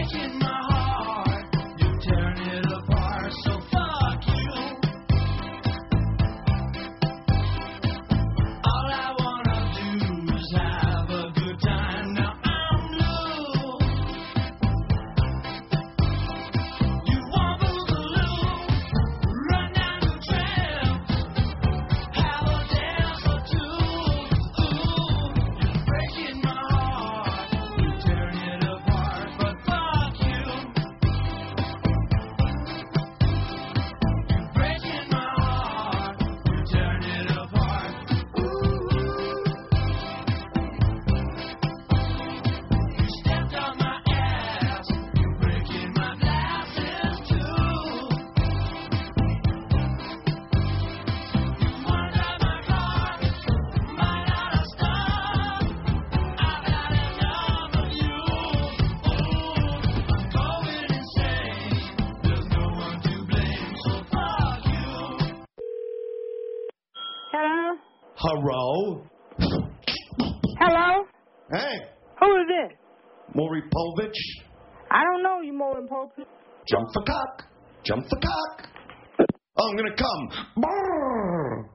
Hello? Hello? Hey. Who is this? Maury Povich. I don't know you, Maury Povich. Jump for cock. Jump for cock. Oh, I'm going to come. Brrr.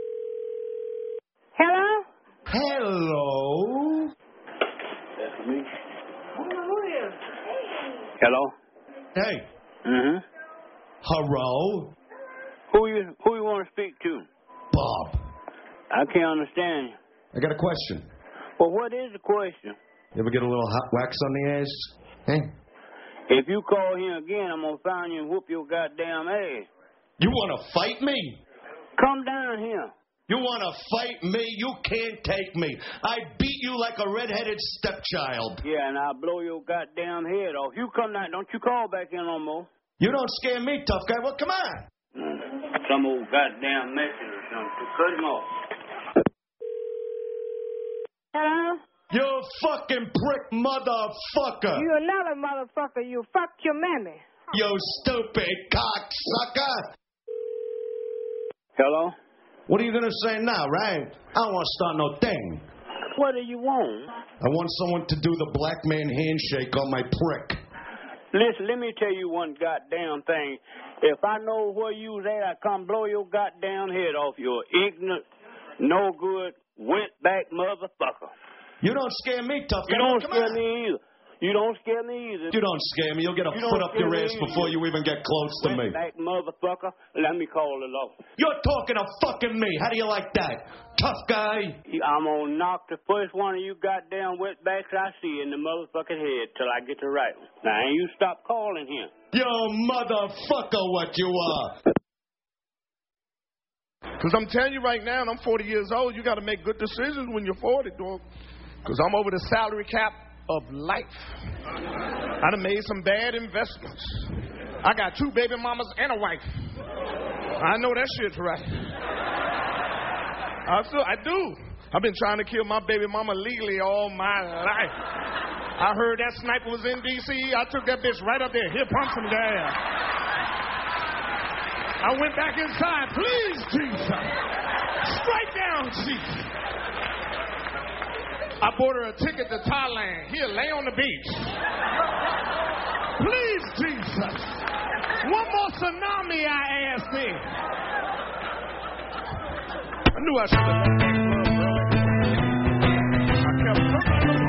Hello? Hello? That's me. I don't know who it is. Hello? Hey. Mm-hmm. Hello? Who you want to speak to? Bob. I can't understand you. I got a question. Well, what is the question? You ever get a little hot wax on the ass? Hey? If you call here again, I'm going to find you and whoop your goddamn ass. You want to fight me? Come down here. You want to fight me? You can't take me. I beat you like a redheaded stepchild. Yeah, and I'll blow your goddamn head off. You come down. Don't you call back in no more. You don't scare me, tough guy. Well, come on. Some old goddamn message or something. Cut him off. Hello? You fucking prick motherfucker. You another motherfucker. You fucked your mammy. You stupid cocksucker. Hello? What are you going to say now, right? I don't want to start no thing. What do you want? I want someone to do the black man handshake on my prick. Listen, let me tell you one goddamn thing. If I know where you's at, I come blow your goddamn head off, you ignorant, no good, went-back motherfucker. You don't scare me, tough guy. You don't scare me either. You don't scare me either. You don't scare me. You'll get a foot up your ass before you even get close to me. Went-back motherfucker, let me call it off. You're talking to fucking me. How do you like that? Tough guy. I'm going to knock the first one of you goddamn wetbacks I see in the motherfucking head till I get the right one. Now, ain't you stop calling him. You motherfucker what you are. Because I'm telling you right now, and I'm 40 years old, you got to make good decisions when you're 40, dog. Because I'm over the salary cap of life. I done made some bad investments. I got 2 baby mamas and a wife. I know that shit's right. I do. I've been trying to kill my baby mama legally all my life. I heard that sniper was in D.C. I took that bitch right up there. Here, pump some gas. I went back inside. Please, Jesus. Strike down, Jesus. I bought her a ticket to Thailand. Here, lay on the beach. Please, Jesus. One more tsunami, I asked me. I knew I should have left that club, bro. I kept looking.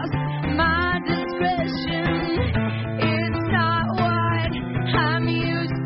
I'm used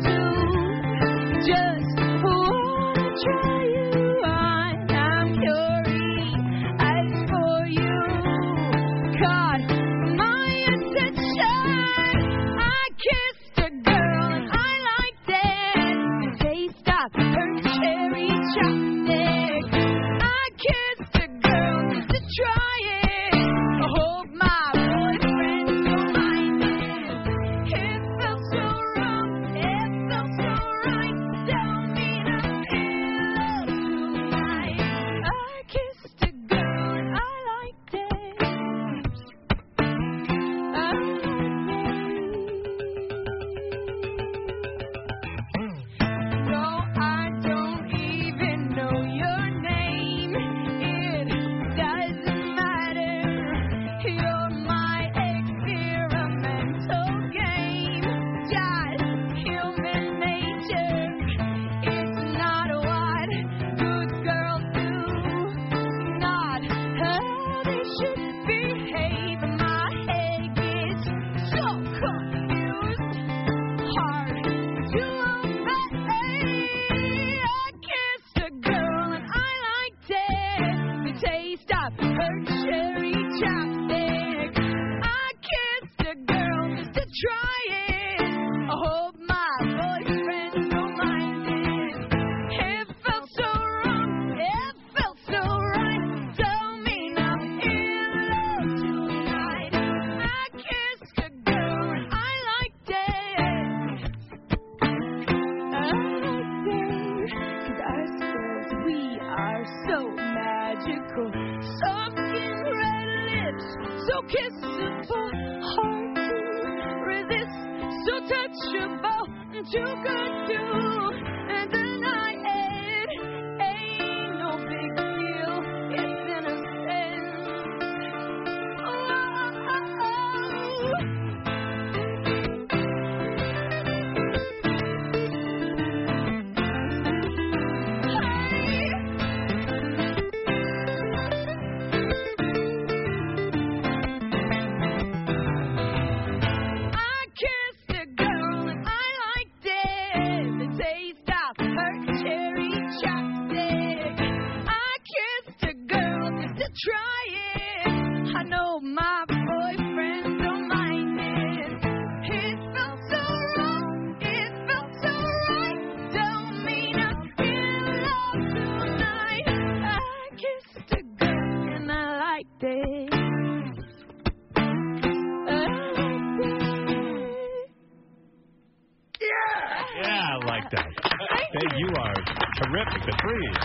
magical. Soft skin, red lips, so kissable. Hard to resist, so touchable. Too good to deny it. Ain't no big deal, it's innocent. Try it. I know my boyfriend don't mind it. It felt so wrong. It felt so right. Don't mean I'm in love tonight. I kissed a girl and I liked it. Yeah, I like that. Hey, you are terrific. The threes.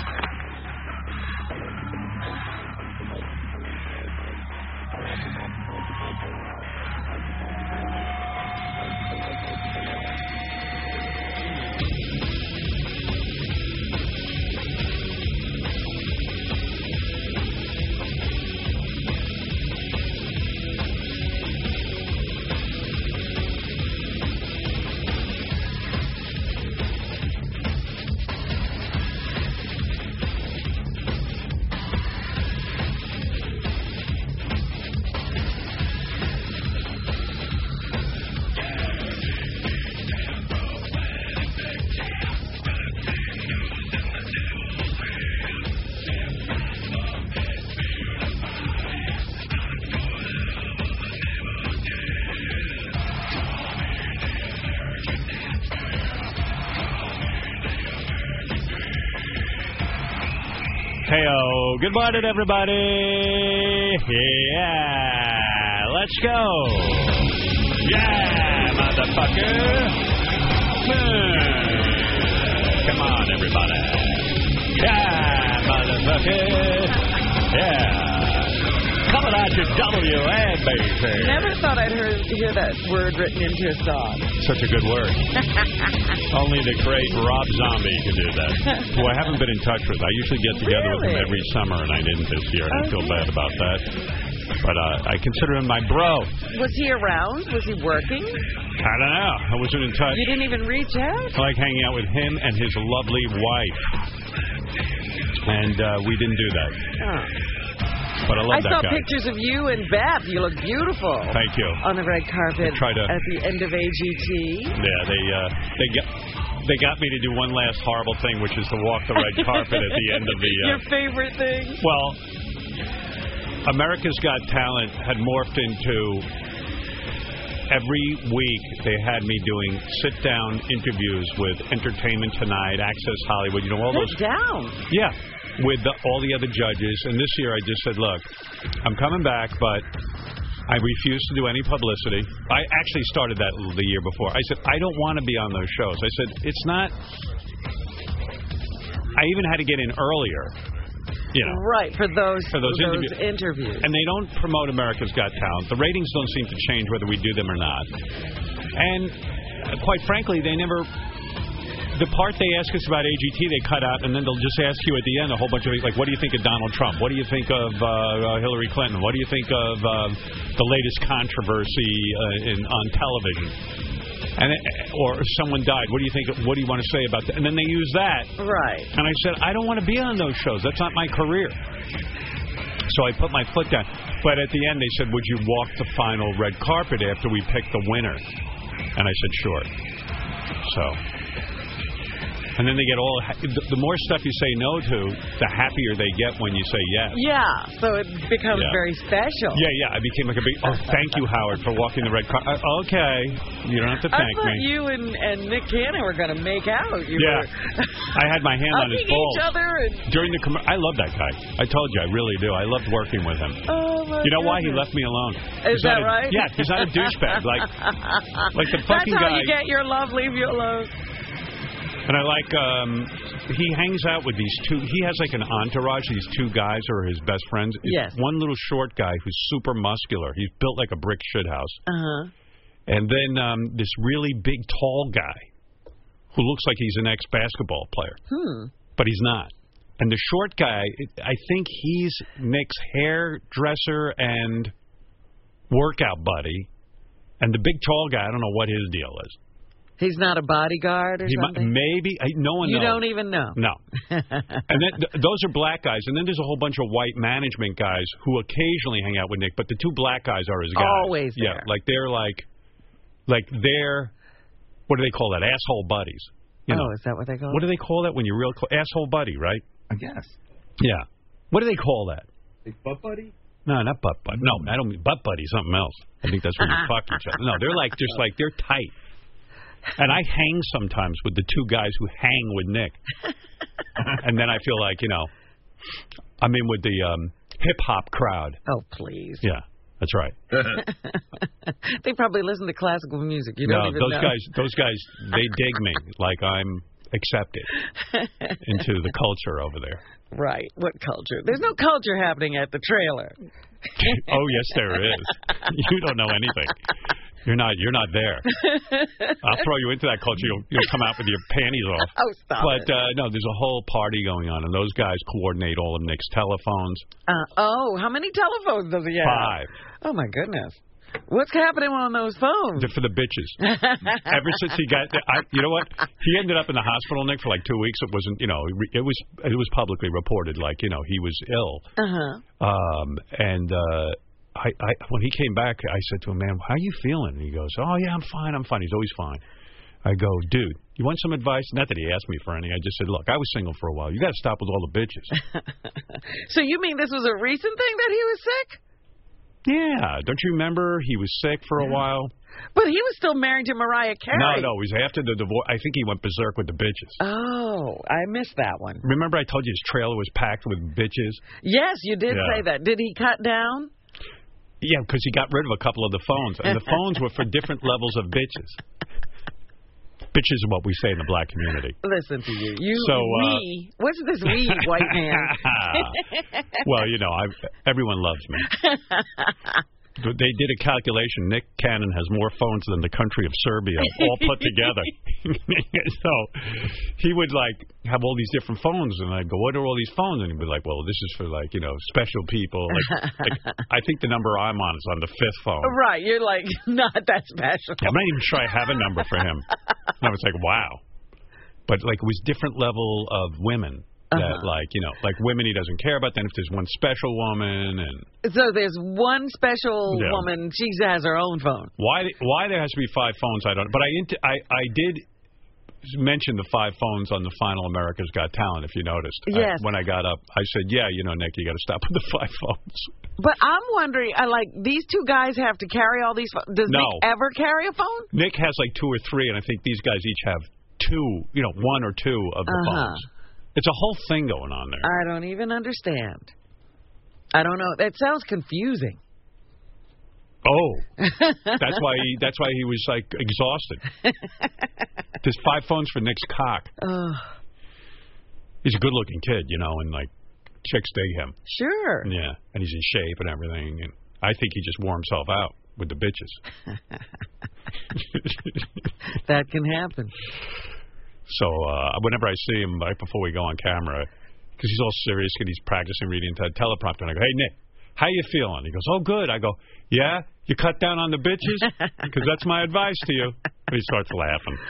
Hey-o. Good morning, everybody. Yeah. Let's go. Yeah, motherfucker. Come on, everybody. Yeah, motherfucker. Yeah. Coming at you, WNBC. Never thought I'd hear that word written into a song. Such a good word. Only the great Rob Zombie could do that, who I haven't been in touch with. I usually get together with him every summer, and I didn't this year, and I feel bad about that. But I consider him my bro. Was he around? Was he working? I don't know. I wasn't in touch. You didn't even reach out? I like hanging out with him and his lovely wife. And we didn't do that. Oh. But I love that guy. I saw pictures of you and Beth. You look beautiful. Thank you. On the red carpet at the end of AGT. Yeah, they got me to do one last horrible thing, which is to walk the red carpet at the end of the... Your favorite thing? Well, America's Got Talent had morphed into... Every week they had me doing sit-down interviews with Entertainment Tonight, Access Hollywood, you know, all those... Sit-down? Yeah. With all the other judges. And this year I just said, look, I'm coming back, but I refuse to do any publicity. I actually started that the year before. I said, I don't want to be on those shows. I said, it's not... I even had to get in earlier, you know. Right, for those interviews. And they don't promote America's Got Talent. The ratings don't seem to change whether we do them or not. And quite frankly, they never... The part they ask us about AGT, they cut out, and then they'll just ask you at the end a whole bunch of, like, what do you think of Donald Trump? What do you think of Hillary Clinton? What do you think of the latest controversy on television? Or someone died. What do you think? What do you want to say about that? And then they use that. Right. And I said, I don't want to be on those shows. That's not my career. So I put my foot down. But at the end, they said, would you walk the final red carpet after we pick the winner? And I said, sure. So... And then they get all... The more stuff you say no to, the happier they get when you say yes. Yeah, so it becomes very special. Yeah, I became like a big... Oh, thank you, Howard, for walking the red carpet. Okay, you don't have to thank me. I thought you and Nick Cannon were going to make out. I had my hand on his balls. Each other and... During the... I love that guy. I told you, I really do. I loved working with him. Oh, my You know why? He left me alone. Is that right? Yeah, he's not a douchebag. Like the fucking guy... That's how you get your love, leave you alone. And I like, he hangs out with these two, he has like an entourage, these two guys who are his best friends. Yes. One little short guy who's super muscular. He's built like a brick shithouse. Uh-huh. And then this really big, tall guy who looks like he's an ex-basketball player. But he's not. And the short guy, I think he's Nick's hairdresser and workout buddy. And the big, tall guy, I don't know what his deal is. He's not a bodyguard or something? Maybe. No one knows. You don't even know? No. And then those are black guys. And then there's a whole bunch of white management guys who occasionally hang out with Nick. But the two black guys are his guys. Always there. Yeah, like they're what do they call that? Asshole buddies. You know? Is that what they call it? What do they call that when you're real asshole buddy, right? I guess. Yeah. What do they call that? Big butt buddy? No, not butt buddy. No, I don't mean butt buddy. Something else. I think that's when you fuck each other. No, they're like they're tight. And I hang sometimes with the two guys who hang with Nick. And then I feel like, I'm in with the hip-hop crowd. Oh, please. Yeah, that's right. They probably listen to classical music. You don't even know. Those guys, they dig me like I'm accepted into the culture over there. Right. What culture? There's no culture happening at the trailer. Oh, yes, there is. You don't know anything. You're not there. I'll throw you into that culture. You'll come out with your panties off. Oh, stop it. No, there's a whole party going on, and those guys coordinate all of Nick's telephones. How many telephones does he have? 5. Oh, my goodness. What's happening on those phones? They're for the bitches. Ever since he got, you know what? He ended up in the hospital, Nick, for like 2 weeks. It wasn't, it was publicly reported, like, he was ill. When he came back, I said to him, man, how are you feeling? And he goes, oh, yeah, I'm fine. He's always fine. I go, dude, you want some advice? Not that he asked me for any. I just said, look, I was single for a while. You got to stop with all the bitches. So you mean this was a recent thing that he was sick? Yeah. Don't you remember he was sick for a while? But he was still married to Mariah Carey. No, it was after the divorce. I think he went berserk with the bitches. Oh, I missed that one. Remember I told you his trailer was packed with bitches? Yes, you did say that. Did he cut down? Yeah, because he got rid of a couple of the phones. And the phones were for different levels of bitches. Bitches are what we say in the black community. Listen to you. We. What's this we, white man? Well, everyone loves me. They did a calculation. Nick Cannon has more phones than the country of Serbia, all put together. So he would have all these different phones, and I'd go, "What are all these phones?" And he'd be like, "Well, this is for special people." I think the number I'm on is on the 5th phone. Right, you're not that special. I'm not even sure I have a number for him. And I was like, wow. But it was different level of women. That women he doesn't care about. Then if there's one special woman, and so there's one special woman, she has her own phone. Why there has to be 5 phones? I don't. But I did mention the 5 phones on the final America's Got Talent. If you noticed, yes. When I got up, I said, Nick, you got to stop with the 5 phones. But I'm wondering, these two guys have to carry all these phones. Does Nick ever carry a phone? Nick has 2 or 3, and I think these guys each have 2, 1 or 2 of the phones. It's a whole thing going on there. I don't even understand. I don't know. That sounds confusing. Oh, that's why he was exhausted. There's 5 phones for Nick's cock. He's a good-looking kid, and chicks dig him. Sure. Yeah, and he's in shape and everything, and I think he just wore himself out with the bitches. That can happen. So whenever I see him right before we go on camera, because he's all serious and he's practicing reading to a teleprompter, and I go, "Hey, Nick, how you feeling?" He goes, "Oh, good." I go, "Yeah, you cut down on the bitches? Because that's my advice to you." And he starts laughing.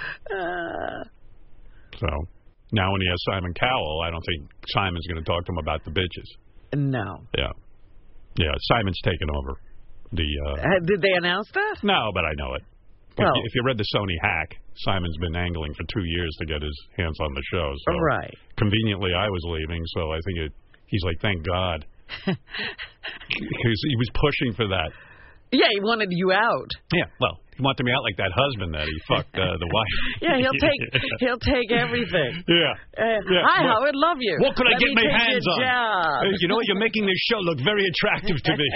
So now when he has Simon Cowell, I don't think Simon's going to talk to him about the bitches. No. Yeah, Simon's taken over. Did they announce that? No, but I know it. If you read the Sony hack, Simon's been angling for 2 years to get his hands on the show. So right. Conveniently, I was leaving, so I think he's like, thank God. Because he was pushing for that. Yeah, he wanted you out. Yeah, well, he wanted me out like that husband that he fucked the wife. Yeah, he'll take everything. Yeah. Hi, Howard, love you. What could I get my hands on? Job. Hey, you know what? You're making this show look very attractive to me.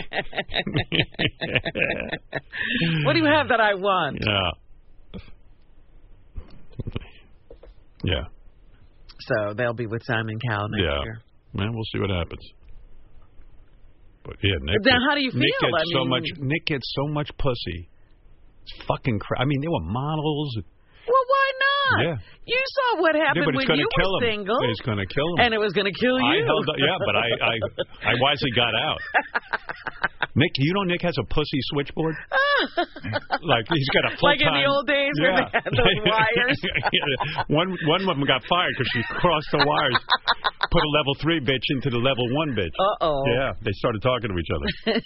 What do you have that I want? Yeah. Yeah. So they'll be with Simon Cowell next year. Man, we'll see what happens. But yeah, Nick. Then how do you feel? Nick gets so much pussy. It's fucking I mean, they were models. Well, why not? Yeah. You saw what happened when you were single. It's going to kill him. And it was going to kill you. But I wisely got out. Nick, Nick has a pussy switchboard? Like, he's got a full-time... Like in the old days where they had those wires? One of them got fired because she crossed the wires. Put a level 3 bitch into the level 1 bitch. Uh-oh. Yeah, they started talking to each other.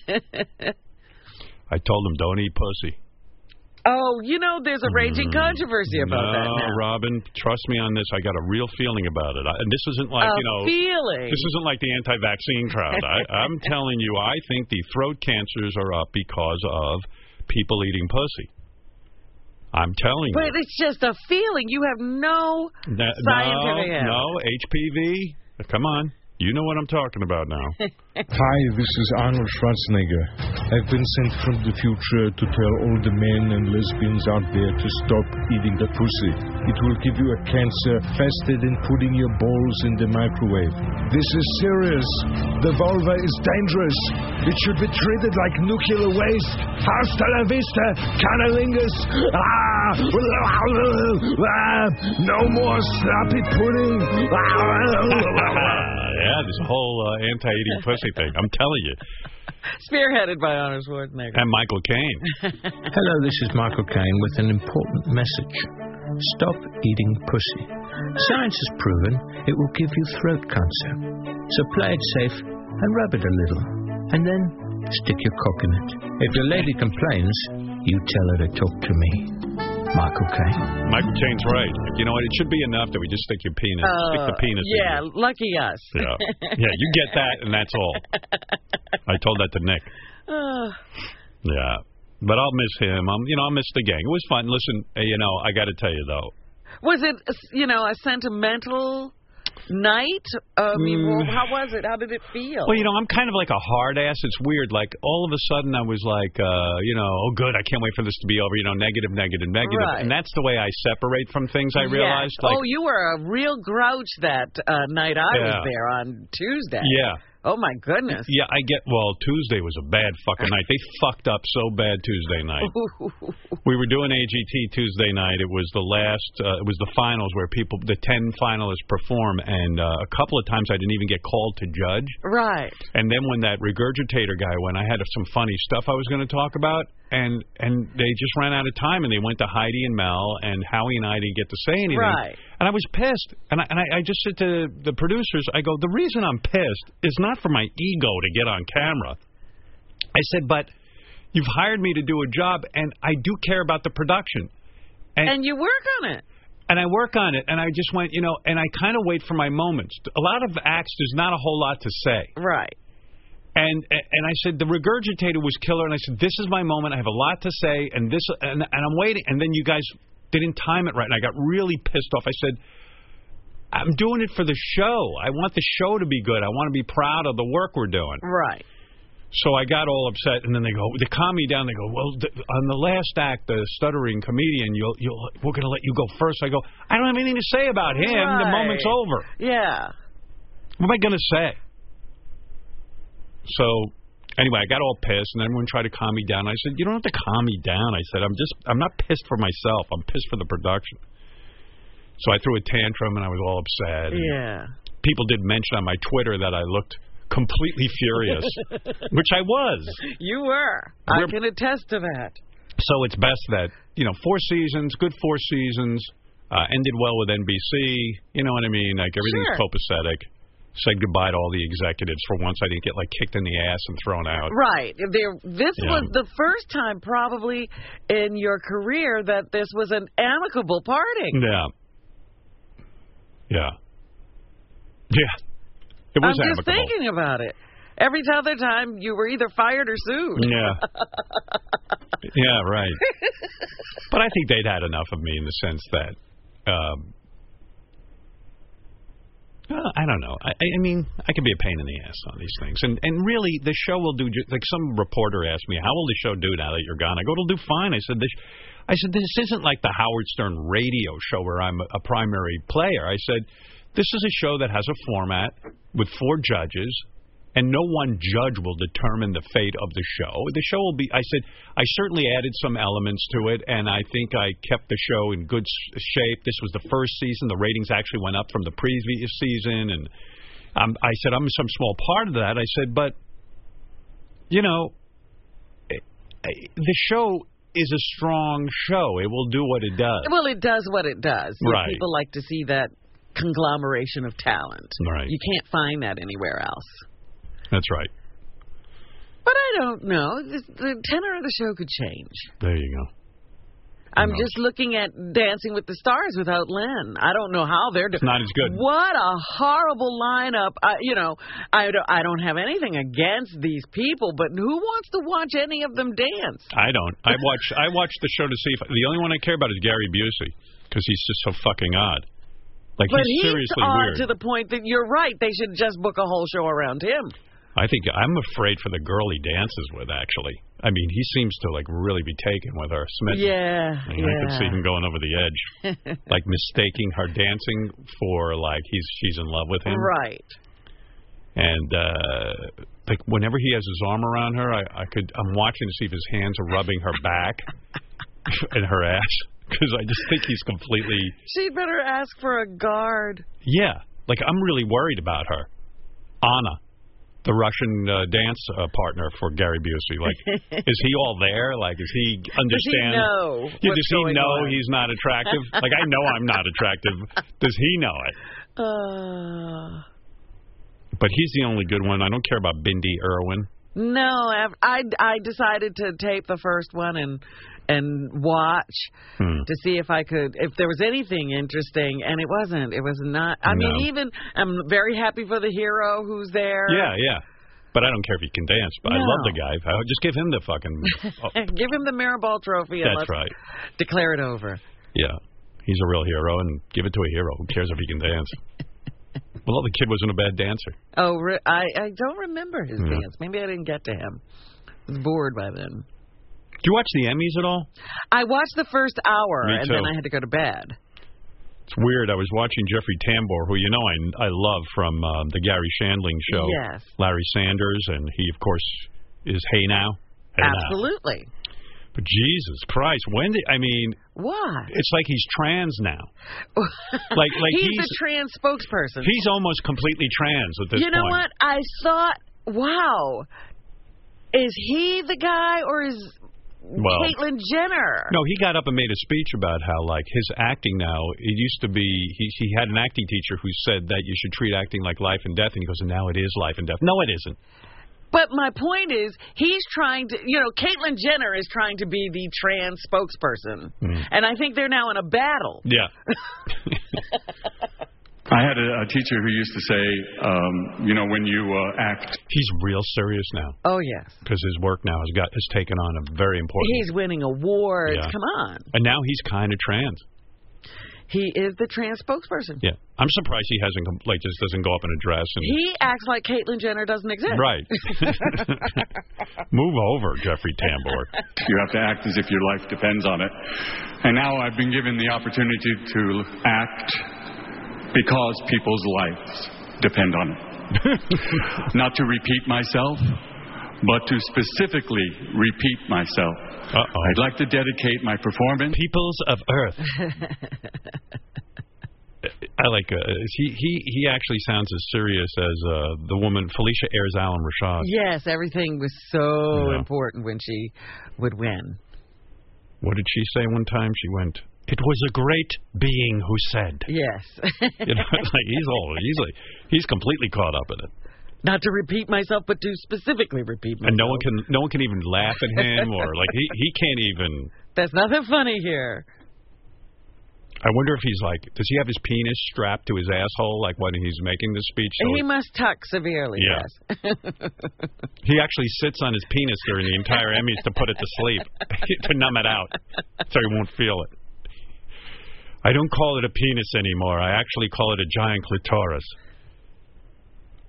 I told them, don't eat pussy. Oh, there's a raging controversy about that now. No, Robin, trust me on this. I got a real feeling about it. And this isn't like, feeling. This isn't like the anti-vaccine crowd. I'm telling you, I think the throat cancers are up because of people eating pussy. I'm telling you. But it's just a feeling. You have no scientific evidence. No, HPV. Come on. You know what I'm talking about now. Hi, this is Arnold Schwarzenegger. I've been sent from the future to tell all the men and lesbians out there to stop eating the pussy. It will give you a cancer faster than putting your balls in the microwave. This is serious. The vulva is dangerous. It should be treated like nuclear waste. Hasta la vista, cunnilingus. No more sloppy pudding. Yeah, this whole anti-eating pussy thing. I'm telling you. Spearheaded by Arnold Schwarzenegger. And Michael Caine. Hello, this is Michael Caine with an important message. Stop eating pussy. Science has proven it will give you throat cancer. So play it safe and rub it a little. And then stick your cock in it. If your lady complains, you tell her to talk to me. Michael Caine. Michael Caine's right. You know what? It should be enough that we just stick your penis. Stick the penis in. Yeah, lucky us. Yeah. Yeah, you get that, and that's all. I told that to Nick. Yeah. But I'll miss him. I'll miss the gang. It was fun. Listen, I got to tell you, though. Was it, a sentimental night? I mean, how was it? How did it feel? Well, I'm kind of like a hard ass. It's weird. Like, all of a sudden I was like, oh, good, I can't wait for this to be over. Negative. Right. And that's the way I separate from things, I realized. Yes. Like, you were a real grouch that night I was there on Tuesday. Yeah. Oh, my goodness. Yeah, Tuesday was a bad fucking night. They fucked up so bad Tuesday night. We were doing AGT Tuesday night. It was it was the finals where the 10 finalists perform, and a couple of times I didn't even get called to judge. Right. And then when that regurgitator guy went, I had some funny stuff I was going to talk about, and they just ran out of time, and they went to Heidi and Mel, and Howie and I didn't get to say anything. Right. And I was pissed. And I just said to the producers, I go, the reason I'm pissed is not for my ego to get on camera. I said, but you've hired me to do a job, and I do care about the production. And you work on it. And I work on it, and I just went, and I kind of wait for my moments. A lot of acts, there's not a whole lot to say. Right. And I said, the regurgitator was killer, and I said, this is my moment. I have a lot to say, and I'm waiting. And then you guys didn't time it right, and I got really pissed off. I said, I'm doing it for the show. I want the show to be good. I want to be proud of the work we're doing. Right. So I got all upset, and then they calm me down. They go, well, on the last act, the stuttering comedian, we're going to let you go first. I go, I don't have anything to say about him. Right. The moment's over. Yeah. What am I going to say? So anyway, I got all pissed, and everyone tried to calm me down. I said, you don't have to calm me down. I said, I'm not pissed for myself. I'm pissed for the production. So I threw a tantrum, and I was all upset. Yeah. People did mention on my Twitter that I looked completely furious, which I was. You were. I can attest to that. So it's best that, 4 seasons, good 4 seasons, ended well with NBC. You know what I mean? Like, everything's copacetic. Said goodbye to all the executives for once. I didn't get, kicked in the ass and thrown out. Right. This was the first time probably in your career that this was an amicable parting. Yeah. Yeah. Yeah. It was I'm just thinking about it. Every other time you were either fired or sued. Yeah. Yeah, right. But I think they'd had enough of me in the sense that I don't know. I mean, I can be a pain in the ass on these things. And really, the show will do, like some reporter asked me, how will the show do now that you're gone? I go, it'll do fine. I said, this isn't like the Howard Stern radio show where I'm a primary player. I said, this is a show that has a format with 4 judges, and no one judge will determine the fate of the show. The show will be, I said, I certainly added some elements to it, and I think I kept the show in good shape. This was the first season. The ratings actually went up from the previous season, and I said, I'm some small part of that. I said, but, you know, the show is a strong show. It will do what it does. Well, it does what it does. Right. People like to see that conglomeration of talent. Right. You can't find that anywhere else. That's right. But I don't know. The tenor of the show could change. There you go. I'm just looking at Dancing with the Stars without Len. I don't know how they're doing. It's not as good. What a horrible lineup. I don't have anything against these people, but who wants to watch any of them dance? I don't. I watch the show to see if the only one I care about is Gary Busey because he's just so fucking odd. Like, but he's seriously odd weird. To the point that you're right. They should just book a whole show around him. I think I'm afraid for the girl he dances with, actually. I mean, he seems to, like, really be taken with her. Smith. Yeah. I could see him going over the edge. Like, mistaking her dancing for, like, she's in love with him. Right. And, like, whenever he has his arm around her, I'm watching to see if his hands are rubbing her back and her ass. Because I just think he's completely... She'd better ask for a guard. Yeah. Like, I'm really worried about her. Anna, the Russian dance partner for Gary Busey. Like, is he all there? Like, does he understand? Does he know? Yeah, does he know he's not attractive? Like, I know I'm not attractive. Does he know it? But he's the only good one. I don't care about Bindi Irwin. No, I decided to tape the first one and watch to see if there was anything interesting, and it wasn't. It was not. I mean, I'm very happy for the hero who's there. Yeah. But I don't care if he can dance. But I love the guy. Just give him the fucking... Give him the Mirrorball trophy. And That's right. Declare it over. Yeah. He's a real hero, and give it to a hero. Who cares if he can dance? Well, the kid wasn't a bad dancer. Oh, I don't remember his dance. Maybe I didn't get to him. I was bored by then. Did you watch the Emmys at all? I watched the first hour, Me and too. then I had to go to bed. It's weird. I was watching Jeffrey Tambor, who I love from the Gary Shandling show. Yes. Larry Sanders, and he, of course, is Hey Now. Hey Absolutely. Now. But Jesus Christ, Why? It's like he's trans now. like he's a trans spokesperson. He's almost completely trans at this point. You know what? I thought, wow, is he the guy or is Caitlyn Jenner? No, he got up and made a speech about how, like, his acting now, it used to be, he had an acting teacher who said that you should treat acting like life and death, and he goes, and now it is life and death. No, it isn't. But my point is, he's trying to, Caitlyn Jenner is trying to be the trans spokesperson. And I think they're now in a battle. Yeah. I had a teacher who used to say, when you act... He's real serious now. Oh, yes. Because his work now has taken on a very important... He's winning awards. Yeah. Come on. And now he's kind of trans. He is the trans spokesperson. Yeah. I'm surprised he just doesn't go up in a dress. And he acts like Caitlyn Jenner doesn't exist. Right. Move over, Jeffrey Tambor. You have to act as if your life depends on it. And now I've been given the opportunity to act because people's lives depend on it. Not to repeat myself, but to specifically repeat myself. I'd like to dedicate my performance... Peoples of Earth. I like... he actually sounds as serious as the woman, Felicia Ayres Allen Rashad. Yes, everything was so important when she would win. What did she say one time? She went... It was a great being who said. Yes. He's completely caught up in it. Not to repeat myself, but to specifically repeat myself. And no one can even laugh at him, or like he can't even. There's nothing funny here. I wonder if he's like, does he have his penis strapped to his asshole, like when he's making this speech? So he must tuck severely. Yeah. Yes. He actually sits on his penis during the entire Emmys to put it to sleep, to numb it out, so he won't feel it. I don't call it a penis anymore. I actually call it a giant clitoris.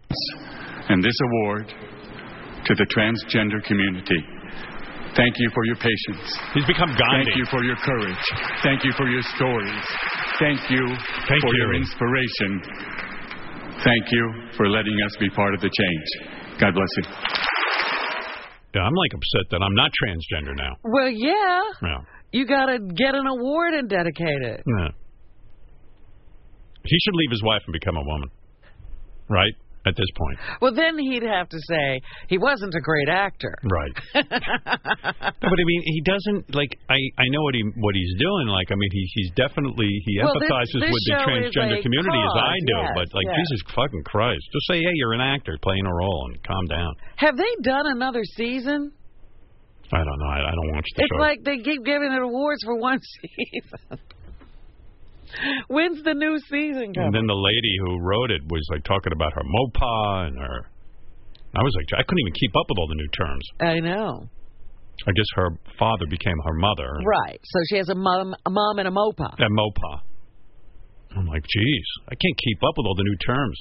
and this award to the transgender community. Thank you for your patience. He's become Gandhi. Thank you for your courage. Thank you for your stories. Thank you for your inspiration. Thank you for letting us be part of the change. God bless you. Yeah, I'm like upset that I'm not transgender now. Well, yeah. Yeah. You got to get an award and dedicate it. Yeah. He should leave his wife and become a woman. Right? At this point. Well, then he'd have to say he wasn't a great actor. Right. No, but I mean, he doesn't, like, I know what he's doing. Like, I mean, he's definitely, he empathizes with the transgender community as I do. Yes, but, like, Jesus fucking Christ. Just say, hey, you're an actor playing a role and calm down. Have they done another season? I don't know. I don't watch the show. It's like they keep giving it awards for one season. When's the new season coming? And then the lady who wrote it was like talking about her mopa and her. I was like, I couldn't even keep up with all the new terms. I know. I guess her father became her mother. Right. So she has a mom and a mopa. A mopa. I'm like, geez, I can't keep up with all the new terms.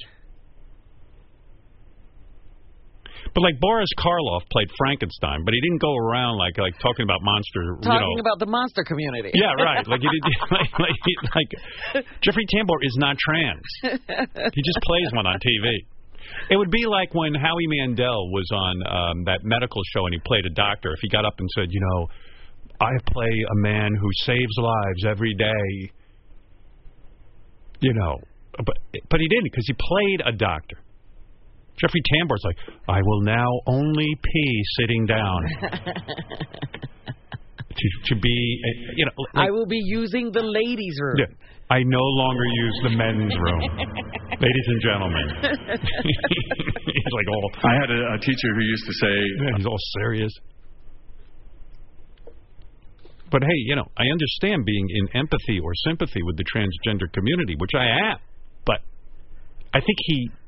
But like Boris Karloff played Frankenstein, but he didn't go around like talking about monster. Talking about the monster community. Yeah, right. Like he did, like Jeffrey Tambor is not trans. He just plays one on TV. It would be like when Howie Mandel was on that medical show and he played a doctor. If he got up and said, you know, I play a man who saves lives every day. You know, but he didn't because he played a doctor. Jeffrey Tambor's like, I will now only pee sitting down. to be, you know. Like, I will be using the ladies' room. Yeah, I no longer use the men's room. Ladies and gentlemen. He's like all. I had a teacher who used to say. Yeah, he's all serious. But hey, you know, I understand being in empathy or sympathy with the transgender community, which I am. But I think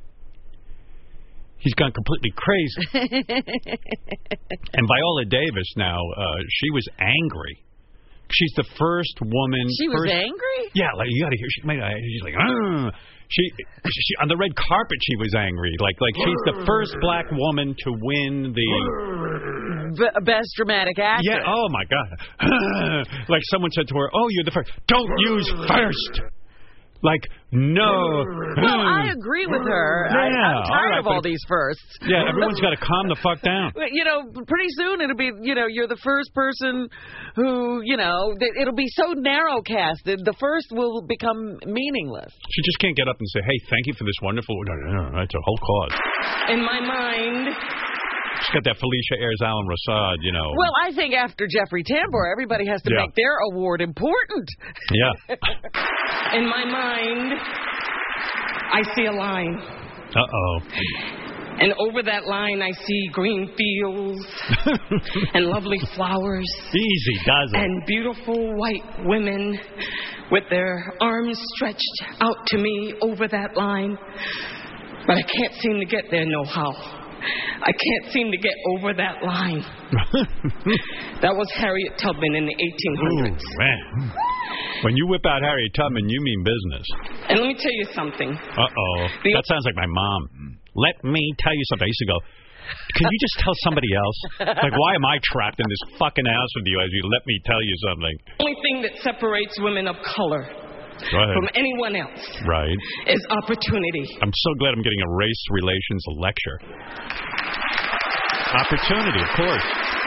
he's gone completely crazy. And Viola Davis now, she was angry. She's the first woman. She was angry? Yeah, like you got to hear. She's like, ugh. She on the red carpet. She was angry. Like she's the first black woman to win the best dramatic actress. Yeah. Oh my God. Like someone said to her, "Oh, you're the first. Don't use first." Like, no. Well, I agree with her. Yeah, I'm tired of all these firsts. Yeah, everyone's got to calm the fuck down. You know, pretty soon it'll be, you know, you're the first person who, you know, it'll be so narrow-casted, the first will become meaningless. She just can't get up and say, hey, thank you for this wonderful... No, it's a whole cause. In my mind... She's got that Felicia Ayres, Alan Rosad, you know. Well, I think after Jeffrey Tambor, everybody has to make their award important. Yeah. In my mind, I see a line. Uh-oh. And over that line, I see green fields and lovely flowers. Easy does it. And beautiful white women with their arms stretched out to me over that line. But I can't seem to get there no how. I can't seem to get over that line. That was Harriet Tubman in the 1800s. Ooh, man. When you whip out Harriet Tubman, you mean business. And let me tell you something. Uh-oh. That sounds like my mom. Let me tell you something. I used to go, can you just tell somebody else? Like, why am I trapped in this fucking house with you as you let me tell you something? The only thing that separates women of color from anyone else is opportunity. I'm so glad I'm getting a race relations lecture. Opportunity, of course.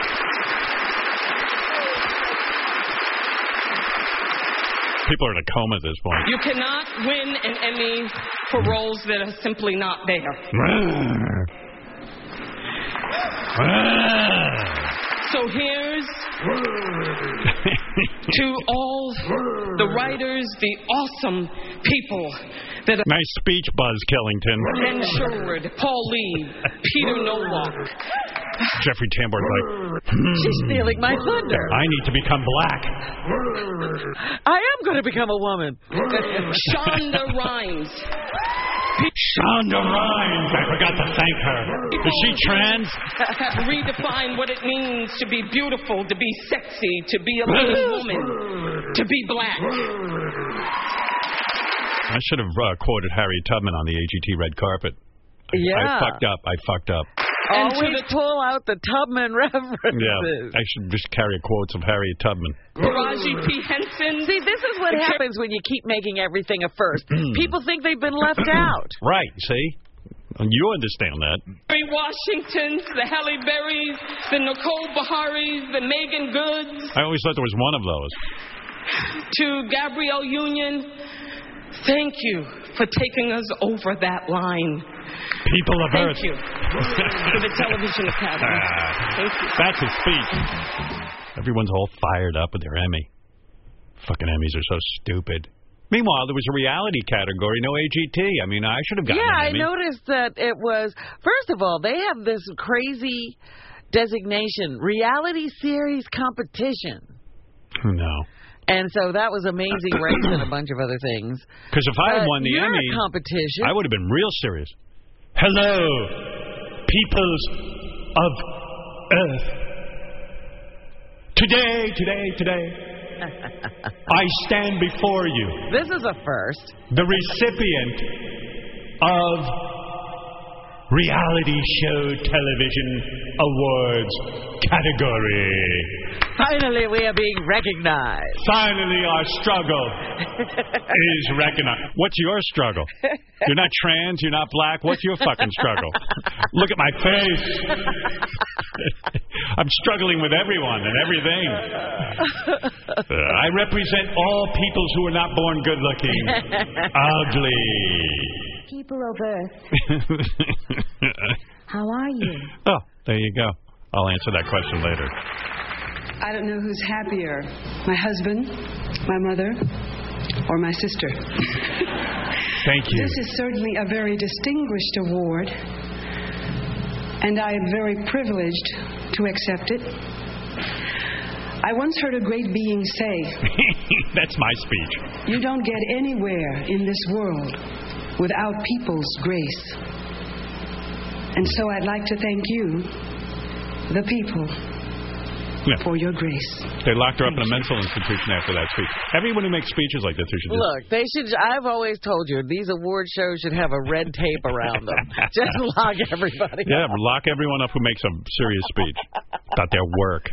People are in a coma at this point. You cannot win an Emmy for roles that are simply not there. So here's to all the writers, the awesome people that are... Nice speech, Buzz Killington. Ben Sherwood, Paul Lee, Peter Nowak. Jeffrey Tambor's like, she's stealing my thunder. I need to become black. I am going to become a woman. Shonda Rhimes. Shonda Rhimes. I forgot to thank her. Is she trans? Have redefined what it means to be beautiful, to be sexy, to be a leading woman, to be black. I should have quoted Harriet Tubman on the AGT red carpet. Yeah. I fucked up. Always pull out the Tubman references. Yeah, I should just carry quotes of Harriet Tubman. Taraji P. Henson. See, this is what happens when you keep making everything a first. People think they've been left out. Right, see? You understand that. Kerry Washingtons, the Halle Berrys, the Nicole Beharies, the Megan Goods. I always thought there was one of those. To Gabrielle Union, thank you for taking us over that line. People of Earth. Thank you to the Television Academy. Thank you. That's his speech. Everyone's all fired up with their Emmy. Fucking Emmys are so stupid. Meanwhile, there was a reality category, no AGT. I mean, I should have gotten an Emmy. I noticed that it was, first of all, they have this crazy designation, reality series competition. No. And so that was Amazing Race and a bunch of other things. Because if I had won the Emmy, competition, I would have been real serious. Hello, peoples of Earth. Today, I stand before you. This is a first. The recipient of Reality Show Television Awards category. Finally, we are being recognized. Finally, our struggle is recognized. What's your struggle? You're not trans, you're not black. What's your fucking struggle? Look at my face. I'm struggling with everyone and everything. I represent all peoples who are not born good-looking. Ugly. People of Earth. How are you? Oh, there you go. I'll answer that question later. I don't know who's happier, my husband, my mother, or my sister. Thank you. This is certainly a very distinguished award, and I am very privileged to accept it. I once heard a great being say, that's my speech. You don't get anywhere in this world without people's grace. And so I'd like to thank you, the people, for your grace. They locked her up in a mental institution after that speech. Everyone who makes speeches like this, they should just... Look, they should. I've always told you, these award shows should have a red tape around them. Just lock everybody up. up. Lock everyone up who makes a serious speech about their work.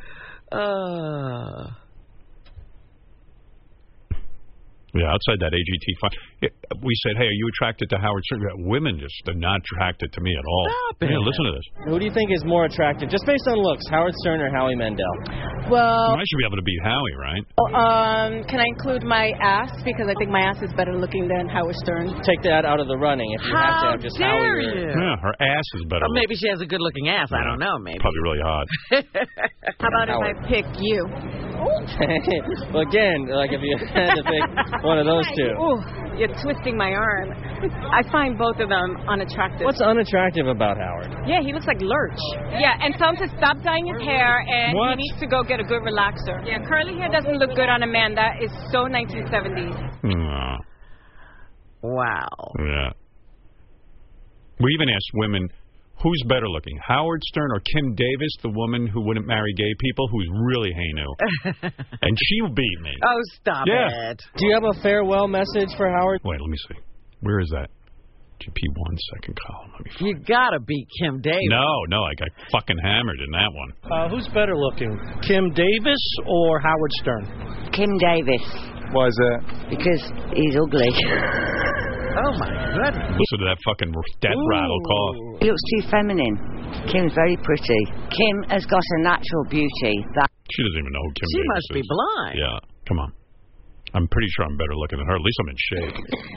Yeah, outside that AGT fund, we said, hey, are you attracted to Howard Stern? Women just are not attracted to me at all. Stop it. Yeah, listen to this. Who do you think is more attractive, just based on looks, Howard Stern or Howie Mandel? Well, I should be able to beat Howie, right? Can I include my ass? Because I think my ass is better looking than Howard Stern. Take that out of the running if you have to have just Howie. Yeah, her ass is better. Or maybe she has a good-looking ass. I don't know, maybe. Probably really hot. How about if I pick you? Well, again, like if you had to pick one of those two. Ooh, you're twisting my arm. I find both of them unattractive. What's unattractive about Howard? Yeah, he looks like Lurch. Yeah, and tell him to stop dyeing his hair, and he needs to go get a good relaxer. Yeah, curly hair doesn't look good on a man. That is so 1970s. Wow. Yeah. We even asked women, who's better looking, Howard Stern or Kim Davis, the woman who wouldn't marry gay people, who's really heinous? And she beat me. Oh, stop it. Do you have a farewell message for Howard? Wait, let me see. Where is that? GP1 second column. Let me find You gotta beat Kim Davis. No, I got fucking hammered in that one. Who's better looking, Kim Davis or Howard Stern? Kim Davis. Why is that? Because he's ugly. Oh, my goodness. Listen to that fucking death rattle cough. He looks too feminine. Kim's very pretty. Kim has got a natural beauty. She doesn't even know who Kim She Davis must be blind. Yeah, come on. I'm pretty sure I'm better looking than her. At least I'm in shape.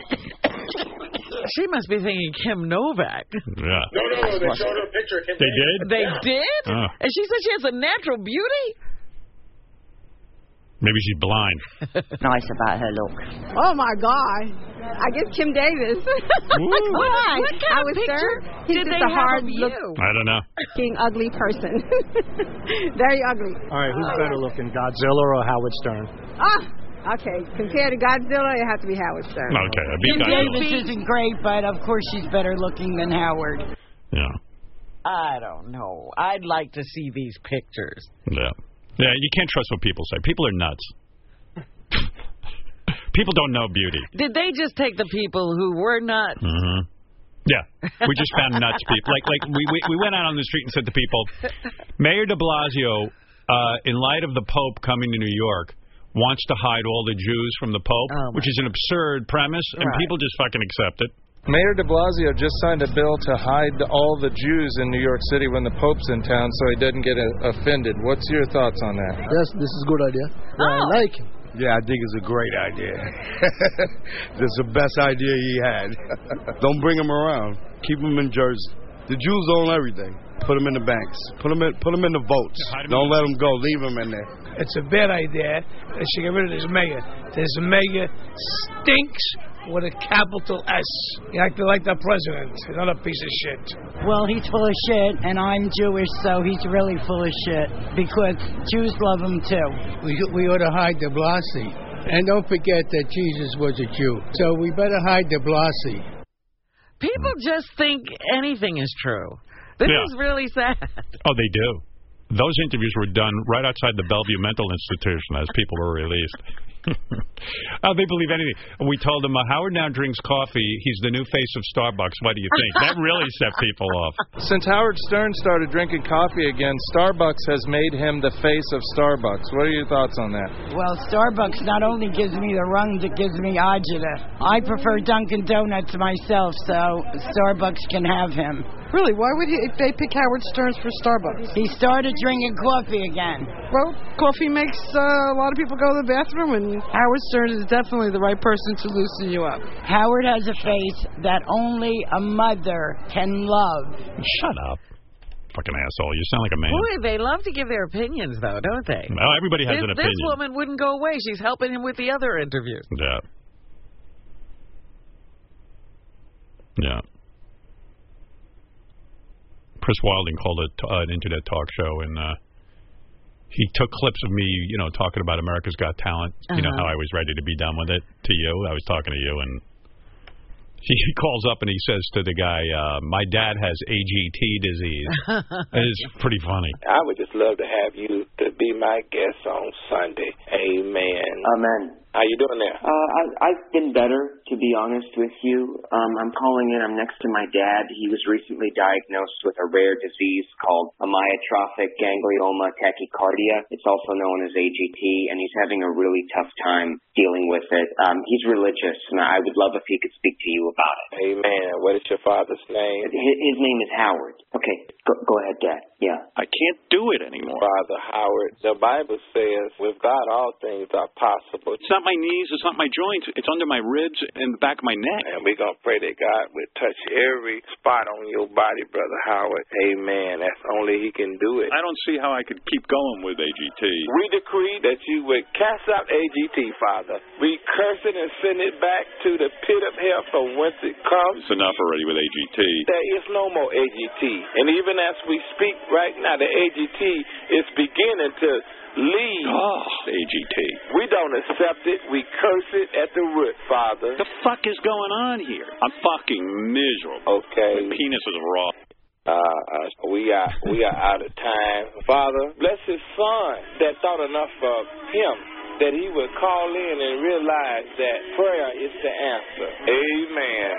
She must be thinking Kim Novak. Yeah. No, they showed her a picture of Kim They Davis. did? They did? Oh. And she said she has a natural beauty? Maybe she's blind. Nice about her look. Oh, my God. I guess Kim Davis. Why? What kind of picture He's did just they a hard have of look, you? I don't know. ugly person. Very ugly. All right, who's better looking, Godzilla or Howard Stern? Okay. Compared to Godzilla, it has to be Howard Stern. Okay, I beat Kim Godzilla. Davis isn't great, but of course she's better looking than Howard. Yeah. I don't know. I'd like to see these pictures. Yeah. Yeah, you can't trust what people say. People are nuts. People don't know beauty. Did they just take the people who were nuts? Mm-hmm. Yeah, we just found nuts people. Like we went out on the street and said to people, Mayor de Blasio, in light of the Pope coming to New York, wants to hide all the Jews from the Pope, which is an absurd premise, and people just fucking accept it. Mayor de Blasio just signed a bill to hide all the Jews in New York City when the Pope's in town so he doesn't get offended. What's your thoughts on that? Yes, this is a good idea. Yeah, I like it. Yeah, I think it's a great idea. It's the best idea he had. Don't bring him around. Keep him in Jersey. The Jews own everything. Put them in the banks. Put them in the votes. Don't let them go. Leave them in there. It's a bad idea. They should get rid of this mayor. This mayor stinks with a capital S. He acted like the president. Another piece of shit. Well, he's full of shit, and I'm Jewish, so he's really full of shit, because Jews love him too. We ought to hide de Blasi. And don't forget that Jesus was a Jew. So we better hide de Blasi. People just think anything is true. This is really sad. Oh, they do. Those interviews were done right outside the Bellevue Mental Institution as people were released. They believe anything. We told them, Howard now drinks coffee. He's the new face of Starbucks. What do you think? That really set people off. Since Howard Stern started drinking coffee again, Starbucks has made him the face of Starbucks. What are your thoughts on that? Well, Starbucks not only gives me the runs, it gives me agita. I prefer Dunkin' Donuts myself, so Starbucks can have him. Really? Why would they pick Howard Stern for Starbucks? He started drinking coffee again. Well, coffee makes a lot of people go to the bathroom, and Howard Stern is definitely the right person to loosen you up. Howard has a face that only a mother can love. Shut up. Fucking asshole. You sound like a man. Boy, they love to give their opinions, though, don't they? Well, everybody has an opinion. This woman wouldn't go away. She's helping him with the other interviews. Yeah. Yeah. Chris Wilding called it an internet talk show, and he took clips of me, talking about America's Got Talent. You know how I was ready to be done with it to you. I was talking to you, and he calls up and he says to the guy, my dad has AGT disease. It's pretty funny. I would just love to have you to be my guest on Sunday. Amen. Amen. How you doing there? I've been better, to be honest with you. I'm calling in. I'm next to my dad. He was recently diagnosed with a rare disease called amyotrophic ganglioma tachycardia. It's also known as AGT, and he's having a really tough time dealing with it. He's religious, and I would love if he could speak to you about it. Amen. What is your father's name? His name is Howard. Okay, go ahead, Dad. Yeah. I can't do it anymore. Father Howard, the Bible says, with God all things are possible. It's not my knees, it's not my joints, it's under my ribs and the back of my neck. And we're going to pray that God will touch every spot on your body, Brother Howard. Amen. That's only He can do it. I don't see how I could keep going with AGT. We decree that you would cast out AGT, Father. We curse it and send it back to the pit of hell from whence it comes. It's enough already with AGT. There is no more AGT. And even as we speak right now, the AGT is beginning to leave. Oh, AGT. We don't accept it. We curse it at the root, Father. The fuck is going on here? I'm fucking miserable. Okay. My penis is raw. We are out of time. Father, bless his son that thought enough of him that he would call in and realize that prayer is the answer. Amen.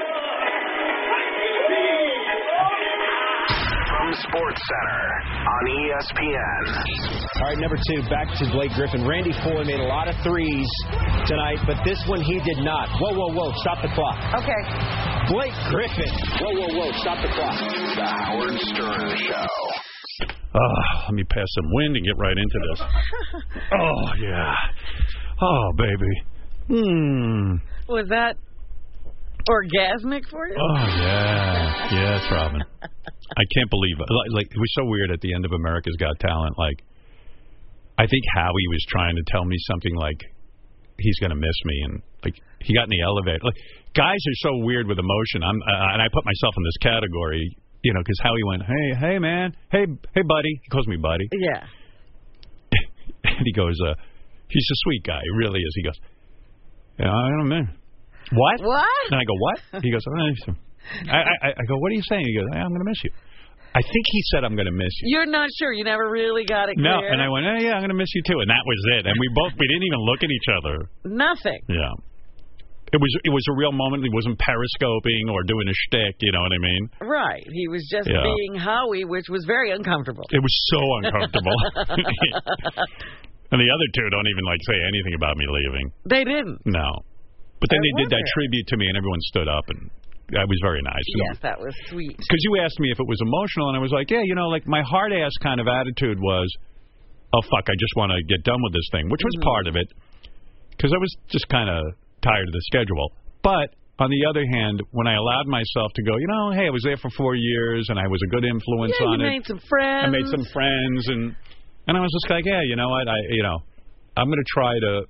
From Sports Center on ESPN. All right, number 2, back to Blake Griffin. Randy Foye made a lot of threes tonight, but this one he did not. Whoa, stop the clock. Okay. Blake Griffin. Whoa, stop the clock. The Howard Stern Show. Let me pass some wind and get right into this. Oh, yeah. Oh, baby. Was that orgasmic for you? Oh, yeah. Yes, Robin. I can't believe it. Like, it was so weird at the end of America's Got Talent. Like, I think Howie was trying to tell me something like he's going to miss me. And, like, he got in the elevator. Like, guys are so weird with emotion. And I put myself in this category, because Howie went, hey, man. Hey, buddy. He calls me buddy. Yeah. And he goes, he's a sweet guy. He really is. He goes, I don't know. What? And I go, what? He goes, I go, what are you saying? He goes, I'm going to miss you. I think he said, I'm going to miss you. You're not sure. You never really got it clear. No, and I went, yeah, I'm going to miss you too. And that was it. And we didn't even look at each other. Nothing. Yeah. It was a real moment. He wasn't periscoping or doing a shtick, you know what I mean? Right. He was just being Howie, which was very uncomfortable. It was so uncomfortable. And the other two don't even say anything about me leaving. They didn't. No. But then they did that tribute to me, and everyone stood up, and that was very nice. Yes, that was sweet. Because you asked me if it was emotional, and I was like, yeah, my hard-ass kind of attitude was, oh, fuck, I just want to get done with this thing, which was part of it, because I was just kind of tired of the schedule. But on the other hand, when I allowed myself to go, hey, I was there for 4 years, and I was a good influence on it. You made some friends. I made some friends, and I was just like, yeah, you know what, I'm going to try to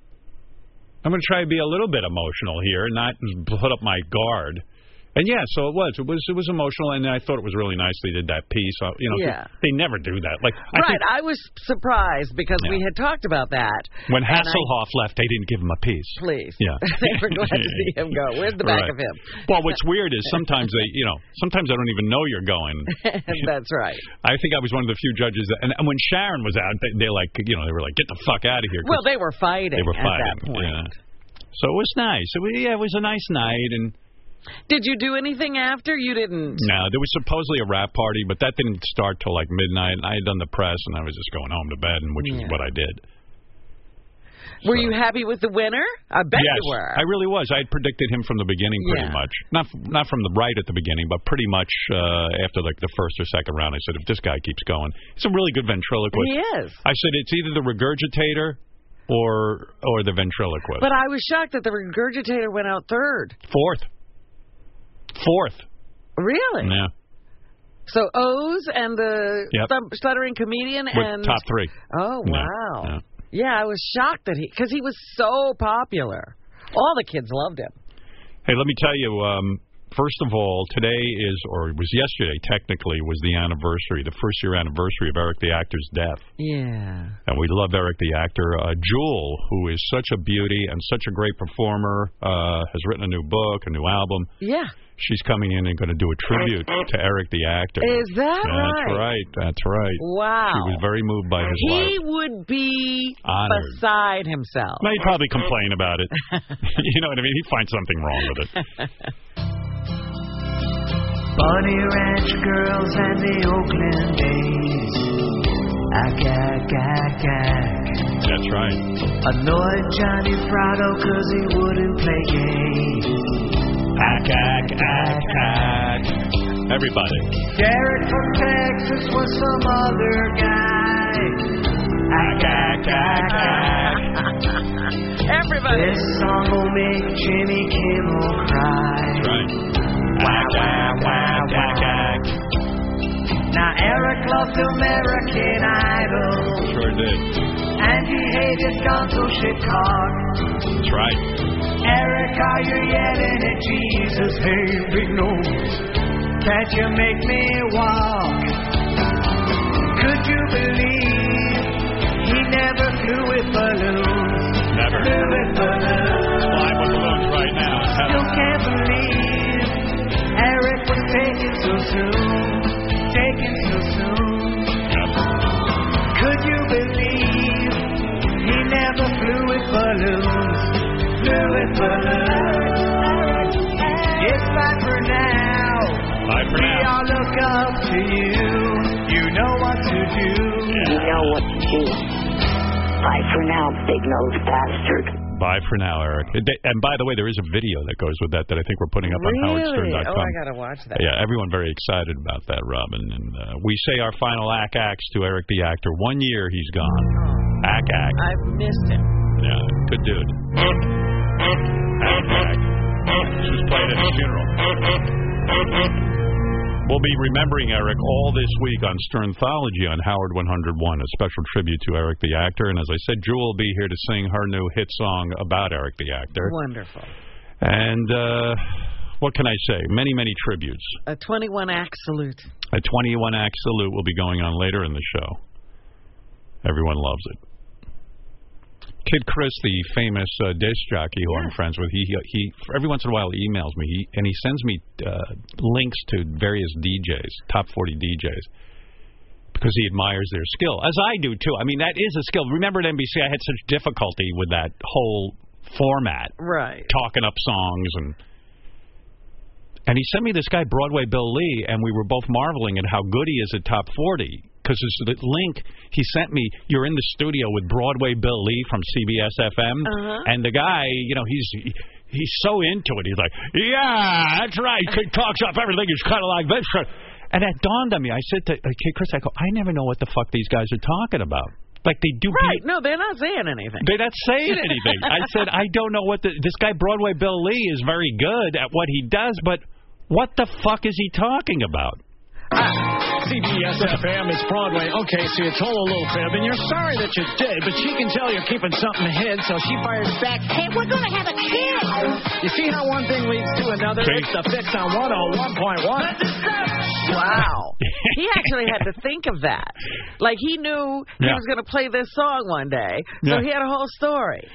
be a little bit emotional here, not put up my guard. And yeah, so it was emotional, and I thought it was really nice they did that piece. They never do that. I was surprised because we had talked about that. When Hasselhoff left, they didn't give him a piece. Please. Yeah. They were glad to see him go. Where's the back of him? Well, what's weird is sometimes sometimes I don't even know you're going. That's right. I think I was one of the few judges and when Sharon was out, they were like, get the fuck out of here. Well, they were fighting. At that point. Yeah. So it was nice. It was a nice night. And did you do anything after? You didn't? No, there was supposedly a rap party, but that didn't start till midnight. And I had done the press, and I was just going home to bed, which is what I did. Were you happy with the winner? I bet you were. I really was. I had predicted him from the beginning pretty much. Not from the right at the beginning, but pretty much after the first or second round. I said, if this guy keeps going, he's a really good ventriloquist. He is. I said, it's either the Regurgitator or the ventriloquist. But I was shocked that the Regurgitator went out third. Fourth. Really? Yeah. So Oz and the stuttering comedian and top three. Oh wow! Yeah, I was shocked that because he was so popular. All the kids loved him. Hey, let me tell you. First of all, today it was yesterday, technically, was the anniversary, the first-year anniversary of Eric the Actor's death. Yeah. And we love Eric the Actor. Jewel, who is such a beauty and such a great performer, has written a new book, a new album. Yeah. She's coming in and going to do a tribute to Eric the Actor. Is that right? That's right. Wow. She was very moved by his life. He would be honored. Beside himself. No, he'd probably complain about it. You know what I mean? He'd find something wrong with it. Bunny Ranch girls and the Oakland days. Ack, ack, ack, ack. That's right. Annoyed Johnny Prado cause he wouldn't play games. Ack, ack, ack, ack. Everybody. Derek from Texas was some other guy. Ack, ack, ack, ack. Everybody. This song will make Jimmy Kimmel cry. That's right. Ack, ack, ack, ack, ack. Now Eric loved American Idol. Sure did. And he hated Gonzo Chicago. That's right. Eric, are you yelling at Jesus? Hey, big nose, can't you make me walk? Could you believe he never flew with balloons? Never. Flew with balloons. Flying with balloons right now. Still can't believe Eric was taken so soon. Taken so soon. Yep. Could you believe he never flew with balloons? Flew with balloons. It's bye for now. Bye for now. We all look up to you. You know what to do. Yeah. You know what to do. Bye for now, big-nosed bastard. Bye for now, Eric. And by the way, there is a video that goes with that I think we're putting up on howardstern.com. Oh, I got to watch that. Yeah, everyone very excited about that, Robin. And we say our final acts to Eric the Actor. 1 year he's gone. Ack. I've missed him. Yeah, good dude. Ack. This was played at his funeral. We'll be remembering Eric all this week on Sternthology on Howard 101, a special tribute to Eric the Actor. And as I said, Jewel will be here to sing her new hit song about Eric the Actor. Wonderful. And what can I say? Many, many tributes. A 21-act salute. A 21-act salute will be going on later in the show. Everyone loves it. Kid Chris, the famous disc jockey who I'm friends with, he every once in a while emails me, and he sends me links to various DJs, top 40 DJs, because he admires their skill, as I do too. I mean, that is a skill. Remember at NBC, I had such difficulty with that whole format. Right. Talking up songs and he sent me this guy, Broadway Bill Lee, and we were both marveling at how good he is at Top 40. Because the link he sent me, you're in the studio with Broadway Bill Lee from CBS FM, and the guy, you know, he's so into it. He's like, yeah, that's right. He talks up everything. He's kind of like this. And that dawned on me. I said to Chris, I go, I never know what the fuck these guys are talking about. Like they do. Right. No, they're not saying anything. They're not saying anything. I said, I don't know what this guy, Broadway Bill Lee, is very good at what he does, but what the fuck is he talking about? CBS FM, it's Broadway. Okay, so you told a little fib, and you're sorry that you did, but she can tell you're keeping something hid, so she fires back, hey, we're going to have a kid. You see how one thing leads to another? It's the fix on 101.1. Wow. He actually had to think of that. Like, he knew he was going to play this song one day, so he had a whole story.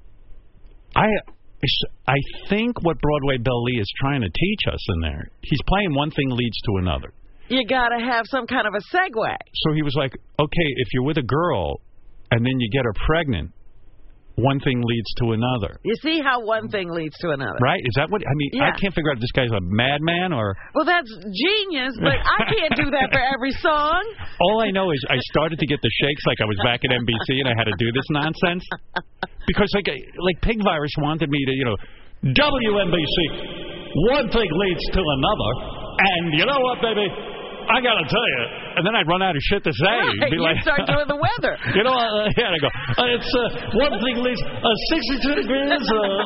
I think what Broadway Bill Lee is trying to teach us in there, he's playing one thing leads to another. You got to have some kind of a segue. So he was like, okay, if you're with a girl and then you get her pregnant, one thing leads to another. You see how one thing leads to another. Right? Is that what, I mean, I can't figure out if this guy's a madman or... Well, that's genius, but I can't do that for every song. All I know is I started to get the shakes like I was back at NBC and I had to do this nonsense. Because like Pig Virus wanted me to, you know, WNBC, one thing leads to another, and you know what, baby? I got to tell you. And then I'd run out of shit to say. Right, be like, start doing the weather. You know, I go, it's one thing leads 62 degrees.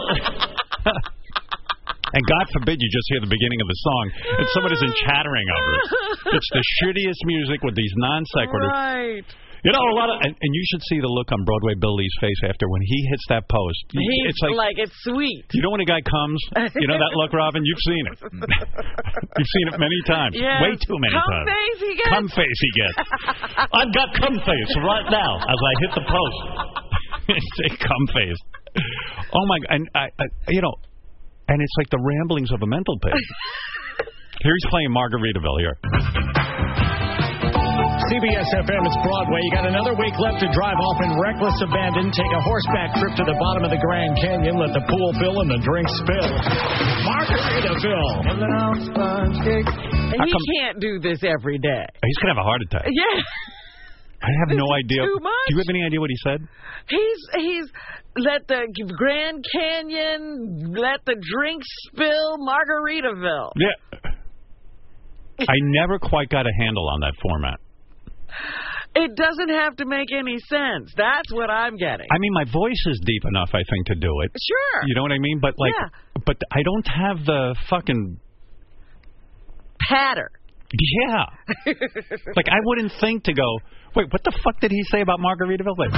And God forbid you just hear the beginning of the song and somebody's chattering over it. It's the shittiest music with these non sequiturs. Right. You know, a lot of, and you should see the look on Broadway Bill Lee's face after when he hits that post. It's like it's sweet. You know when a guy comes, you know that look, Robin? You've seen it. You've seen it many times. Yes. Way too many times. Cum face he gets. Cum face he gets. I've got cum face right now as I hit the post. It's cum face. Oh my God! And you know, and it's like the ramblings of a mental patient. Here he's playing Margaritaville here. CBS FM, it's Broadway. You got another week left to drive off in reckless abandon. Take a horseback trip to the bottom of the Grand Canyon. Let the pool fill and the drinks spill. Margaritaville. And he can't do this every day. He's going to have a heart attack. Yeah. I have no idea. Too much. Do you have any idea what he said? He's let the Grand Canyon, let the drinks spill, Margaritaville. Yeah. I never quite got a handle on that format. It doesn't have to make any sense. That's what I'm getting. I mean, my voice is deep enough, I think, to do it. Sure. You know what I mean? But like, but I don't have the fucking patter. Yeah. Like, I wouldn't think to go, wait, what the fuck did he say about Margaritaville? Like,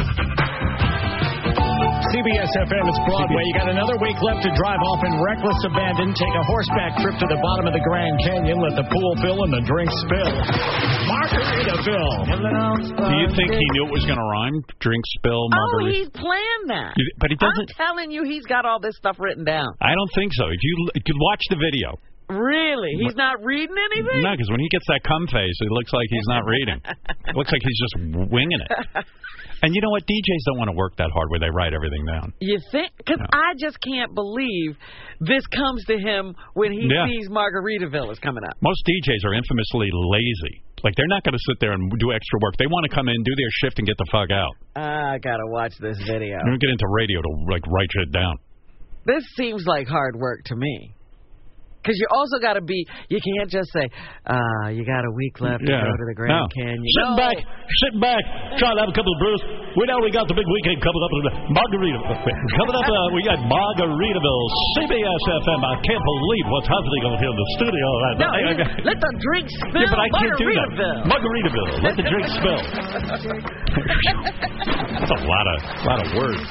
CBS FM, it's Broadway. You got another week left to drive off in reckless abandon. Take a horseback trip to the bottom of the Grand Canyon. Let the pool fill and the drinks spill. Margaritaville. Do you think he knew it was going to rhyme? Drink, spill, margarita? Oh, he's planned that. But he doesn't. I'm telling you, he's got all this stuff written down. I don't think so. If you watch the video. Really? He's not reading anything? No, because when he gets that cum face, it looks like he's not reading. It looks like he's just winging it. And you know what? DJs don't want to work that hard where they write everything down. You think? Because I just can't believe this comes to him when he sees Margaritaville is coming up. Most DJs are infamously lazy. Like, they're not going to sit there and do extra work. They want to come in, do their shift, and get the fuck out. I got to watch this video. Don't get into radio to, like, write shit down. This seems like hard work to me. Because you also got to be, you can't just say, you got a week left to go to the Grand Canyon. Sitting back, trying to have a couple of brews. We know we got the big weekend coming up. Margaritaville. Coming up, we got Margaritaville, CBS FM. I can't believe what's happening over here in the studio. No, let the drink spill. Yeah, but I can't do that. Margaritaville. Let the drink spill. That's a lot of words.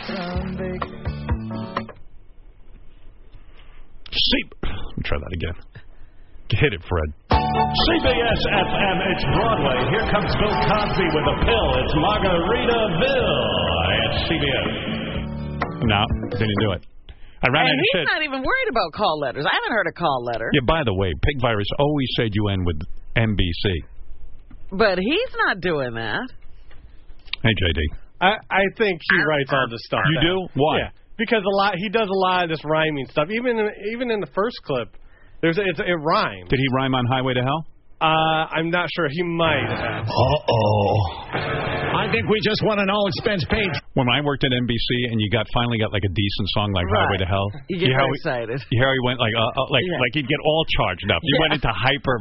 Let me try that again. Hit it, Fred. CBS FM, it's Broadway. Here comes Bill Cosby with a pill. It's Margaritaville. It's CBS. No, didn't do it. I ran out of shit. He's not even worried about call letters. I haven't heard a call letter. Yeah, by the way, Pig Virus always said you end with NBC. But he's not doing that. Hey, JD. I think he writes all the stuff. You do? Why? Yeah. because he does a lot of this rhyming stuff. Even in the first clip, it rhymes. Did he rhyme on Highway to Hell? I'm not sure. He might have. I think we just won an all-expense paid. When I worked at NBC and you finally got like a decent song like Highway to Hell, you get very excited. You hear how he went like he'd get all charged up. You went into hyper.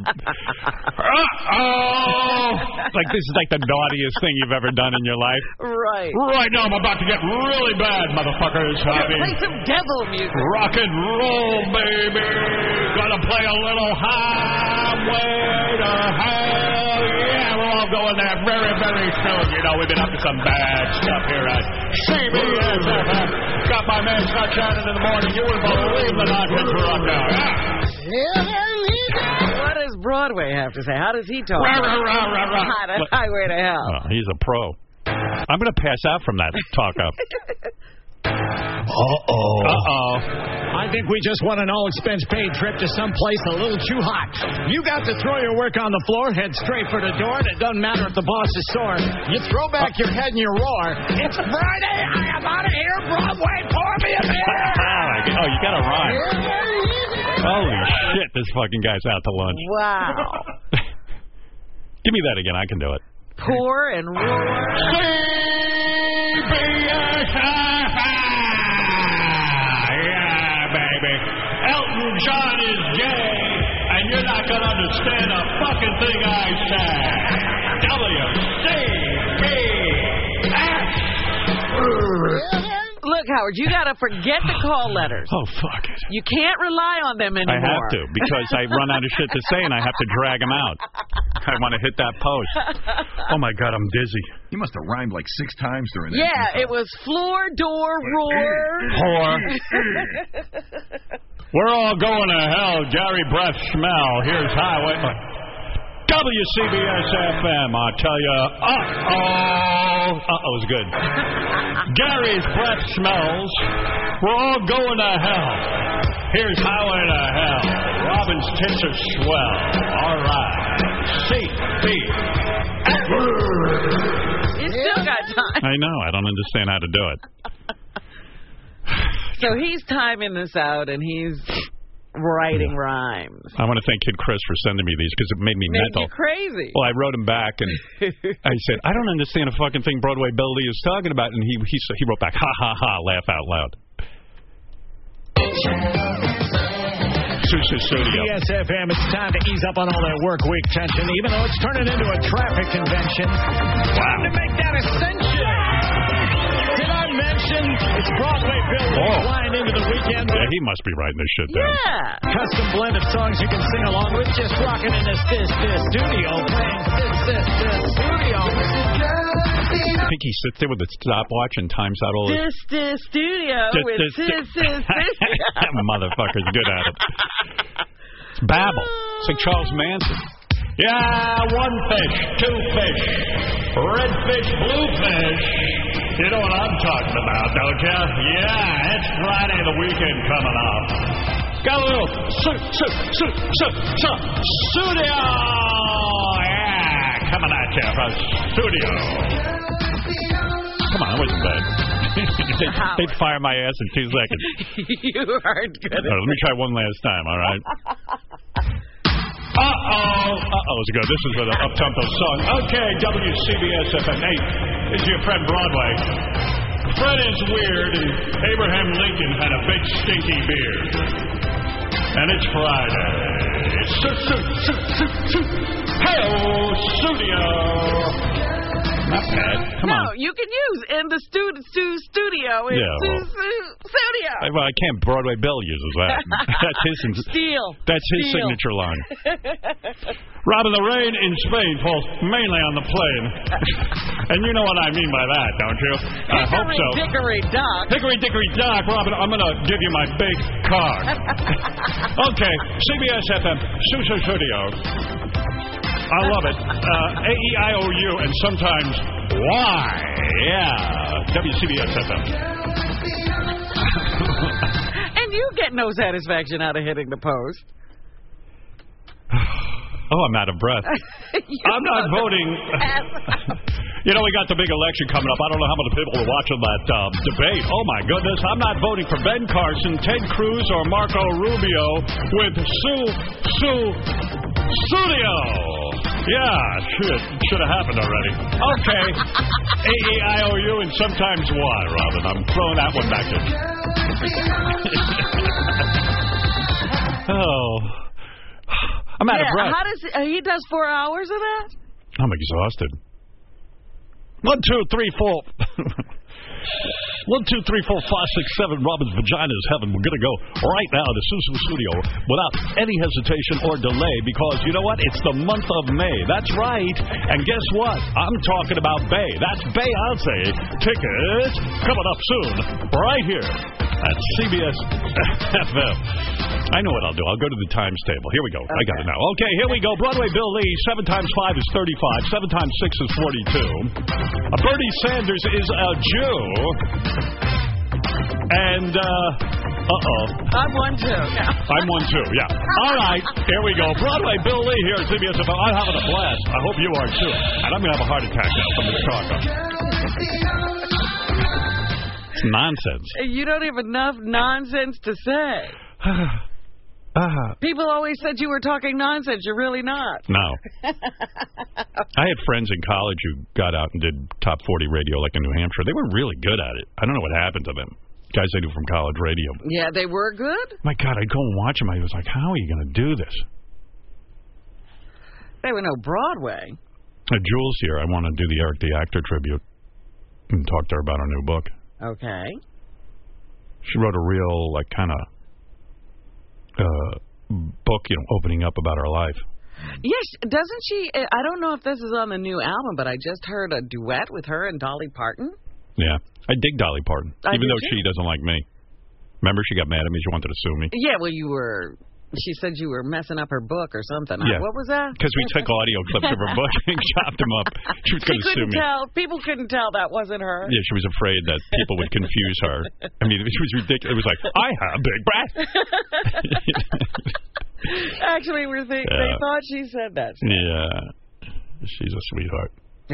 Like this is like the naughtiest thing you've ever done in your life. Right. Right now I'm about to get really bad, motherfuckers. Play some devil music. Rock and roll, baby. Gonna play a little Highway to Hell. Yeah, we're all going there very, very soon. You know, we've been up to some bad stuff here at CBS. Got my man Scott Shannon in the morning. You wouldn't believe the nonsense we're up now. What does Broadway have to say? How does he talk? Highway to Hell. Oh, he's a pro. I'm going to pass out from that talk-up. I think we just won an all-expense paid trip to someplace a little too hot. You got to throw your work on the floor, head straight for the door, and it doesn't matter if the boss is sore. You throw back your head and you roar. It's Friday. I am out of here. Broadway, pour me a beer. Oh, you got to rhyme. Holy shit, this fucking guy's out to lunch. Wow. Give me that again. I can do it. Pour and roar. Elton John is gay, and you're not going to understand a fucking thing I say. WCBS. Look, Howard, you got to forget the call letters. Oh, fuck it. You can't rely on them anymore. I have to, because I run out of shit to say, and I have to drag them out. I want to hit that post. Oh, my God, I'm dizzy. You must have rhymed like 6 times during that. Yeah, it was floor, door, roar. Whore. We're all going to hell. Gary Breath Smell. Here's Highway. WCBS-FM, I'll tell you. Uh-oh's good. Gary's breath smells. We're all going to hell. Here's Highway to Hell. Robin's tits are swell. All right. CB. You still got time. I know. I don't understand how to do it. So he's timing this out, and he's writing rhymes. I want to thank Kid Chris for sending me these because it made me mental. Made you crazy. Well, I wrote him back and I said, I don't understand a fucking thing Broadway Billy is talking about, and he wrote back, ha ha ha, laugh out loud. Studio. CBS-FM, it's time to ease up on all that work week tension, even though it's turning into a traffic convention. Time to make that ascension. Did I mention it's Broadway Bill flying into the weekend? Yeah, he must be writing this shit down. Yeah. Custom blend of songs you can sing along with, just rocking in this studio, playing this studio. I think he sits there with a stopwatch and times out all this studio with this. Motherfucker's good at it. It's babble. It's like Charles Manson. Yeah, 1 fish, 2 fish, red fish, blue fish. You know what I'm talking about, don't you? Yeah, it's Friday, the weekend coming up. Got a little studio. Yeah, coming at you from studio. Come on, that wasn't bad. They'd fire my ass in 2 seconds. You aren't good at Let me try one last time, all right? It's good. This is an up-tempo song. Okay, WCBS-FM 8 is your friend Broadway. Fred is weird, and Abraham Lincoln had a big stinky beard. And it's Friday. Hey-oh, studio. Not bad. Come on. No, you can use in the studio. Studio. Well, I can't. Broadway Bill uses that. That's his. That's his signature line. Robin, the rain in Spain falls mainly on the plain. And you know what I mean by that, don't you? I hope so. Hickory Dock. Hickory Dickory Dock. Robin, I'm going to give you my big car. Okay, CBS-FM, Studio. I love it. A-E-I-O-U, and sometimes Y. Yeah. WCBS-FM. And you get no satisfaction out of hitting the post. Oh, I'm out of breath. I'm not voting. You know, we got the big election coming up. I don't know how many people are watching that debate. Oh, my goodness. I'm not voting for Ben Carson, Ted Cruz, or Marco Rubio with Studio. Yeah, should have happened already. Okay. A-E-I-O-U and sometimes Y, Robin. I'm throwing that one back in. Oh. I'm out of breath. How does he does 4 hours of that? I'm exhausted. 1, 2, 3, 4. 1, 2, 3, 4, 5, 6, 7. Robin's vagina is heaven. We're going to go right now to Susu Studio without any hesitation or delay because, you know what? It's the month of May. That's right. And guess what? I'm talking about Bay. That's Beyonce. Tickets coming up soon right here at CBS FM. I know what I'll do. I'll go to the times table. Here we go. Okay. I got it now. Okay, here we go. Broadway Bill Lee. 7 times 5 is 35. 7 times 6 is 42. Bernie Sanders is a Jew. And, I'm one, too. Yeah. I'm one, too, yeah. All right, here we go. Broadway Bill Lee here at CBS FM. I'm having a blast. I hope you are, too. And I'm going to have a heart attack now from this talk. It's nonsense. You don't have enough nonsense to say. People always said you were talking nonsense. You're really not. No. I had friends in college who got out and did top 40 radio like in New Hampshire. They were really good at it. I don't know what happened to them. Guys I knew from college radio. Yeah, they were good? My God, I'd go and watch them. I was like, how are you going to do this? They were no Broadway. Jules here. I want to do the Eric the Actor tribute and talk to her about her new book. Okay. She wrote a real, like, kind of book, you know, opening up about her life. Yes, doesn't she? I don't know if this is on the new album, but I just heard a duet with her and Dolly Parton. Yeah, I dig Dolly Parton, even though she doesn't like me. Remember, she got mad at me. She wanted to sue me. Yeah, well, she said you were messing up her book or something. Yeah. What was that? Because we took audio clips of her book and chopped them up. She was going to sue me. People couldn't tell that wasn't her. Yeah, she was afraid that people would confuse her. I mean, it was ridiculous. It was like, I have big breasts. Actually, they thought she said that. Yeah. She's a sweetheart.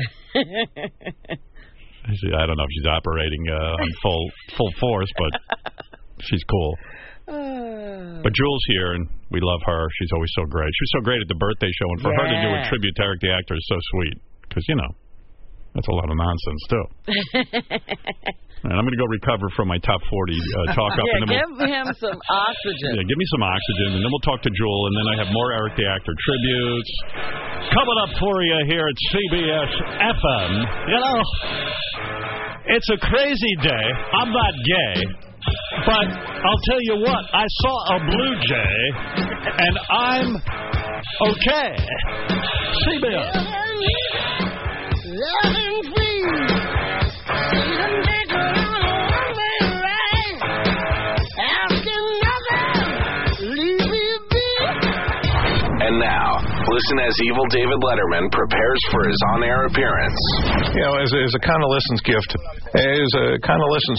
I don't know if she's operating on full force, but she's cool. But Jules here, and we love her. She's always so great. She was so great at the birthday show, and for her to do a tribute to Eric the Actor is so sweet. Because, you know, that's a lot of nonsense, too. And I'm going to go recover from my top 40 talk up. Yeah, give him some oxygen. Yeah, give me some oxygen, and then we'll talk to Jewel, and then I have more Eric the Actor tributes coming up for you here at CBS FM. You know, it's a crazy day. I'm not gay. But I'll tell you what, I saw a blue jay, and I'm okay. CBS. And now, listen as Evil David Letterman prepares for his on-air appearance. You know, as a convalescence gift, as a convalescence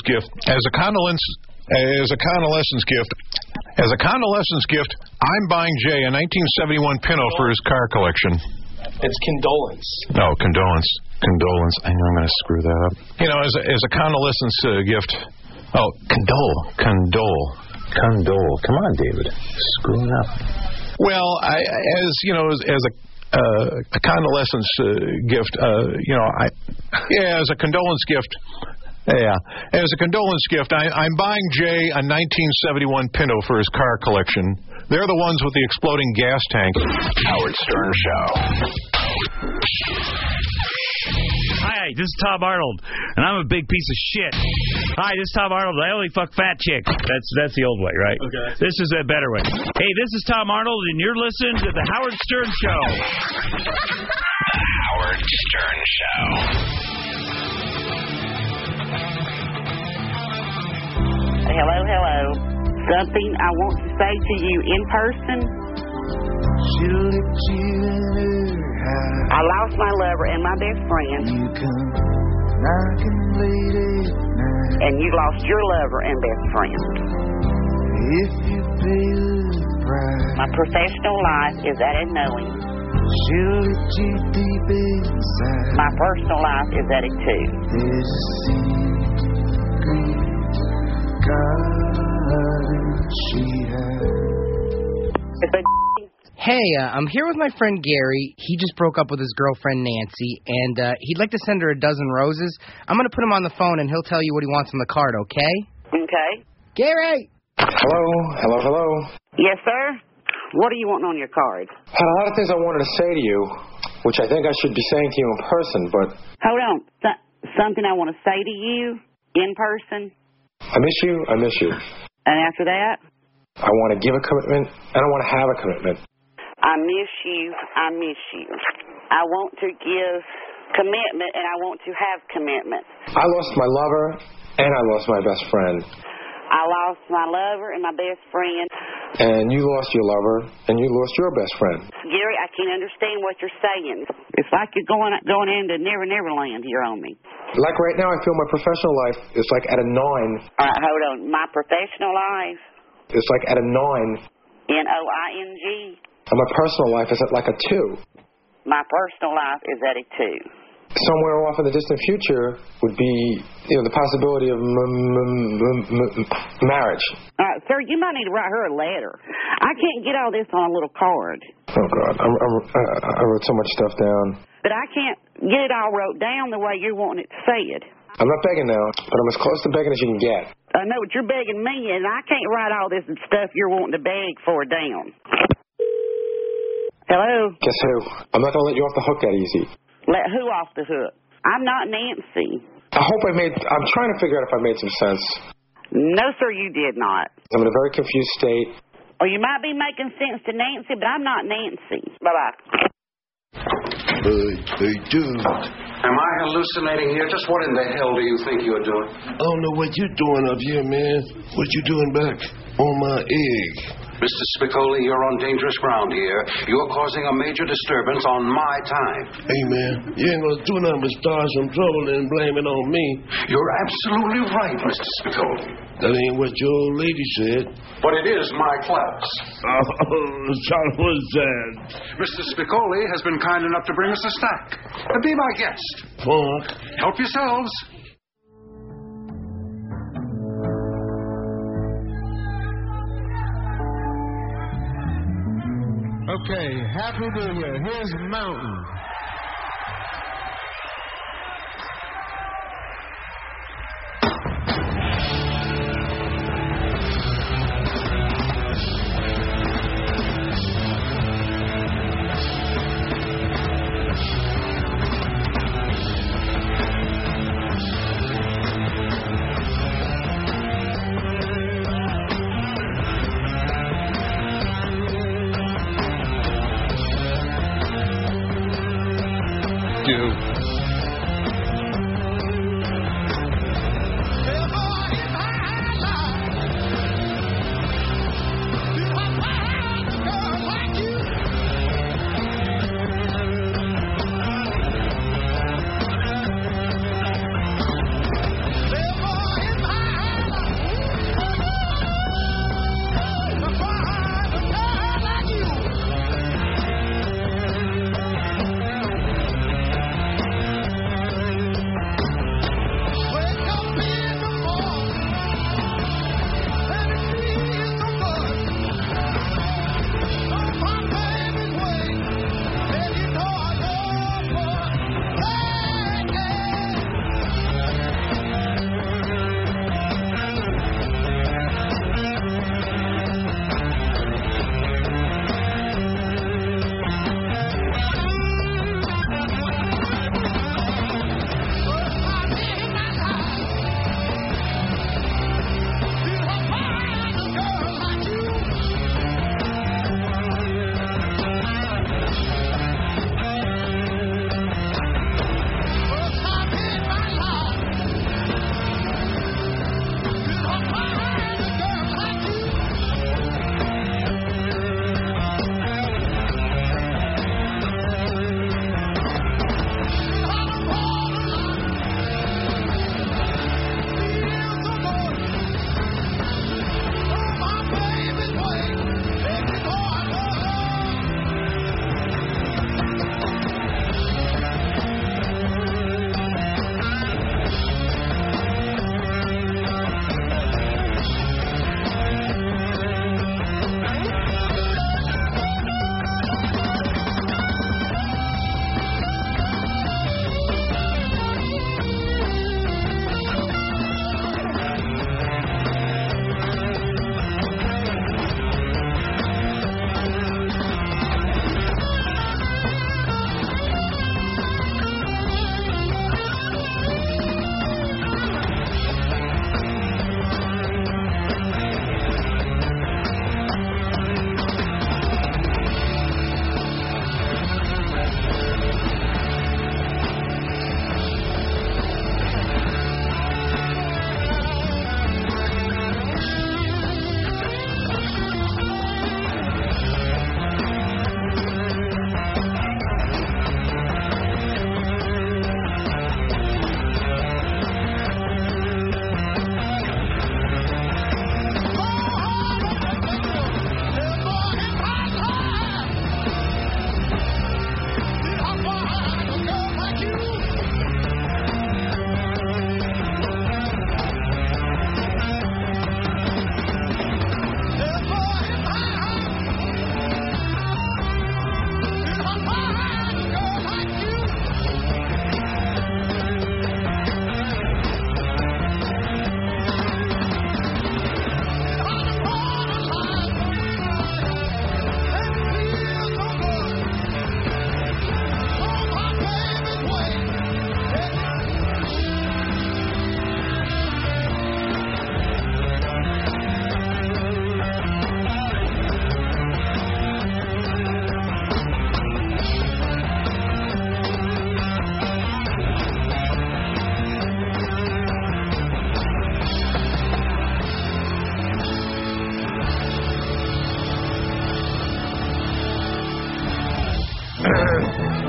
gift, I'm buying Jay a 1971 Pinto for his car collection. It's condolence. No, condolence. I know I'm going to screw that up. You know, as a convalescence gift. Oh, condole. Come on, David. Screwing up. Well, as a convalescence gift, as a condolence gift. Yeah, as a condolence gift, I'm buying Jay a 1971 Pinto for his car collection. They're the ones with the exploding gas tank. Howard Stern Show. Hi, this is Tom Arnold, and I'm a big piece of shit. Hi, this is Tom Arnold. I only fuck fat chicks. That's the old way, right? Okay. This is a better way. Hey, this is Tom Arnold, and you're listening to the Howard Stern Show. The Howard Stern Show. Hello. Something I want to say to you in person. I lost my lover and my best friend. And you lost your lover and best friend. My professional life is at a knowing. My personal life is at it too. Hey, I'm here with my friend Gary. He just broke up with his girlfriend Nancy, and he'd like to send her a dozen roses. I'm going to put him on the phone, and he'll tell you what he wants on the card, okay? Okay. Gary! Hello. Yes, sir? What are you wanting on your card? Had a lot of things I wanted to say to you, which I think I should be saying to you in person, but... Hold on. Something I want to say to you in person? I miss you. And after that? I want to give a commitment, and I want to have a commitment. I miss you. I want to give commitment, and I want to have commitment. I lost my lover, and I lost my best friend. I lost my lover and my best friend. And you lost your lover, and you lost your best friend. Gary, I can't understand what you're saying. It's like you're going into Never Land here on me. Like right now, I feel my professional life is like at a 9. All right, hold on. My professional life? It's like at a 9. N-O-I-N-G? And my personal life is at like a 2. My personal life is at a 2. Somewhere off in the distant future would be, the possibility of marriage. All right, sir, you might need to write her a letter. I can't get all this on a little card. Oh, God. I wrote so much stuff down. But I can't get it all wrote down the way you're wanting it said. I'm not begging now, but I'm as close to begging as you can get. I know, but you're begging me, and I can't write all this stuff you're wanting to beg for down. Hello? Guess who? I'm not going to let you off the hook that easy. Let who off the hook? I'm not Nancy. I'm trying to figure out if I made some sense. No, sir, you did not. I'm in a very confused state. Or you might be making sense to Nancy, but I'm not Nancy. Bye-bye. Hey, dude. Am I hallucinating here? Just what in the hell do you think you're doing? I don't know what you're doing up here, man. What you doing back on my egg? Mr. Spicoli, you're on dangerous ground here. You're causing a major disturbance on my time. Hey, man, you ain't gonna do nothing but start some trouble and blame it on me. You're absolutely right, Mr. Spicoli. That ain't what your old lady said. But it is my class. Oh, Charlie, what's that? Mr. Spicoli has been kind enough to bring us a snack. Be my guest. Fuck. Help yourselves. Okay, Happy New Year. Here's Mountain.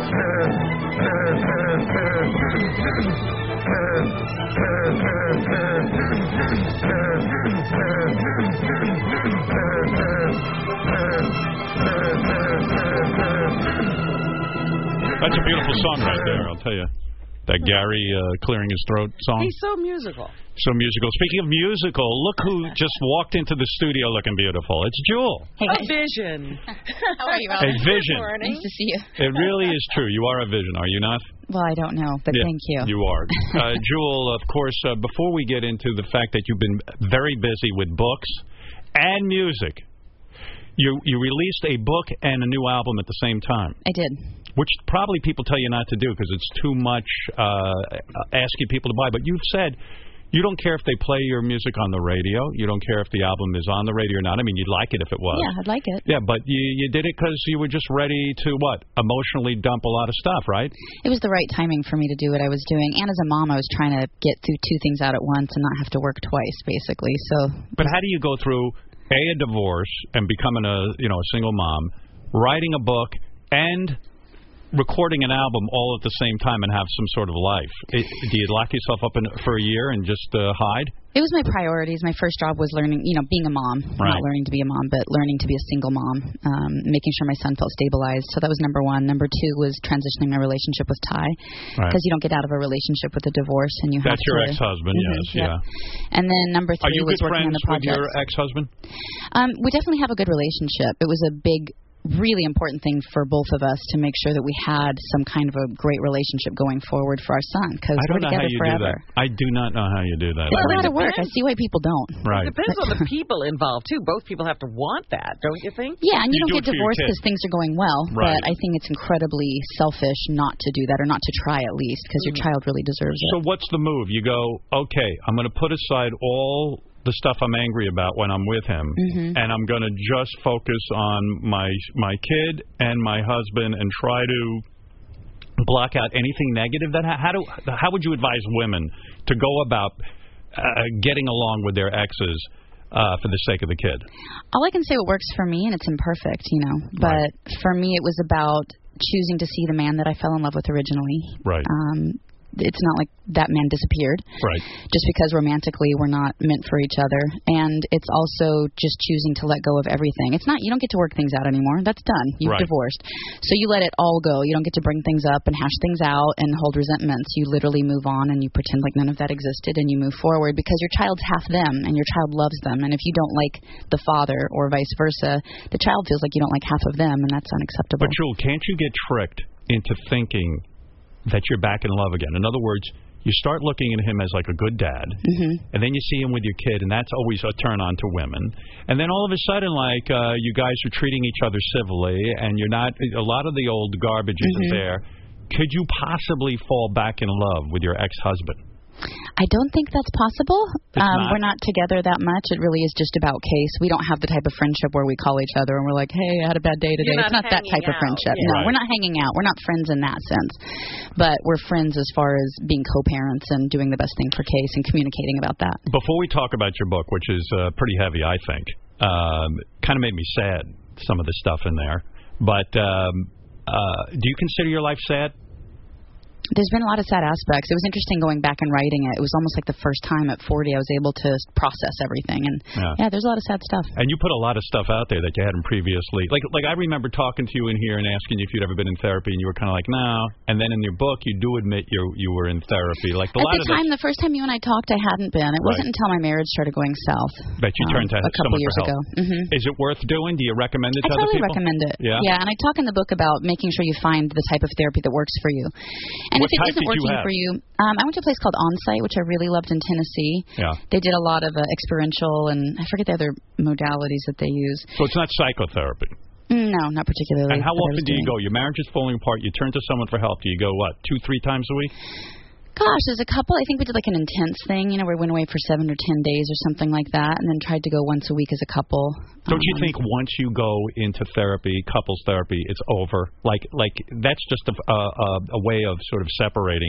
That's a beautiful song right there, I'll tell you. That Gary clearing his throat song. He's so musical. So musical. Speaking of musical, look who just walked into the studio looking beautiful. It's Jewel. Hey, a vision. How are you, A Alan? vision. Nice to see you. It really is true. You are a vision, are you not? Well, I don't know, but Yeah, thank you. You are. Jewel, of course, before we get into the fact that you've been very busy with books and music, you released a book and a new album at the same time. I did. Which probably people tell you not to do because it's too much asking people to buy. But you've said you don't care if they play your music on the radio. You don't care if the album is on the radio or not. I mean, you'd like it if it was. Yeah, I'd like it. Yeah, but you did it because you were just ready to, what, emotionally dump a lot of stuff, right? It was the right timing for me to do what I was doing. And as a mom, I was trying to get through two things out at once and not have to work twice, basically. So. But how do you go through, a divorce and becoming a single mom, writing a book, and recording an album all at the same time and have some sort of life? Do you lock yourself up for a year and just hide? It was my priorities. My first job was learning, being a mom. Right. Not learning to be a mom, but learning to be a single mom, making sure my son felt stabilized. So that was number one. Number two was transitioning my relationship with Ty, because you don't get out of a relationship with a divorce, and you have That's your ex-husband, yes, yeah. And then number three was working on the project. Are you good friends with your ex-husband? We definitely have a good relationship. It was a big, really important thing for both of us to make sure that we had some kind of a great relationship going forward for our son, because we're together forever. I do not know how you do that. It's a lot of work. I see why people don't. Right. It depends on the people involved, too. Both people have to want that, don't you think? Yeah, and you don't do get divorced because things are going well, right. But I think it's incredibly selfish not to do that, or not to try at least, because your child really deserves it. So what's the move? You go, okay, I'm going to put aside all the stuff I'm angry about when I'm with him, and I'm going to just focus on my kid and my husband and try to block out anything negative. How would you advise women to go about getting along with their exes for the sake of the kid? All I can say, what works for me, and it's imperfect, but for me it was about choosing to see the man that I fell in love with originally. Right. It's not like that man disappeared. Right. Just because romantically we're not meant for each other. And it's also just choosing to let go of everything. It's not, you don't get to work things out anymore. That's done. You've divorced. So you let it all go. You don't get to bring things up and hash things out and hold resentments. You literally move on and you pretend like none of that existed and you move forward, because your child's half them and your child loves them. And if you don't like the father or vice versa, the child feels like you don't like half of them, and that's unacceptable. But Jewel, can't you get tricked into thinking that you're back in love again? In other words, you start looking at him as like a good dad, and then you see him with your kid, and that's always a turn on to women. And then all of a sudden, like, you guys are treating each other civilly, and you're not, a lot of the old garbage isn't there. Could you possibly fall back in love with your ex-husband? I don't think that's possible. We're not together that much. It really is just about case. We don't have the type of friendship where we call each other and we're like, hey, I had a bad day today. It's not that type of friendship. Yeah. No, we're not hanging out. We're not friends in that sense. But we're friends as far as being co-parents and doing the best thing for Case and communicating about that. Before we talk about your book, which is pretty heavy, I think, kind of made me sad, some of the stuff in there. But do you consider your life sad? There's been a lot of sad aspects. It was interesting going back and writing it. It was almost like the first time at 40 I was able to process everything. And, there's a lot of sad stuff. And you put a lot of stuff out there that you hadn't previously. Like I remember talking to you in here and asking you if you'd ever been in therapy, and you were kind of like, no. And then in your book, you do admit you were in therapy. Like At the time, the first time you and I talked, I hadn't been. It wasn't until my marriage started going south. That you turned to a couple years ago. Is it worth doing? Do you recommend it to other people? I totally recommend it. Yeah, and I talk in the book about making sure you find the type of therapy that works for you. And what if it isn't working for you, I went to a place called Onsite, which I really loved in Tennessee. Yeah. They did a lot of experiential, and I forget the other modalities that they use. So it's not psychotherapy? No, not particularly. And how often do you go? Your marriage is falling apart. You turn to someone for help. Do you go, 2-3 times a week? Gosh, there's a couple. I think we did like an intense thing, where we went away for 7 or 10 days or something like that, and then tried to go once a week as a couple. Don't you think once you go into therapy, couples therapy, it's over? Like that's just a way of sort of separating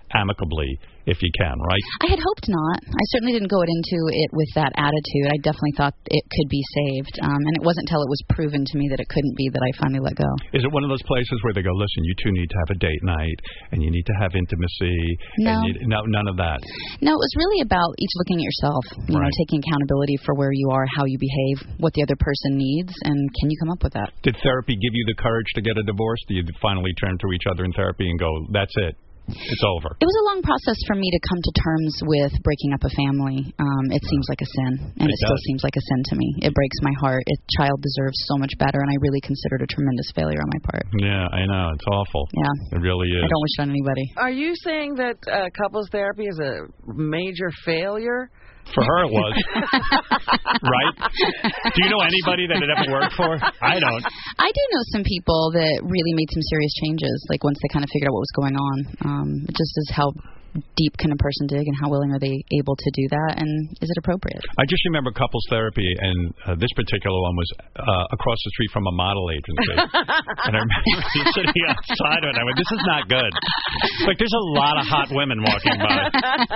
amicably if you can, right? I had hoped not. I certainly didn't go into it with that attitude. I definitely thought it could be saved, and it wasn't until it was proven to me that it couldn't be that I finally let go. Is it one of those places where they go, listen, you two need to have a date night, and you need to have intimacy? No. No, none of that. No, it was really about each looking at yourself, you know, taking accountability for where you are, how you behave, what the other person needs, and can you come up with that? Did therapy give you the courage to get a divorce? Do you finally turn to each other in therapy and go, that's it? It's over. It was a long process for me to come to terms with breaking up a family. It seems like a sin, and it still seems like a sin to me. It breaks my heart. A child deserves so much better, and I really consider it a tremendous failure on my part. Yeah, I know. It's awful. Yeah. It really is. I don't wish it on anybody. Are you saying that couples therapy is a major failure? For her, it was. Right? Do you know anybody that it ever worked for? I don't. I do know some people that really made some serious changes, like once they kind of figured out what was going on. It just is how deep can a person dig, and how willing are they able to do that, and is it appropriate? I just remember couples therapy, and this particular one was across the street from a model agency. And I remember sitting outside of it, and I went, this is not good. Like, there's a lot of hot women walking by.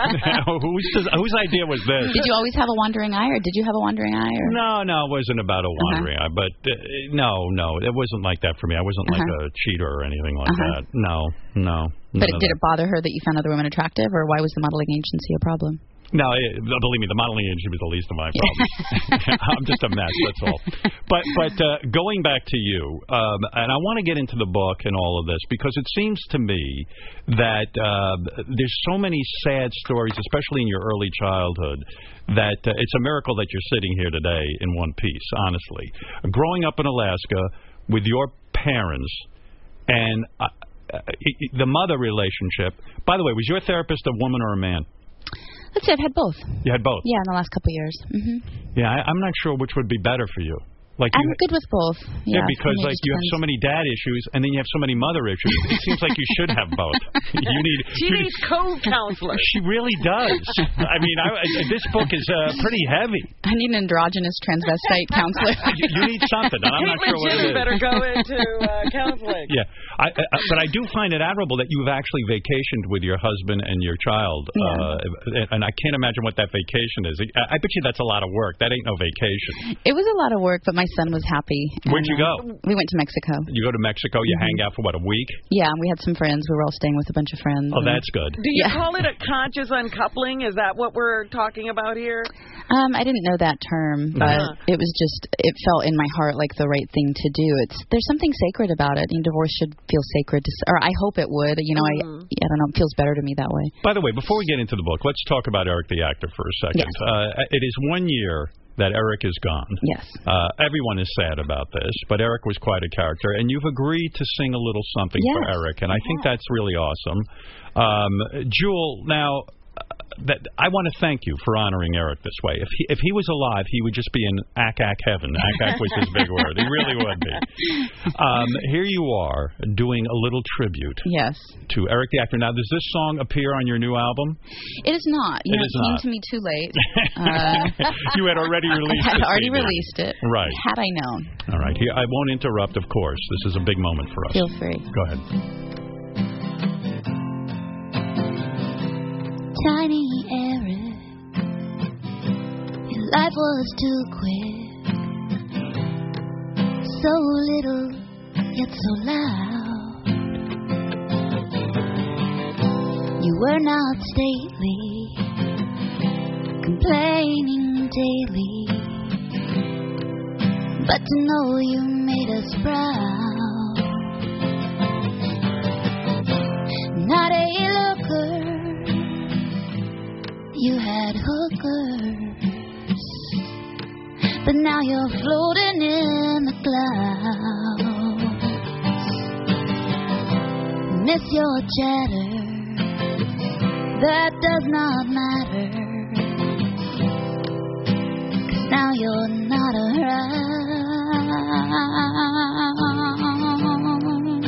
Whose idea was this? Did you always have a wandering eye, or did you have a wandering eye? Or? No, it wasn't about a wandering eye, but no, it wasn't like that for me. I wasn't like a cheater or anything like that. No. But did it bother her that you found other women attractive, or why was the modeling agency a problem? No, believe me, the modeling agency was the least of my problems. I'm just a mess, that's all. But going back to you, and I want to get into the book and all of this, because it seems to me that there's so many sad stories, especially in your early childhood, that it's a miracle that you're sitting here today in one piece, honestly. Growing up in Alaska with your parents and the mother relationship. By the way, was your therapist a woman or a man? Let's say I've had both. You had both? Yeah, in the last couple of years. Yeah, I'm not sure which would be better for you. Like I'm good with both. Yeah, because like you have so many dad issues, and then you have so many mother issues. It seems like you should have both. She needs co-counselor. She really does. I mean, this book is pretty heavy. I need an androgynous transvestite counselor. You need something, and I'm not sure what it is. Better go into counseling. Yeah, but I do find it admirable that you've actually vacationed with your husband and your child, and I can't imagine what that vacation is. I bet you that's a lot of work. That ain't no vacation. It was a lot of work, but my son was happy. Where'd you go? We went to Mexico. You go to Mexico, you hang out for, what, a week? Yeah, we had some friends. We were all staying with a bunch of friends. Oh, that's good. Do you call it a conscious uncoupling? Is that what we're talking about here? I didn't know that term, but it was just, it felt in my heart like the right thing to do. There's something sacred about it. Divorce should feel sacred, or I hope it would. You know, I don't know, it feels better to me that way. By the way, before we get into the book, let's talk about Eric the actor for a second. Yes. It is 1 year that Eric is gone. Yes. Everyone is sad about this, but Eric was quite a character, and you've agreed to sing a little something for Eric, and I think that's really awesome. Jewel, now, I want to thank you for honoring Eric this way. If he was alive, he would just be in ack heaven. Ack was his big word. He really would be. Here you are doing a little tribute. Yes. To Eric the actor. Now, does this song appear on your new album? It is not. It came to me too late. You had already released it. I had already released it. Right. Had I known. All right. Here, I won't interrupt, of course. This is a big moment for us. Feel free. Go ahead. Tiny Eric, your life was too quick, so little yet so loud. You were not stately, complaining daily, but to know you made us proud. Not a looker, you had hookers, but now you're floating in the clouds. Miss your chatter, that does not matter, 'cause now you're not around.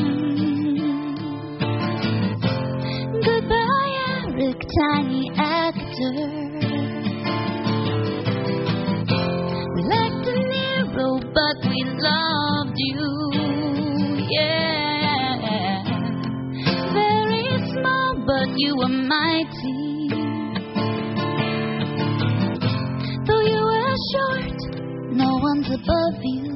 Goodbye, Eric, tiny actor. We liked De Niro, but we loved you, yeah. Very small, but you were mighty. Though you were short, no one's above you.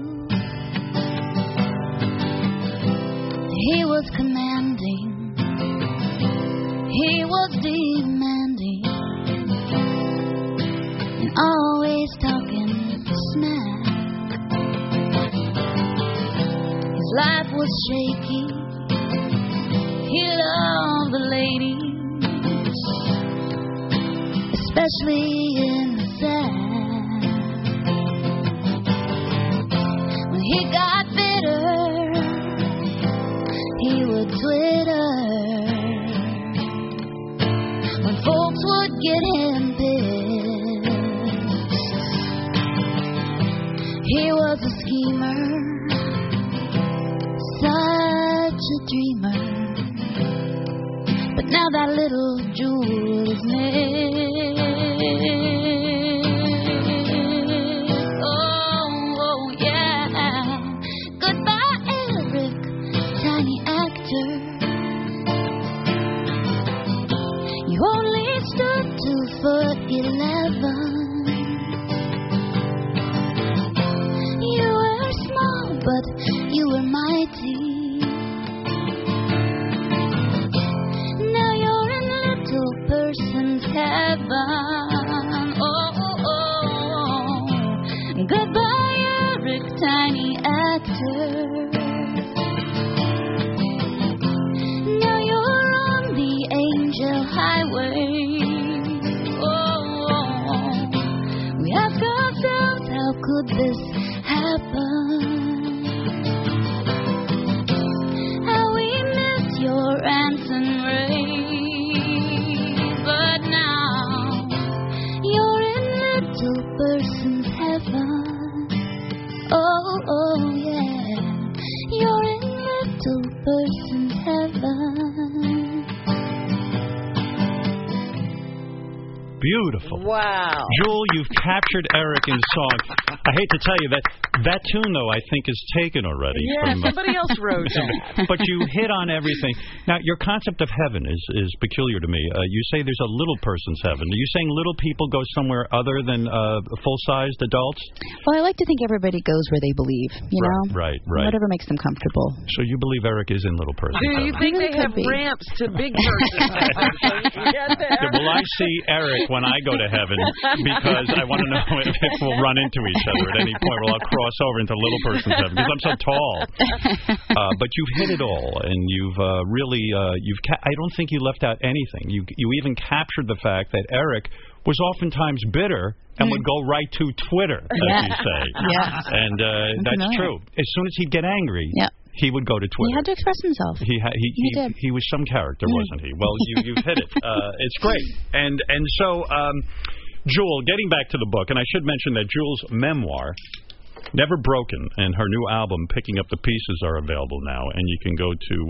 He was commanding, he was demanding, and always talking smack. His life was shaky, he loved the ladies, especially in the sack. When he got bitter, he would twitter. When folks would get him pissed, he was a schemer, such a dreamer. But now that little jewel is missed. Oh, yeah. Goodbye, Eric, tiny actor. You only stood 2'11". You were small, but you were mighty. Now you're in little person's heaven. Oh. Goodbye, Eric, tiny actor. Now you're on the angel highway. We ask ourselves, how could this happen? How we missed your Anson Ray. But now you're in little person's heaven. Oh, yeah. You're in little person's heaven. Beautiful. Wow. Jewel, you've captured Eric in song. I hate to tell you that tune, though, I think is taken already. Yeah, somebody else wrote that. But you hit on everything. Now, your concept of heaven is peculiar to me. You say there's a little person's heaven. Are you saying little people go somewhere other than full-sized adults? Well, I like to think everybody goes where they believe, you know? Right. Whatever makes them comfortable. So you believe Eric is in little person's Do heaven? you think they have ramps to big person's heaven so you can get there? Yeah, will I see Eric when I go to heaven? Because I want to know if we'll run into each other at any point. Will I cross over into little person's heaven? Because I'm so tall. But you've hit it all, and you've really, I don't think you left out anything. You even captured the fact that Eric was oftentimes bitter and would go right to Twitter, as you say. Yeah. And that's true. As soon as he'd get angry, he would go to Twitter. He had to express himself. He did. He was some character, wasn't he? Well, you've hit it. It's great. And so, Jewel, getting back to the book, and I should mention that Jewel's memoir, Never Broken, and her new album, Picking Up the Pieces, are available now, and you can go to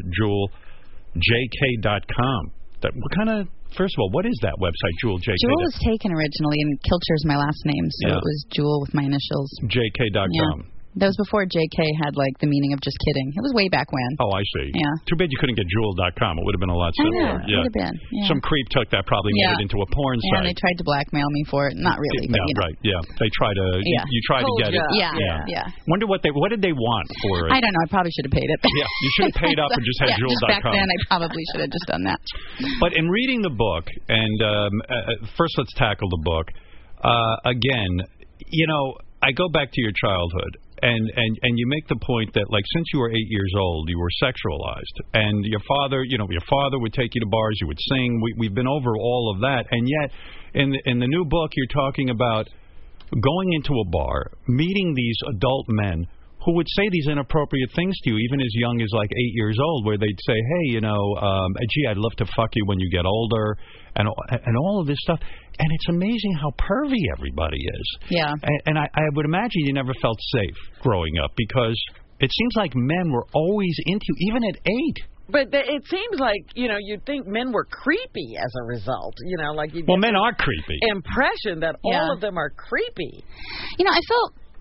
JewelJK.com. What kind of... First of all, what is that website, JewelJK? Jewel was taken originally, and Kilcher is my last name, so it was Jewel with my initials. JK.com. Yeah. That was before JK had, like, the meaning of just kidding. It was way back when. Oh, I see. Yeah. Too bad you couldn't get Jewel.com. It would have been a lot simpler. I know. It would have been. Yeah. Some creep took that, probably made it into a porn site. Yeah, and they tried to blackmail me for it. Not really, but, you know. Right, yeah. They try to... You try to get it. Yeah. Wonder what did they want for it? I don't know. I probably should have paid it. Yeah, you should have paid up and just had Jewel.com. Back then, I probably should have just done that. But in reading the book, and first let's tackle the book. Again, you know, I go back to your childhood. And you make the point that, like, since you were 8 years old, you were sexualized, and your father would take you to bars, you would sing. We've been over all of that, and yet in the new book, you're talking about going into a bar, meeting these adult men who would say these inappropriate things to you, even as young as like 8 years old, where they'd say, "Hey, gee, I'd love to fuck you when you get older," and all of this stuff. And it's amazing how pervy everybody is. Yeah. And I would imagine you never felt safe growing up, because it seems like men were always into you, even at 8. But it seems like, you'd think men were creepy as a result. Like you. Well, men are creepy. Impression that all of them are creepy. I felt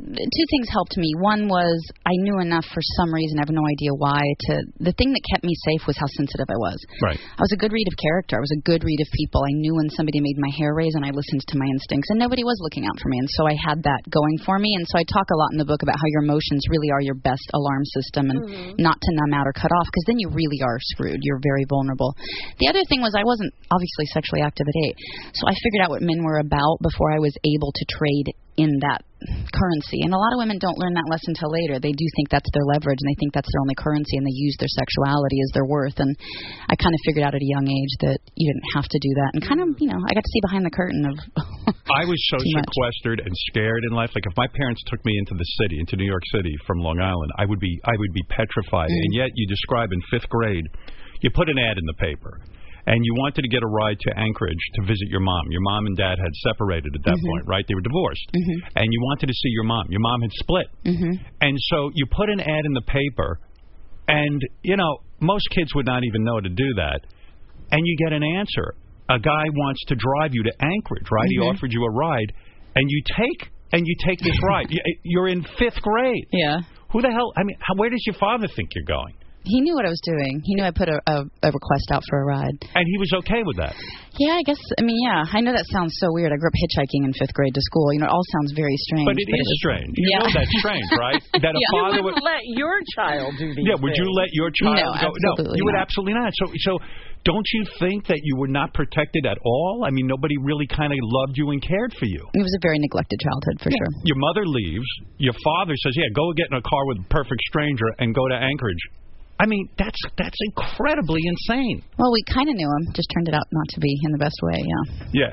two things helped me. One was I knew enough for some reason, I have no idea why. The thing that kept me safe was how sensitive I was. Right. I was a good read of character. I was a good read of people. I knew when somebody made my hair raise, and I listened to my instincts, and nobody was looking out for me. And so I had that going for me. And so I talk a lot in the book about how your emotions really are your best alarm system, and not to numb out or cut off, because then you really are screwed. You're very vulnerable. The other thing was I wasn't obviously sexually active at 8, so I figured out what men were about before I was able to trade in that currency. And a lot of women don't learn that lesson until later. They do think that's their leverage, and they think that's their only currency, and they use their sexuality as their worth. And I kind of figured out at a young age that you didn't have to do that. And kind of, I got to see behind the curtain of I was so sequestered and scared in life. Like if my parents took me into the city, into New York City from Long Island, I would be petrified. And yet you describe in 5th grade, you put an ad in the paper, and you wanted to get a ride to Anchorage to visit your mom. Your mom and dad had separated at that point, right? They were divorced. And you wanted to see your mom. Your mom had split. And so you put an ad in the paper, and, most kids would not even know to do that. And you get an answer. A guy wants to drive you to Anchorage, right? He offered you a ride, and you take this ride. You're in 5th grade. Yeah. Who the hell? I mean, where does your father think you're going? He knew what I was doing. He knew I put a request out for a ride. And he was okay with that? Yeah, I guess. I mean, yeah. I know that sounds so weird. I grew up hitchhiking in 5th grade to school. It all sounds very strange. But it is strange. You know that's strange, right? That a father would let your child do these would you let your child go? Absolutely No, you would absolutely not. So don't you think that you were not protected at all? I mean, nobody really kind of loved you and cared for you. It was a very neglected childhood, for sure. Your mother leaves. Your father says, go get in a car with a perfect stranger and go to Anchorage. I mean, that's incredibly insane. Well, we kind of knew him, just turned it out not to be in the best way, Yeah,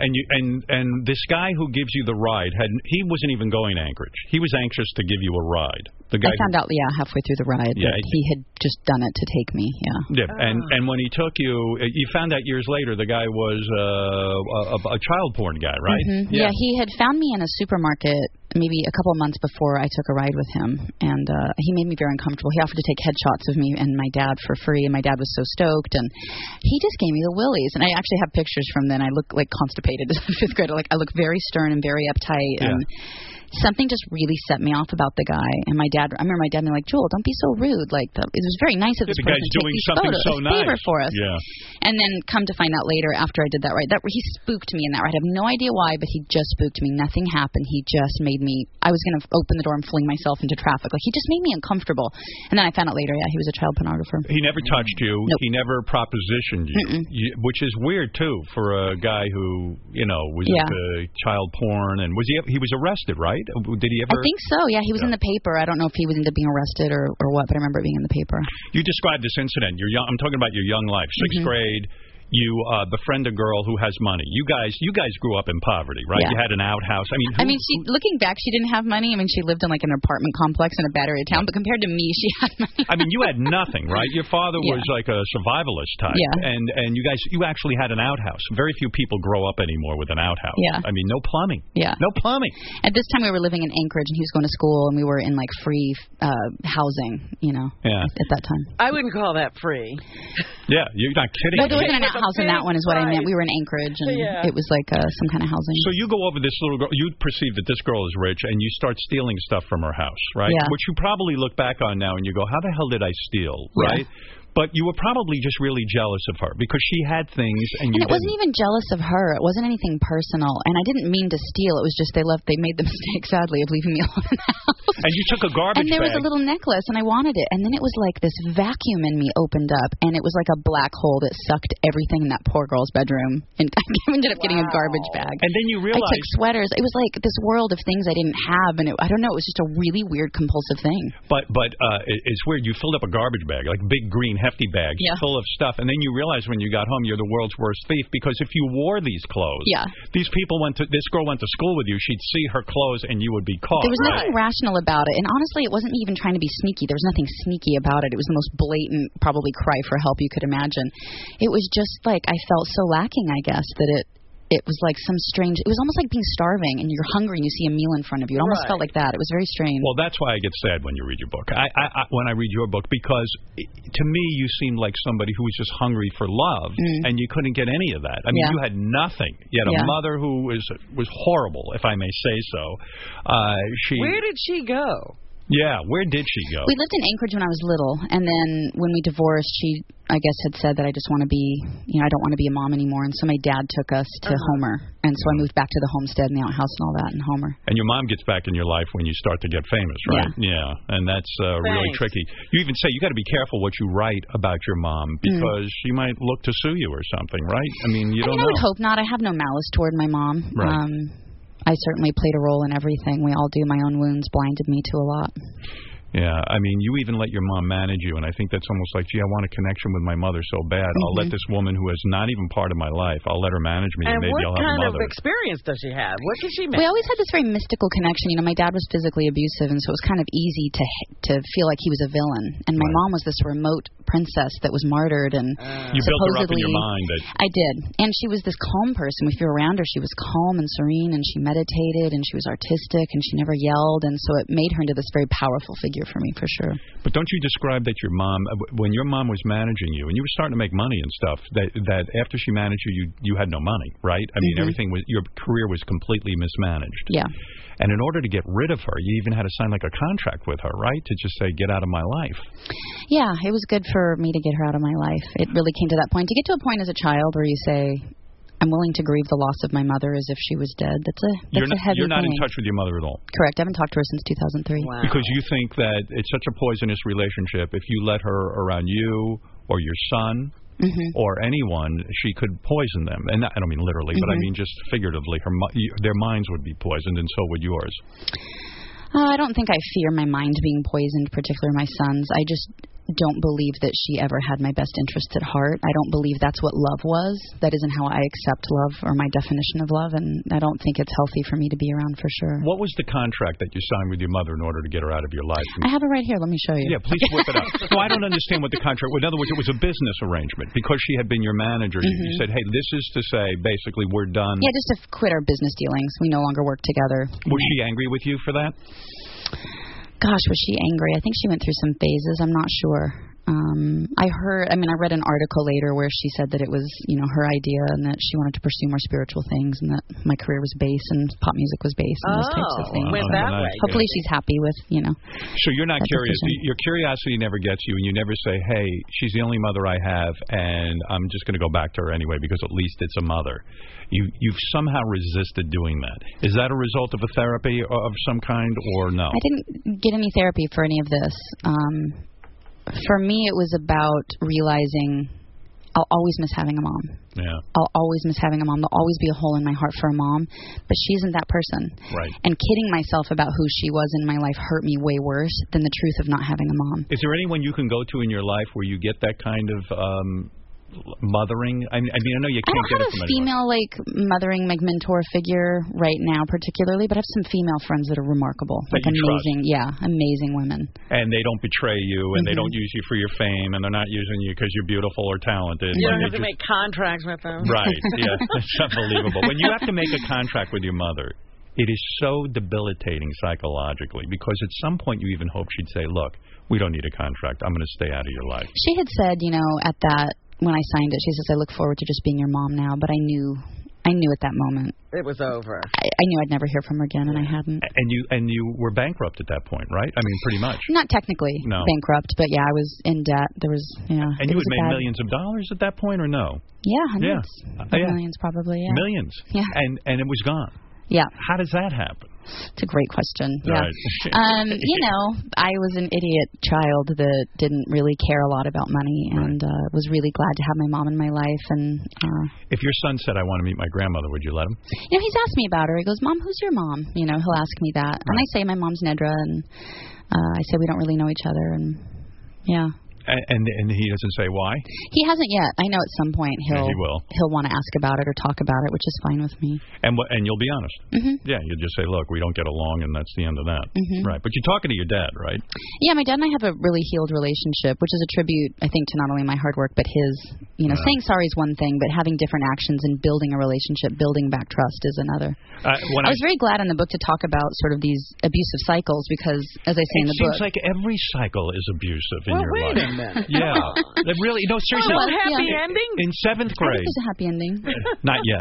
and this guy who gives you the ride, he wasn't even going to Anchorage. He was anxious to give you a ride. The guy I found out, halfway through the ride that he had just done it to take me, Yeah, and when he took you, you found out years later the guy was a child porn guy, right? Yeah, he had found me in a supermarket maybe a couple of months before I took a ride with him, and he made me very uncomfortable. He offered to take headshots of me and my dad for free, and my dad was so stoked, and he just gave me the willies. And I actually have pictures from then. I look like constipated as a 5th grader. Like I look very stern and very uptight, and something just really set me off about the guy. And my dad, I remember my dad being like, "Joel, don't be so rude. Like it was very nice of this person to take these photos, so nice. favor for us." Yeah. And then come to find out later, after I did that ride, he spooked me in that ride. I have no idea why, but he just spooked me. Nothing happened. He just made me. I was going to open the door and fling myself into traffic. Like he just made me uncomfortable. And then I found out later, he was a child pornographer. He never touched you. Nope. He never propositioned you, which is weird too for a guy who was into child porn. And he was arrested, right? Did he ever? I think so. Yeah, he was in the paper. I don't know if he was into being arrested or what, but I remember it being in the paper. You described this incident. I'm talking about your young life, 6th grade. You befriend a girl who has money. You guys grew up in poverty, right? Yeah. You had an outhouse. I mean, looking back, she didn't have money. I mean, she lived in like an apartment complex in a battery town. But compared to me, she had money. I mean, you had nothing, right? Your father was like a survivalist type, and you actually had an outhouse. Very few people grow up anymore with an outhouse. Yeah. I mean, no plumbing. Yeah. No plumbing. At this time, we were living in Anchorage, and he was going to school, and we were in like free housing. At that time. I wouldn't call that free. Yeah, you're not kidding. But there wasn't an outhouse in that one, is what I meant. We were in Anchorage, and it was like some kind of housing. So you go over this little girl. You perceive that this girl is rich, and you start stealing stuff from her house, right? Yeah. Which you probably look back on now, and you go, "How the hell did I steal?" Right? But you were probably just really jealous of her because she had things, and you it wasn't even jealous of her. It wasn't anything personal, and I didn't mean to steal. It was just they made the mistake, sadly, of leaving me alone in the house. And you took a garbage bag. And there was a little necklace, and I wanted it. And then it was like this vacuum in me opened up, and it was like a black hole that sucked everything in that poor girl's bedroom. And I ended up getting a garbage bag. And then you realized... I took sweaters. It was like this world of things I didn't have, and I don't know, it was just a really weird compulsive thing. But it's weird. You filled up a garbage bag, like big green hefty bags full of stuff, and then you realized when you got home you're the world's worst thief because if you wore these clothes, this girl went to school with you, she'd see her clothes and you would be caught. There was nothing rational about it, and honestly it wasn't even trying to be sneaky. There was nothing sneaky about it. It was the most blatant, probably cry for help you could imagine. It was just like I felt so lacking, I guess, that it was like some strange, it was almost like being starving and you're hungry and you see a meal in front of you. It almost felt like that. It was very strange. Well, that's why I get sad when you read your book. When I read your book, because to me you seemed like somebody who was just hungry for love, and you couldn't get any of that. I mean, you had nothing. You had a mother who was horrible, if I may say so. Where did she go? Yeah, where did she go? We lived in Anchorage when I was little, and then when we divorced, she, I guess, had said that I just want to be, I don't want to be a mom anymore, and so my dad took us to Homer, and so I moved back to the homestead and the outhouse and all that in Homer. And your mom gets back in your life when you start to get famous, right? Yeah, and that's really tricky. You even say you got to be careful what you write about your mom, because she might look to sue you or something, right? I mean, you don't know. I would hope not. I have no malice toward my mom. Right. I certainly played a role in everything. We all do. My own wounds blinded me to a lot. Yeah, I mean, you even let your mom manage you, and I think that's almost like, gee, I want a connection with my mother so bad. I'll let this woman who is not even part of my life, I'll let her manage me, and maybe I'll have a mother. And what kind of experience does she have? What can she manage? We always had this very mystical connection. My dad was physically abusive, and so it was kind of easy to feel like he was a villain. And my mom was this remote princess that was martyred, and you built her up in your mind. I did. And she was this calm person. If you were around her, she was calm and serene, and she meditated, and she was artistic, and she never yelled, and so it made her into this very powerful figure for me, for sure. But don't you describe that your mom, when your mom was managing you, and you were starting to make money and stuff, that after she managed you had no money, right? I mean, everything was, your career was completely mismanaged. Yeah. And in order to get rid of her, you even had to sign like a contract with her, right? To just say, get out of my life. Yeah, it was good for me to get her out of my life. It really came to that point. To get to a point as a child where you say, I'm willing to grieve the loss of my mother as if she was dead. That's a heavy thing. You're not in touch with your mother at all? Correct. I haven't talked to her since 2003. Wow. Because you think that it's such a poisonous relationship. If you let her around you or your son or anyone, she could poison them. And I don't mean literally, but I mean just figuratively. Their minds would be poisoned, and so would yours. I don't think I fear my mind being poisoned, particularly my son's. I just don't believe that she ever had my best interests at heart. I don't believe that's what love was. That isn't how I accept love or my definition of love, and I don't think it's healthy for me to be around for sure. What was the contract that you signed with your mother in order to get her out of your life? I have it right here. Let me show you. Yeah, please whip it up. No, I don't understand what the contract was. In other words, it was a business arrangement. Because she had been your manager, you said, hey, this is to say, basically, we're done. Yeah, just to quit our business dealings. We no longer work together. Was she angry with you for that? Gosh, was she angry? I think she went through some phases. I'm not sure. I read an article later where she said that it was, her idea and that she wanted to pursue more spiritual things and that my career was base and pop music was base and those types of things. Went that way. Hopefully she's happy with, So you're not curious. Your curiosity never gets you, and you never say, hey, she's the only mother I have, and I'm just going to go back to her anyway because at least it's a mother. You've somehow resisted doing that. Is that a result of a therapy of some kind or no? I didn't get any therapy for any of this. For me, it was about realizing I'll always miss having a mom. Yeah. I'll always miss having a mom. There'll always be a hole in my heart for a mom, but she isn't that person. Right. And kidding myself about who she was in my life hurt me way worse than the truth of not having a mom. Is there anyone you can go to in your life where you get that kind of mothering? I mean, I know you can't get it from anyone. I don't have a female mothering mentor figure right now particularly, but I have some female friends that are remarkable, that like amazing women. And they don't betray you, and they don't use you for your fame, and they're not using you because you're beautiful or talented. You don't have to make contracts with them. Right? Yeah, it's unbelievable. When you have to make a contract with your mother, it is so debilitating psychologically because at some point you even hope she'd say, look, we don't need a contract. I'm going to stay out of your life. She had said, at that, when I signed it, she says, I look forward to just being your mom now, but I knew at that moment it was over. I knew I'd never hear from her again, and I hadn't. And you were bankrupt at that point, right? I mean, pretty much. Not technically bankrupt, but yeah, I was in debt. There was, And you had made millions of dollars at that point, or no? Yeah, hundreds. Millions, probably. Yeah. Millions. Yeah. And it was gone. Yeah. How does that happen? It's a great question. Yeah. Right. I was an idiot child that didn't really care a lot about money and was really glad to have my mom in my life. And if your son said, I want to meet my grandmother, would you let him? He's asked me about her. He goes, Mom, who's your mom? He'll ask me that. And I say, my mom's Nedra. And I say, we don't really know each other. And yeah. And he doesn't say why? He hasn't yet. I know at some point he will. He'll want to ask about it or talk about it, which is fine with me. And you'll be honest. Mm-hmm. Yeah, you'll just say, look, we don't get along, and that's the end of that. Mm-hmm. Right. But you're talking to your dad, right? Yeah, my dad and I have a really healed relationship, which is a tribute, I think, to not only my hard work, but his, saying sorry is one thing, but having different actions and building a relationship, building back trust is another. I was very glad in the book to talk about sort of these abusive cycles because, as I say in the book... It seems like every cycle is abusive in your life. Wait a minute. Yeah. Really, no, seriously. No happy ending? In 7th grade. I think there's a happy ending. Not yet.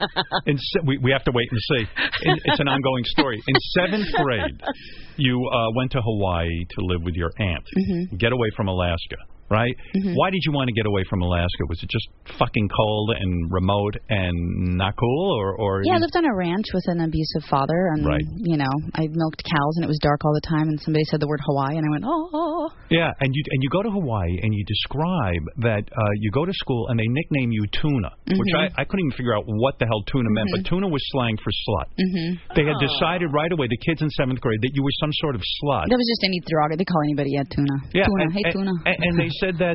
We have to wait and see. It's an ongoing story. In 7th grade, you went to Hawaii to live with your aunt. Mm-hmm. Get away from Alaska. Right? Mm-hmm. Why did you want to get away from Alaska? Was it just fucking cold and remote and not cool? Or yeah, I lived on a ranch with an abusive father. And, right. I milked cows and it was dark all the time. And somebody said the word Hawaii and I went, oh. Yeah, and you go to Hawaii and you describe that you go to school and they nickname you Tuna, mm-hmm. which I couldn't even figure out what the hell tuna meant, but tuna was slang for slut. Mm-hmm. They had decided right away, the kids in 7th grade, that you were some sort of slut. That was just any derogatory. They call anybody tuna. Yeah, tuna. Hey, tuna. And they said that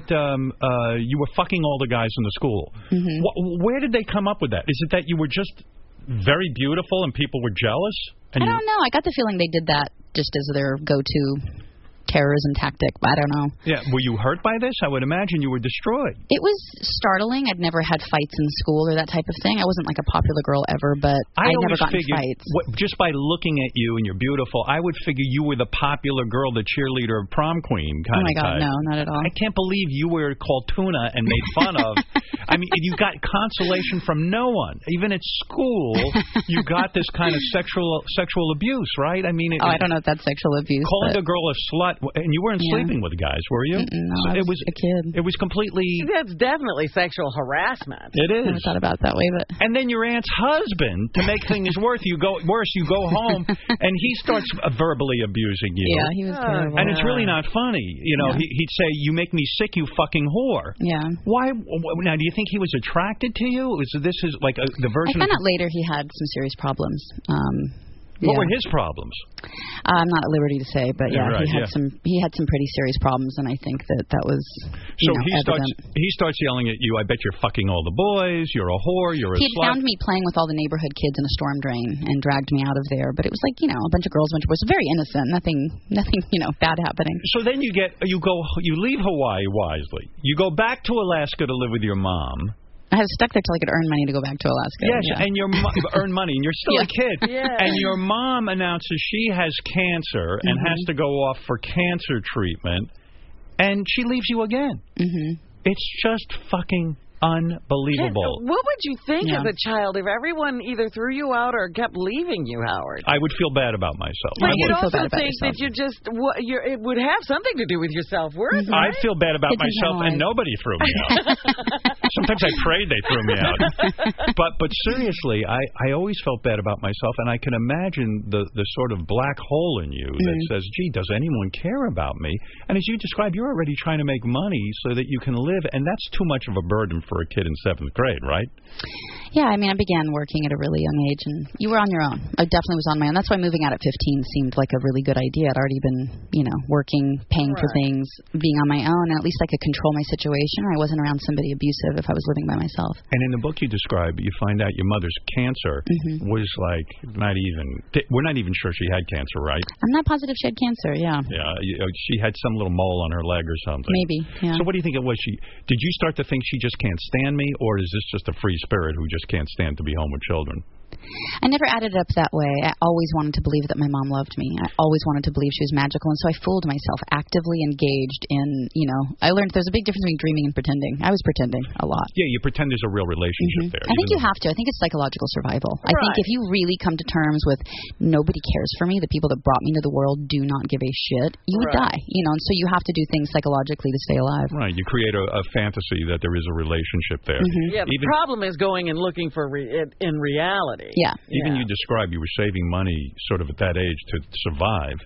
you were fucking all the guys in the school. Mm-hmm. Where did they come up with that? Is it that you were just very beautiful and people were jealous? I don't know. I got the feeling they did that just as their go-to terrorism tactic. I don't know. Yeah. Were you hurt by this? I would imagine you were destroyed. It was startling. I'd never had fights in school or that type of thing. I wasn't like a popular girl ever, but I'd never gotten fights. Just by looking at you and you're beautiful, I would figure you were the popular girl, the cheerleader of prom queen kind of type. Oh my God, no, not at all. I can't believe you were called Tuna and made fun of. I mean, you got consolation from no one. Even at school, you got this kind of sexual abuse, right? I mean, I don't know if that's sexual abuse. Calling a girl a slut. And you weren't sleeping with guys, were you? No, I was a kid. It was completely... That's definitely sexual harassment. It is. I never thought about it that way, but... And then your aunt's husband, to make things worse, you go home, and he starts verbally abusing you. Yeah, he was terrible. And it's really not funny. He'd say, "You make me sick, you fucking whore." Yeah. Why? Now, do you think he was attracted to you? This is like the version... I found out later he had some serious problems. What were his problems? I'm not at liberty to say, but right, he had some pretty serious problems, and I think that was evident. He starts yelling at you, "I bet you're fucking all the boys. You're a whore. You're a slut." He had found me playing with all the neighborhood kids in a storm drain and dragged me out of there. But it was like a bunch of girls, a bunch of boys, very innocent, nothing bad happening. So then you leave Hawaii wisely. You go back to Alaska to live with your mom. I was stuck there till I could earn money to go back to Alaska. Yes, yeah. And your earn money, and you're still a kid. Yeah. And your mom announces she has cancer and has to go off for cancer treatment, and she leaves you again. It's just fucking unbelievable. What would you think as a child if everyone either threw you out or kept leaving you, Howard? I would feel bad about myself. But you'd also think that it would have something to do with your self-worth. I feel bad about myself, and nobody threw me out. Sometimes I prayed they threw me out. But seriously, I always felt bad about myself, and I can imagine the sort of black hole in you that says, gee, does anyone care about me? And as you described, you're already trying to make money so that you can live, and that's too much of a burden for a kid in 7th grade, right? Yeah, I mean, I began working at a really young age, and you were on your own. I definitely was on my own. That's why moving out at 15 seemed like a really good idea. I'd already been, working, paying for things, being on my own, and at least I could control my situation, or I wasn't around somebody abusive if I was living by myself. And in the book you describe, you find out your mother's cancer was like we're not even sure she had cancer, right? I'm not positive she had cancer, yeah. Yeah, she had some little mole on her leg or something. Maybe, yeah. So what do you think it was? Did you start to think she just can't stand me, or is this just a free spirit who just can't stand to be home with children? I never added it up that way. I always wanted to believe that my mom loved me. I always wanted to believe she was magical, and so I fooled myself, actively engaged in, I learned there's a big difference between dreaming and pretending. I was pretending a lot. Yeah, you pretend there's a real relationship there. I think you have to. I think it's psychological survival. I think if you really come to terms with nobody cares for me, the people that brought me into the world do not give a shit, you would die. And so you have to do things psychologically to stay alive. Right. You create a fantasy that there is a relationship there. Yeah, the problem is going and looking for it in reality. Yeah. Even you described you were saving money sort of at that age to survive.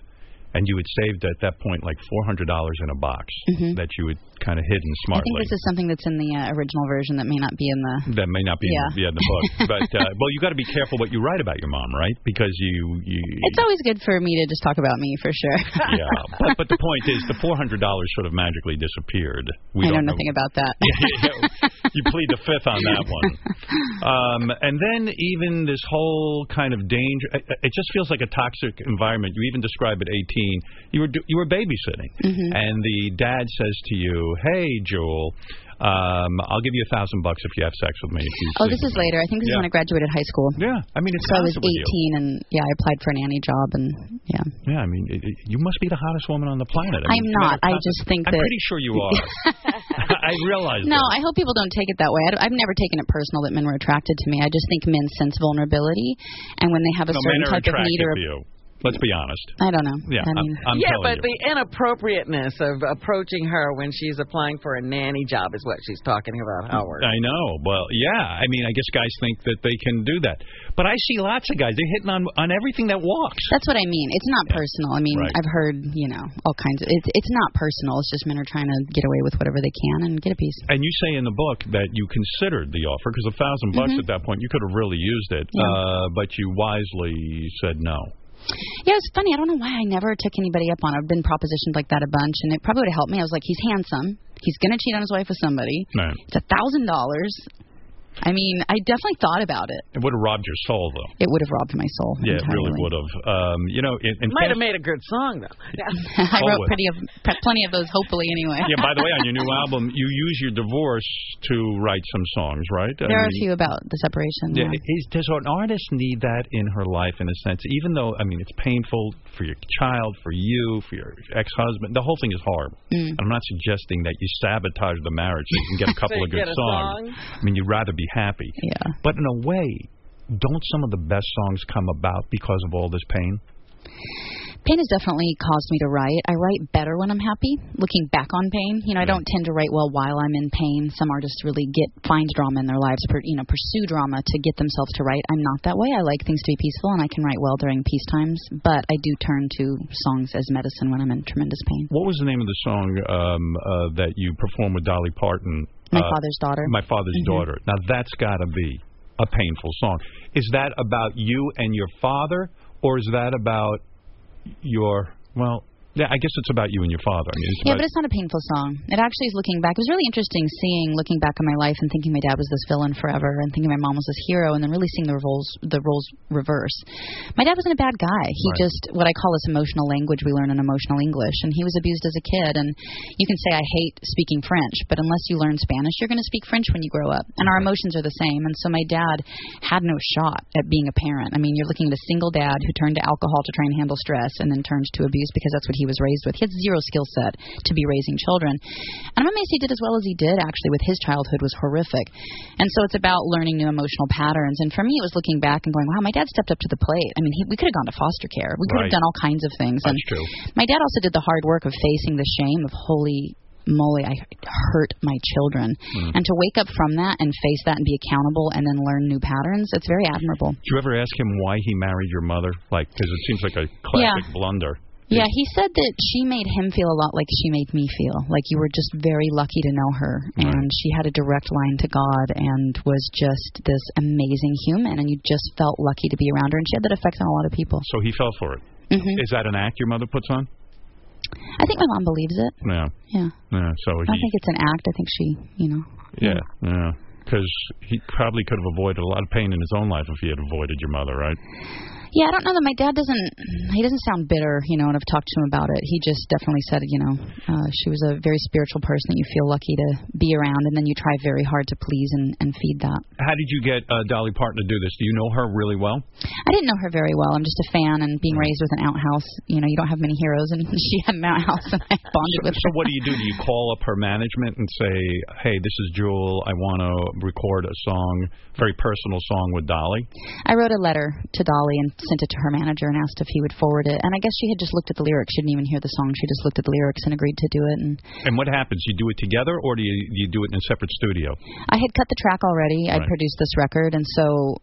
And you had saved at that point like $400 in a box that you had kind of hidden smartly. I think this is something that's in the original version that may not be in the... That may not be in the book. But, well, you got to be careful what you write about your mom, right? Because you... It's always good for me to just talk about me, for sure. Yeah. But the point is, the $400 sort of magically disappeared. I know nothing about that. You plead the fifth on that one. And then even this whole kind of danger... It just feels like a toxic environment. You even describe at 18. You were babysitting, and the dad says to you, "Hey, Jewel, I'll give you $1,000 if you have sex with me." This is later. I think this is when I graduated high school. Yeah, I mean, it's so I was 18, and I applied for a nanny job, and I mean, you must be the hottest woman on the planet. I'm not. I just think that I'm pretty sure you are. I realize. No, I hope people don't take it that way. I've never taken it personal that men were attracted to me. I just think men sense vulnerability, and when they have a certain type of need or let's be honest. I don't know. Yeah, I mean, I'm but the inappropriateness of approaching her when she's applying for a nanny job is what she's talking about, Howard. I know. Well, I mean, I guess guys think that they can do that. But I see lots of guys. They're hitting on everything that walks. That's what I mean. It's not personal. I mean, I've heard, all kinds of... It's not personal. It's just men are trying to get away with whatever they can and get a piece. And you say in the book that you considered the offer, because $1,000 at that point, you could have really used it, but you wisely said no. Yeah, it's funny. I don't know why I never took anybody up on it. I've been propositioned like that a bunch, and it probably would have helped me. I was like, he's handsome. He's going to cheat on his wife with somebody. Right. It's $1,000. I mean, I definitely thought about it. It would have robbed your soul, though. It would have robbed my soul. Yeah, entirely. It really would have. Might have made a good song, though. I wrote plenty of those, hopefully, anyway. Yeah, by the way, on your new album, you use your divorce to write some songs, right? There are a few about the separation. Yeah. Does an artist need that in her life, in a sense? Even though, I mean, it's painful for your child, for you, for your ex-husband. The whole thing is horrible. I'm not suggesting that you sabotage the marriage so you can get a couple of good songs. I mean, you'd rather be happy. Yeah. But in a way, don't some of the best songs come about because of all this pain? Pain has definitely caused me to write. I write better when I'm happy, looking back on pain. I don't tend to write well while I'm in pain. Some artists really find drama in their lives, pursue drama to get themselves to write. I'm not that way. I like things to be peaceful, and I can write well during peace times. But I do turn to songs as medicine when I'm in tremendous pain. What was the name of the song that you performed with Dolly Parton? My Father's Daughter. My Father's Daughter. Now, that's got to be a painful song. Is that about you and your father, or is that about your... Well, yeah, I guess it's about you and your father. I mean, but it's not a painful song. It actually is looking back. It was really interesting looking back on my life and thinking my dad was this villain forever and thinking my mom was this hero and then really seeing the roles reverse. My dad wasn't a bad guy. He just, what I call this emotional language we learn in emotional English, and he was abused as a kid. And you can say, I hate speaking French, but unless you learn Spanish, you're going to speak French when you grow up. And our emotions are the same. And so my dad had no shot at being a parent. I mean, you're looking at a single dad who turned to alcohol to try and handle stress and then turns to abuse because that's what he was raised with. He had zero skill set to be raising children. And I'm amazed he did as well as he did, actually, with his childhood was horrific. And so it's about learning new emotional patterns. And for me, it was looking back and going, wow, my dad stepped up to the plate. I mean, we could have gone to foster care. We could have done all kinds of things. That's true. My dad also did the hard work of facing the shame of, holy moly, I hurt my children. And to wake up from that and face that and be accountable and then learn new patterns, it's very admirable. Did you ever ask him why he married your mother? Because it seems like a classic blunder. Yeah, he said that she made him feel a lot like she made me feel. Like you were just very lucky to know her. And she had a direct line to God and was just this amazing human. And you just felt lucky to be around her. And she had that effect on a lot of people. So he fell for it. Is that an act your mother puts on? I think my mom believes it. Yeah. So I don't think it's an act. I think she, Yeah. Because he probably could have avoided a lot of pain in his own life if he had avoided your mother, right? Yeah, I don't know that my dad doesn't sound bitter, when I've talked to him about it. He just definitely said, she was a very spiritual person that you feel lucky to be around, and then you try very hard to please and feed that. How did you get Dolly Parton to do this? Do you know her really well? I didn't know her very well. I'm just a fan, and being raised with an outhouse, you don't have many heroes, and she had an outhouse, and I bonded with her. So what do? Do you call up her management and say, hey, this is Jewel, I want to record a song, very personal song with Dolly? I wrote a letter to Dolly and sent it to her manager and asked if he would forward it. And I guess she had just looked at the lyrics. She didn't even hear the song. She just looked at the lyrics and agreed to do it. And what happens? You do it together, or do you do it in a separate studio? I had cut the track already. I'd produced this record, and so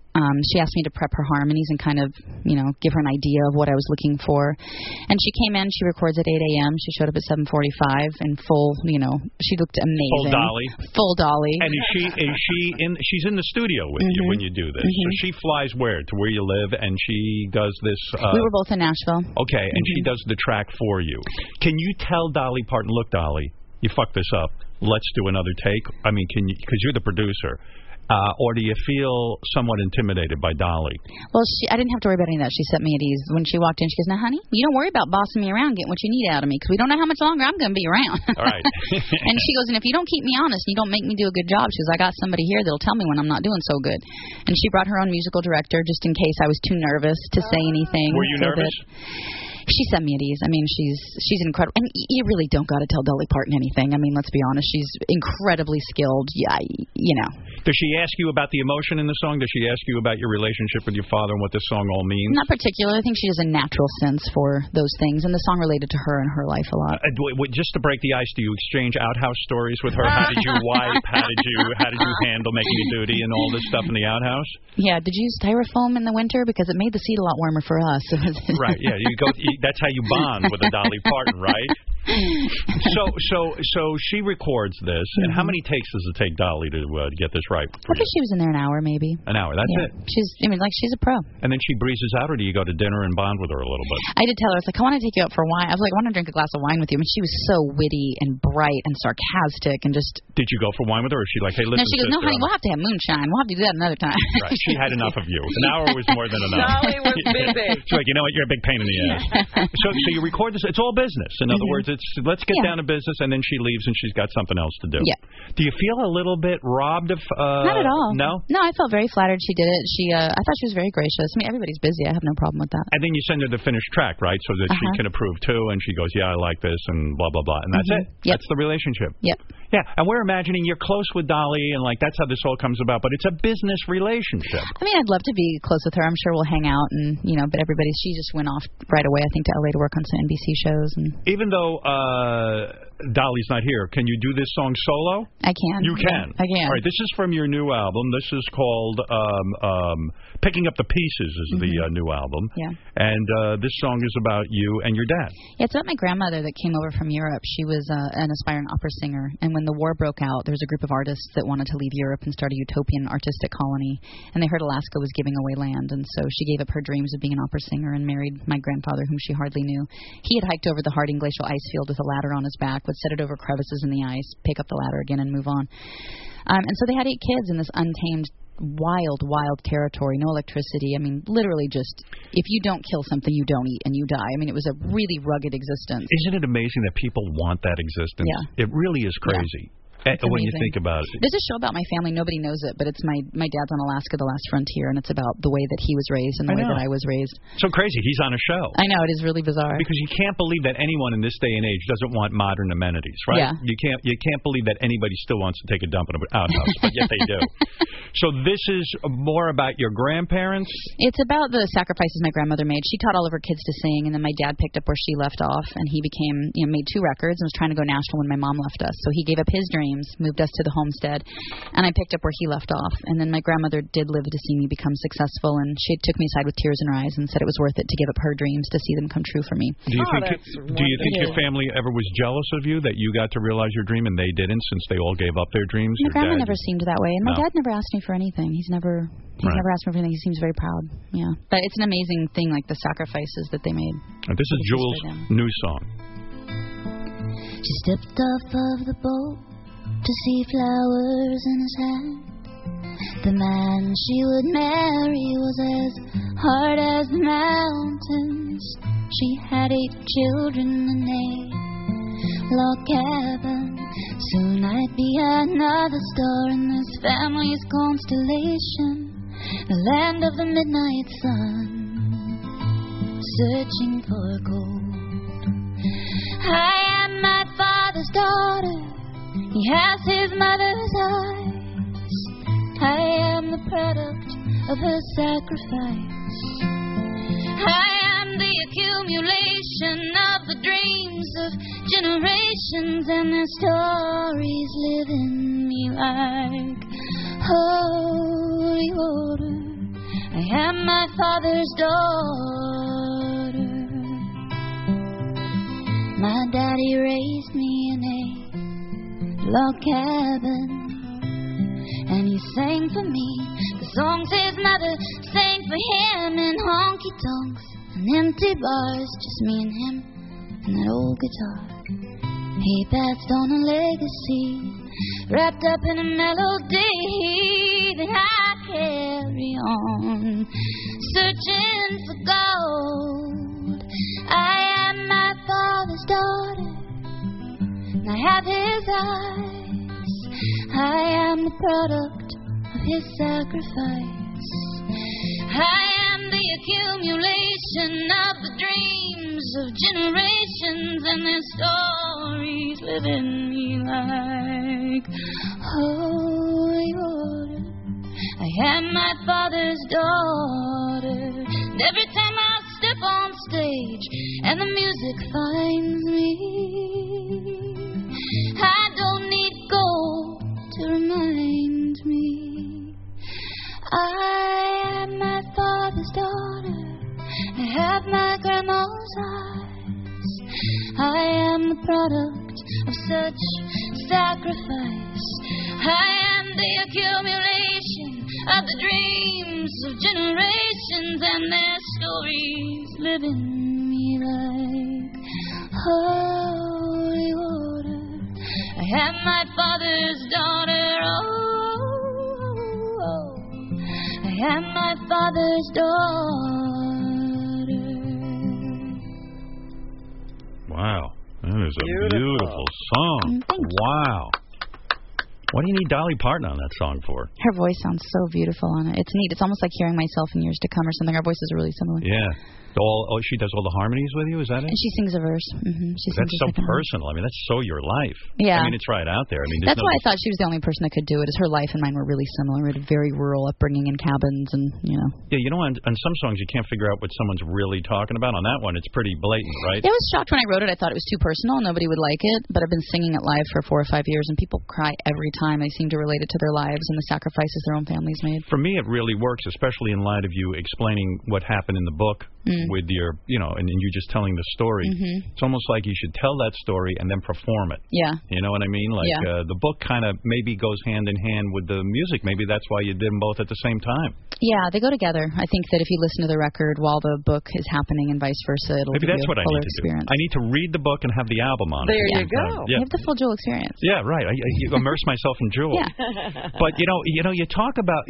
She asked me to prep her harmonies and kind of, give her an idea of what I was looking for. And she came in. She records at 8 a.m. She showed up at 7:45 in full, she looked amazing. Full dolly. And she's in the studio with you when you do this. So she flies where? To where you live, and she does this. We were both in Nashville. Okay, and she does the track for you. Can you tell Dolly Parton, look, Dolly, you fucked this up. Let's do another take? I mean, can you, because you're the producer. Or do you feel somewhat intimidated by Dolly? Well, I didn't have to worry about any of that. She set me at ease. When she walked in, she goes, now, honey, you don't worry about bossing me around, getting what you need out of me, because we don't know how much longer I'm going to be around. All right. And she goes, and if you don't keep me honest, you don't make me do a good job. She goes, I got somebody here that'll tell me when I'm not doing so good. And she brought her own musical director just in case I was too nervous to say anything. Were you nervous? She set me at ease. I mean, she's incredible. And you really don't got to tell Dolly Parton anything. I mean, let's be honest. She's incredibly skilled. Yeah, Does she ask you about the emotion in the song? Does she ask you about your relationship with your father and what this song all means? Not particularly. I think she has a natural sense for those things, and the song related to her and her life a lot. Just to break the ice, do you exchange outhouse stories with her? How did you wipe? How did you handle making your duty and all this stuff in the outhouse? Yeah. Did you use styrofoam in the winter because it made the seat a lot warmer for us? Right. Yeah. That's how you bond with a Dolly Parton, right? So she records this, and how many takes does it take Dolly to get this right? I think she was in there an hour, maybe. An hour, that's it. She's a pro. And then she breezes out, or do you go to dinner and bond with her a little bit? I did tell her, I want to take you out for wine. I was like, I want to drink a glass of wine with you. I mean, she was so witty and bright and sarcastic and just. Did you go for wine with her, or is she like, hey, listen? No, she goes, no, honey, we'll have to have moonshine. We'll have to do that another time. Right. She had enough of you. An hour was more than enough. Dolly was busy. She's like, you know what? You're a big pain in the ass. So you record this. It's all business. In other words, it's let's get down to business, and then she leaves and she's got something else to do. Yeah. Do you feel a little bit robbed of? Not at all. No. No, I felt very flattered she did it. I thought she was very gracious. I mean, everybody's busy. I have no problem with that. And then you send her the finished track, right, so that she can approve too, and she goes, yeah, I like this, and blah blah blah, and that's it. Yep. That's the relationship. Yep. Yeah, and we're imagining you're close with Dolly, and like that's how this all comes about. But it's a business relationship. I mean, I'd love to be close with her. I'm sure we'll hang out, and but she just went off right away, I think, to LA to work on some NBC shows. And even though Dolly's not here, can you do this song solo? I can. You can. I can. All right, this is from your new album. This is called Picking Up the Pieces is the new album. Yeah. And this song is about you and your dad. Yeah, it's about my grandmother that came over from Europe. She was an aspiring opera singer, and when the war broke out, there was a group of artists that wanted to leave Europe and start a utopian artistic colony, and they heard Alaska was giving away land, and so she gave up her dreams of being an opera singer and married my grandfather, whom she hardly knew. He had hiked over the Harding Glacial ice field with a ladder on his back, would set it over crevices in the ice, pick up the ladder again, and move on. And so they had 8 kids in this untamed, wild territory, no electricity. I mean, literally just, if you don't kill something, you don't eat and you die. I mean, it was a really rugged existence. Isn't it amazing that people want that existence? Yeah. It really is crazy. When you think about it. There's a show about my family. Nobody knows it, but it's my dad's on Alaska, The Last Frontier, and it's about the way that he was raised and the way that I was raised. So crazy. He's on a show. I know. It is really bizarre. Because you can't believe that anyone in this day and age doesn't want modern amenities, right? Yeah. You can't believe that anybody still wants to take a dump in an outhouse, but yet they do. So this is more about your grandparents? It's about the sacrifices my grandmother made. She taught all of her kids to sing, and then my dad picked up where she left off, and he became, made 2 records and was trying to go national when my mom left us. So he gave up his dreams, moved us to the homestead, and I picked up where he left off. And then my grandmother did live to see me become successful, and she took me aside with tears in her eyes and said it was worth it to give up her dreams to see them come true for me. Do you think your family ever was jealous of you, that you got to realize your dream and they didn't, since they all gave up their dreams? My grandma never seemed that way, and my dad never asked me for anything. He's never asked me for anything. He seems very proud. Yeah, but it's an amazing thing, like the sacrifices that they made. And this is Jules' new song. She stepped off of the boat to see flowers in his hand. The man she would marry was as hard as the mountains. She had 8 children in a log cabin. Soon I'd be another star in this family's constellation, the land of the midnight sun, searching for gold. I am my father's daughter. He has his mother's eyes. I am the product of her sacrifice. I am the accumulation of the dreams of generations, and their stories live in me like holy water I am my father's daughter. My daddy raised me in a log cabin, and he sang for me the songs his mother sang for him in honky-tonks and empty bars, just me and him and that old guitar. He passed on a legacy wrapped up in a melody that I carry on, searching for gold. I am my father's daughter, and I have his eyes. I am the product of his sacrifice. I am the accumulation of the dreams of generations, and their stories live in me like holy water. I am my father's daughter, and every time I step on stage and the music finds me, I don't need gold to remind me. I am my father's daughter. I have my grandma's eyes. I am the product of such sacrifice. I am the accumulation of the dreams of generations, and their stories live in me like holy water. I am my father's daughter. Oh, I am my father's daughter. Wow, that is a beautiful song. Wow. What do you need Dolly Parton on that song for? Her voice sounds so beautiful on it. It's neat. It's almost like hearing myself in Years to Come or something. Our voices are really similar. Yeah. She does all the harmonies with you, is that it? And she sings a verse. Mm-hmm. That's so personal. I mean, that's so your life. Yeah. I mean, it's right out there. I mean, that's why I thought she was the only person that could do it, is her life and mine were really similar. We had a very rural upbringing in cabins and, you know. Yeah, you know, on some songs you can't figure out what someone's really talking about. On that one, it's pretty blatant, right? I was shocked when I wrote it. I thought it was too personal. Nobody would like it. But I've been singing it live for 4 or 5 years, and people cry every time. They seem to relate it to their lives and the sacrifices their own families made. For me, it really works, especially in light of you explaining what happened in the book with your, you know, and you just telling the story. It's almost like you should tell that story and then perform it. Yeah. You know what I mean? Like the book kind of maybe goes hand in hand with the music. Maybe that's why you did them both at the same time. Yeah, they go together. I think that if you listen to the record while the book is happening and vice versa, it'll maybe give that's you what a I fuller need to experience. do. I need to read the book and have the album on there it. There you go. You have the full Jewel experience. Yeah, right. I immerse myself in Jewel. Yeah. But you know, you talk about.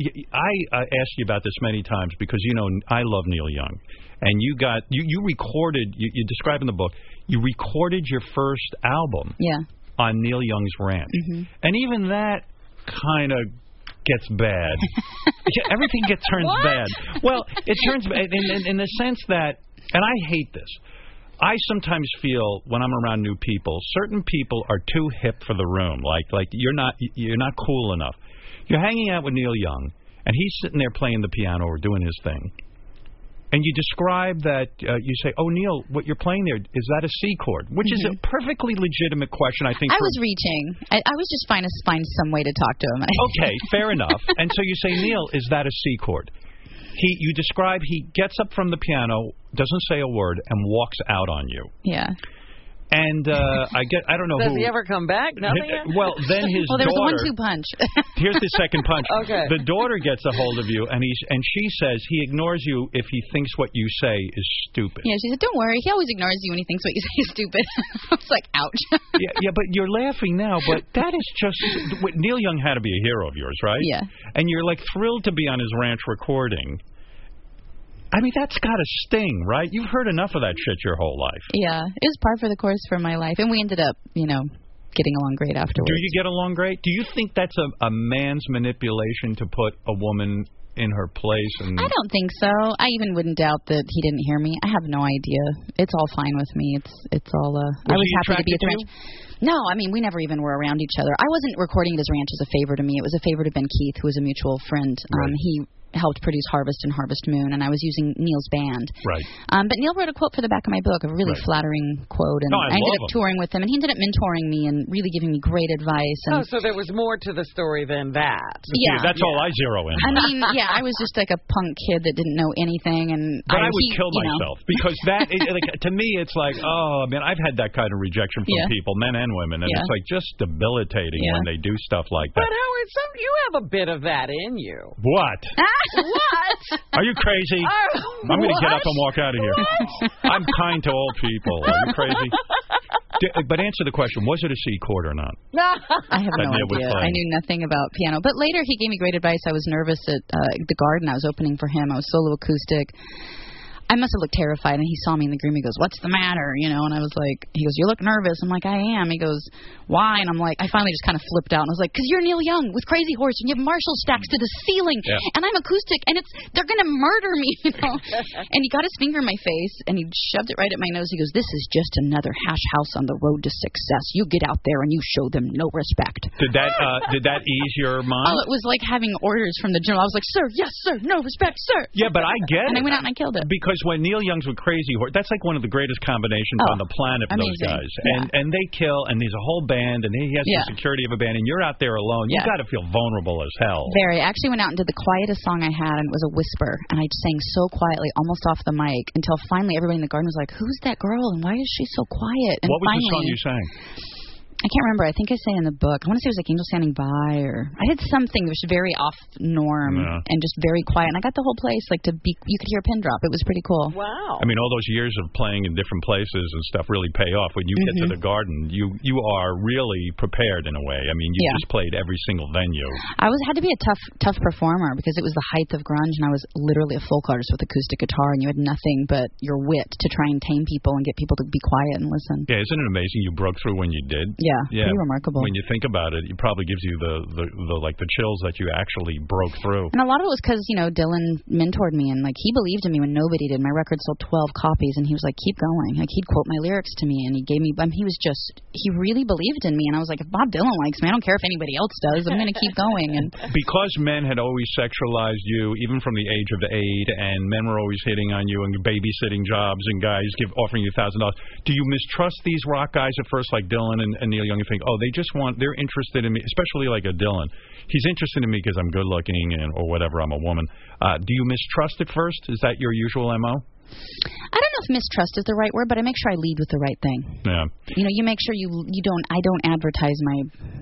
I asked you about this many times because you know I love Neil Young, and you recorded. You describe in the book. You recorded your first album. Yeah. On Neil Young's ranch, and even that kind of gets bad. Everything turns bad. Well, it turns bad in the sense that, and I hate this. I sometimes feel when I'm around new people, certain people are too hip for the room. Like you're not cool enough. You're hanging out with Neil Young, and he's sitting there playing the piano or doing his thing. And you describe that, you say, oh, Neil, what you're playing there, is that a C chord? Which is a perfectly legitimate question, I think. I was reaching. I was just trying to find some way to talk to him. Okay, fair enough. And so you say, Neil, is that a C chord? You describe he gets up from the piano, doesn't say a word, and walks out on you. Yeah. And I don't know Does who. he ever come back? Nothing yet? Well, then his there daughter. was a 1-2 punch. Here's the second punch. Okay. The daughter gets a hold of you, and she says he ignores you if he thinks what you say is stupid. Yeah, she said, don't worry. He always ignores you when he thinks what you say is stupid. I was like, ouch. yeah, but you're laughing now, but that is just. Neil Young had to be a hero of yours, right? Yeah. And you're like thrilled to be on his ranch recording. I mean, that's got to sting, right? You've heard enough of that shit your whole life. Yeah, it was par for the course for my life. And we ended up, getting along great afterwards. Do you get along great? Do you think that's a man's manipulation to put a woman in her place? And I don't think so. I even wouldn't doubt that he didn't hear me. I have no idea. It's all fine with me. It's all. I was happy to be at the ranch. No, I mean, we never even were around each other. I wasn't recording at his ranch as a favor to me. It was a favor to Ben Keith, who was a mutual friend. Right. helped produce Harvest and Harvest Moon, and I was using Neil's band. Right. But Neil wrote a quote for the back of my book, a really flattering quote, and I ended up touring with him, and he ended up mentoring me and really giving me great advice. And so there was more to the story than that. Yeah. That's all I zero in. I mean, yeah, I was just like a punk kid that didn't know anything, and but I would kill myself because that, to me, it's like, oh, man, I've had that kind of rejection from people, men and women, and it's like just debilitating when they do stuff like that. But Howard, you have a bit of that in you. What? What? Are you crazy? I'm going to get up and walk out of here. I'm kind to all people. Are you crazy? But answer the question, was it a C chord or not? I have no idea. I knew nothing about piano. But later he gave me great advice. I was nervous at the Garden. I was opening for him. I was solo acoustic. I must have looked terrified, and he saw me in the room. He goes, "What's the matter?" You know, and I was like, he goes, "You look nervous." I'm like, "I am." He goes, "Why?" And I'm like, I finally just kind of flipped out, and I was like, "'Cause you're Neil Young with Crazy Horse, and you have Marshall stacks to the ceiling, and I'm acoustic, and they're gonna murder me, you know." And he got his finger in my face, and he shoved it right at my nose. He goes, "This is just another hash house on the road to success. You get out there and you show them no respect." Did that ease your mind? Oh, it was like having orders from the general. I was like, "Sir, yes, sir, no respect, sir." Yeah, but I get it. And I went out and I killed it. Because when Neil Young's with Crazy Horse, that's like one of the greatest combinations on the planet for those guys. And they kill, and there's a whole band, and he has the security of a band, and you're out there alone. You got to feel vulnerable as hell. Very. I actually went out and did the quietest song I had, and it was a whisper, and I sang so quietly, almost off the mic, until finally everybody in the Garden was like, "Who's that girl, and why is she so quiet?" And what was finally, the song you sang? I can't remember. I think I say in the book. I want to say it was like Angel Standing By, or I did something that was very off norm and just very quiet. And I got the whole place you could hear a pin drop. It was pretty cool. Wow. I mean, all those years of playing in different places and stuff really pay off. When you get to the Garden, you are really prepared in a way. I mean, you just played every single venue. I had to be a tough performer because it was the height of grunge, and I was literally a folk artist with acoustic guitar, and you had nothing but your wit to try and tame people and get people to be quiet and listen. Yeah, isn't it amazing you broke through when you did? Yeah, pretty remarkable. When you think about it, it probably gives you the chills that you actually broke through. And a lot of it was because Dylan mentored me, and he believed in me when nobody did. My record sold 12 copies, and he was like, "Keep going." He'd quote my lyrics to me, and he gave me. He really believed in me, and I was like, "If Bob Dylan likes me, I don't care if anybody else does. I'm going to keep going." And because men had always sexualized you, even from the age of 8, and men were always hitting on you and babysitting jobs, and guys offering you $1,000. Do you mistrust these rock guys at first, like Dylan and Neil Young? You think, oh, they're interested in me, especially like a Dylan. He's interested in me because I'm good looking or whatever, I'm a woman. Do you mistrust at first? Is that your usual MO? I don't know if mistrust is the right word, but I make sure I lead with the right thing. Yeah. You make sure I don't advertise my,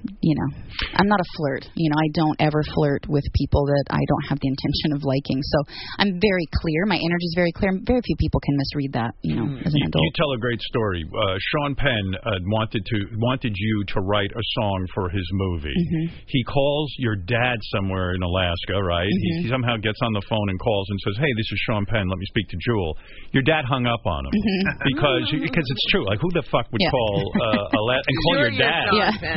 I'm not a flirt. I don't ever flirt with people that I don't have the intention of liking. So I'm very clear. My energy is very clear. Very few people can misread that, as an adult. You tell a great story. Sean Penn wanted you to write a song for his movie. He calls your dad somewhere in Alaska, right? He somehow gets on the phone and calls and says, "Hey, this is Sean Penn. Let me speak to Jewel." Your dad hung up on him because it's true. Like, who the fuck would call and call your dad?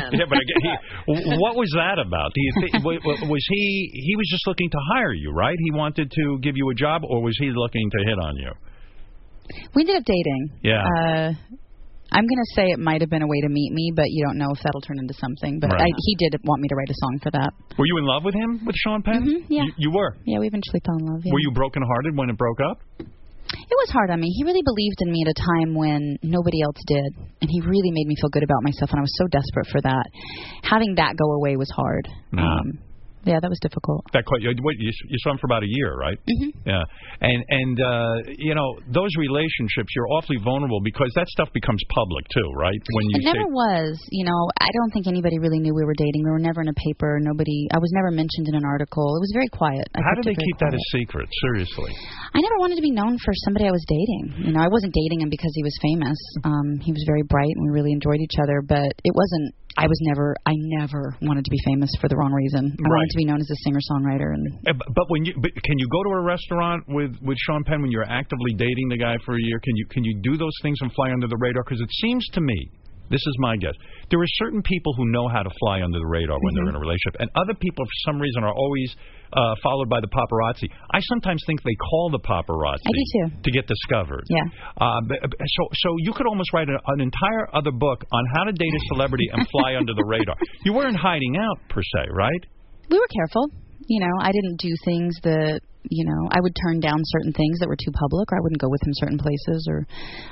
But what was that about? Do you think was he was just looking to hire you, right? He wanted to give you a job, or was he looking to hit on you? We ended up dating. Yeah. I'm going to say it might have been a way to meet me, but you don't know if that'll turn into something. But he did want me to write a song for that. Were you in love with him, with Sean Penn? Yeah. You were? Yeah, we eventually fell in love. Yeah. Were you brokenhearted when it broke up? It was hard on me. He really believed in me at a time when nobody else did, and he really made me feel good about myself, and I was so desperate for that. Having that go away was hard. Yeah, that was difficult. You saw him for about a year, right? Yeah. And those relationships, you're awfully vulnerable because that stuff becomes public, too, right? It never was. I don't think anybody really knew we were dating. We were never in a paper. I was never mentioned in an article. It was very quiet. How did they keep that a secret? Seriously. I never wanted to be known for somebody I was dating. I wasn't dating him because he was famous. He was very bright, and we really enjoyed each other, but it wasn't. I never wanted to be famous for the wrong reason. I wanted to be known as a singer-songwriter. But can you go to a restaurant with Sean Penn when you're actively dating the guy for a year? Can you do those things and fly under the radar? Because it seems to me, this is my guess, there are certain people who know how to fly under the radar when they're in a relationship, and other people, for some reason, are always followed by the paparazzi. I sometimes think they call the paparazzi to get discovered. Yeah. So you could almost write an entire other book on how to date a celebrity and fly under the radar. You weren't hiding out, per se, right? We were careful. You know, I didn't do things that, you know, I would turn down certain things that were too public, or I wouldn't go with him certain places, or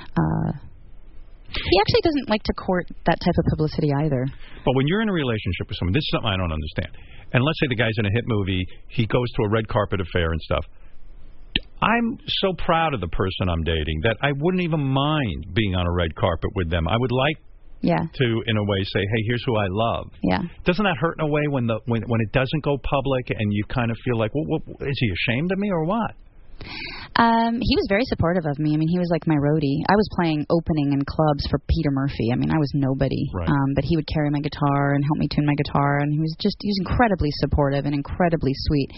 he actually doesn't like to court that type of publicity either. But when you're in a relationship with someone, this is something I don't understand. And let's say the guy's in a hit movie, he goes to a red carpet affair and stuff. I'm so proud of the person I'm dating that I wouldn't even mind being on a red carpet with them. I would like to, in a way, say, hey, here's who I love. Yeah. Doesn't that hurt in a way when it doesn't go public and you kind of feel like, well, is he ashamed of me or what? He was very supportive of me. I mean, he was like my roadie. I was playing opening in clubs for Peter Murphy. I mean, I was nobody. Right. But he would carry my guitar and help me tune my guitar, and he was incredibly supportive and incredibly sweet.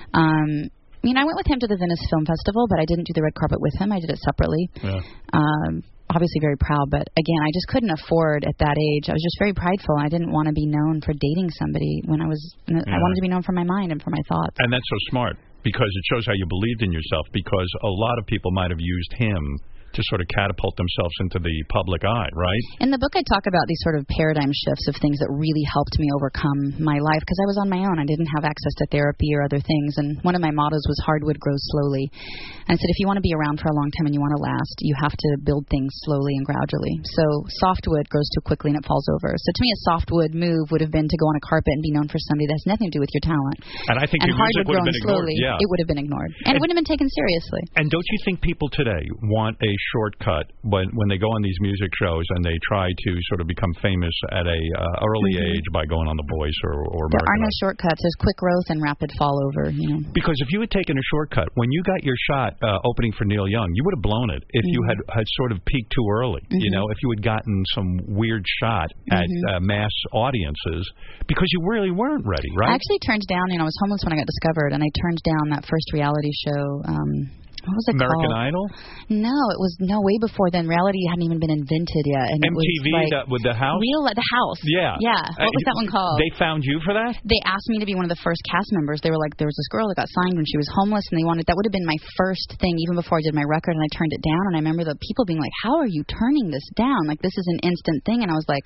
I mean, I went with him to the Venice Film Festival, but I didn't do the red carpet with him. I did it separately. Yeah. Obviously very proud, but again, I just couldn't afford at that age. I was just very prideful. I didn't want to be known for dating somebody when I wanted to be known for my mind and for my thoughts. And that's so smart, because it shows how you believed in yourself, because a lot of people might have used him to sort of catapult themselves into the public eye, right? In the book, I talk about these sort of paradigm shifts of things that really helped me overcome my life, because I was on my own. I didn't have access to therapy or other things, and one of my mottos was hardwood grows slowly. And I said, if you want to be around for a long time and you want to last, you have to build things slowly and gradually. So softwood grows too quickly and it falls over. So to me, a softwood move would have been to go on a carpet and be known for somebody that has nothing to do with your talent. And I think your music would have been ignored. Slowly, it would have been ignored. And it wouldn't have been taken seriously. And don't you think people today want a shortcut when they go on these music shows and they try to sort of become famous at a early age by going on The Voice or There are no shortcuts. There's quick growth and rapid fall over. You know. Because if you had taken a shortcut, when you got your shot opening for Neil Young, you would have blown it if you had sort of peaked too early. You know, if you had gotten some weird shot at mass audiences, because you really weren't ready, right? I actually turned down, you know, I was homeless when I got discovered, and I turned down that first reality show. What was it American called? Idol? No, it was way before then. Reality hadn't even been invented yet. And MTV it was like with the house? The House. Yeah. Yeah. What was that one called? They found you for that? They asked me to be one of the first cast members. They were like, there was this girl that got signed when she was homeless, and that would have been my first thing even before I did my record, and I turned it down. And I remember the people being like, how are you turning this down? Like, this is an instant thing. And I was like,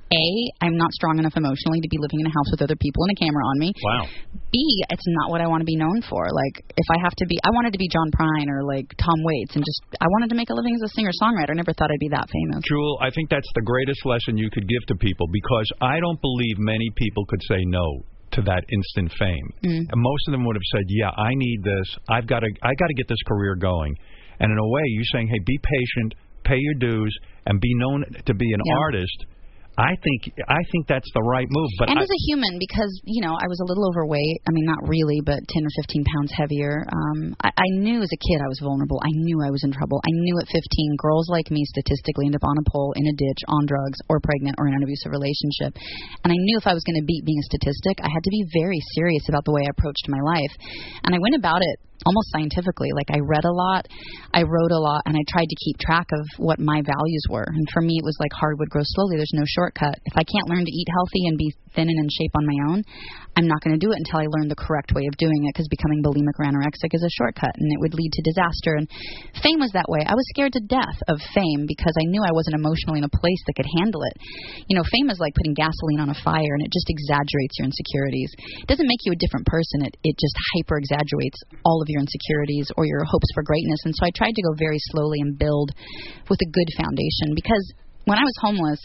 I'm not strong enough emotionally to be living in a house with other people and a camera on me. Wow. B, it's not what I want to be known for. Like, if I have to be, I wanted to be John Prine or like Tom Waits, and I wanted to make a living as a singer-songwriter. I never thought I'd be that famous. Jewel, I think that's the greatest lesson you could give to people, because I don't believe many people could say no to that instant fame. And most of them would have said, yeah, I need this. I got to get this career going. And in a way, you're saying, hey, be patient, pay your dues, and be known to be an artist. I think that's the right move. But as a human, because, you know, I was a little overweight. I mean, not really, but 10 or 15 pounds heavier. I knew as a kid I was vulnerable. I knew I was in trouble. I knew at 15 girls like me statistically end up on a pole, in a ditch, on drugs, or pregnant, or in an abusive relationship. And I knew if I was going to beat being a statistic, I had to be very serious about the way I approached my life. And I went about it almost scientifically. Like, I read a lot, I wrote a lot, and I tried to keep track of what my values were. And for me, it was like hardwood grows slowly. There's no shortcut. If I can't learn to eat healthy and be thin and in shape on my own, I'm not going to do it until I learn the correct way of doing it, because becoming bulimic or anorexic is a shortcut, and it would lead to disaster. And fame was that way. I was scared to death of fame because I knew I wasn't emotionally in a place that could handle it. You know, fame is like putting gasoline on a fire, and it just exaggerates your insecurities. It doesn't make you a different person. It just hyper-exaggerates all of your insecurities or your hopes for greatness. And so I tried to go very slowly and build with a good foundation, because when I was homeless,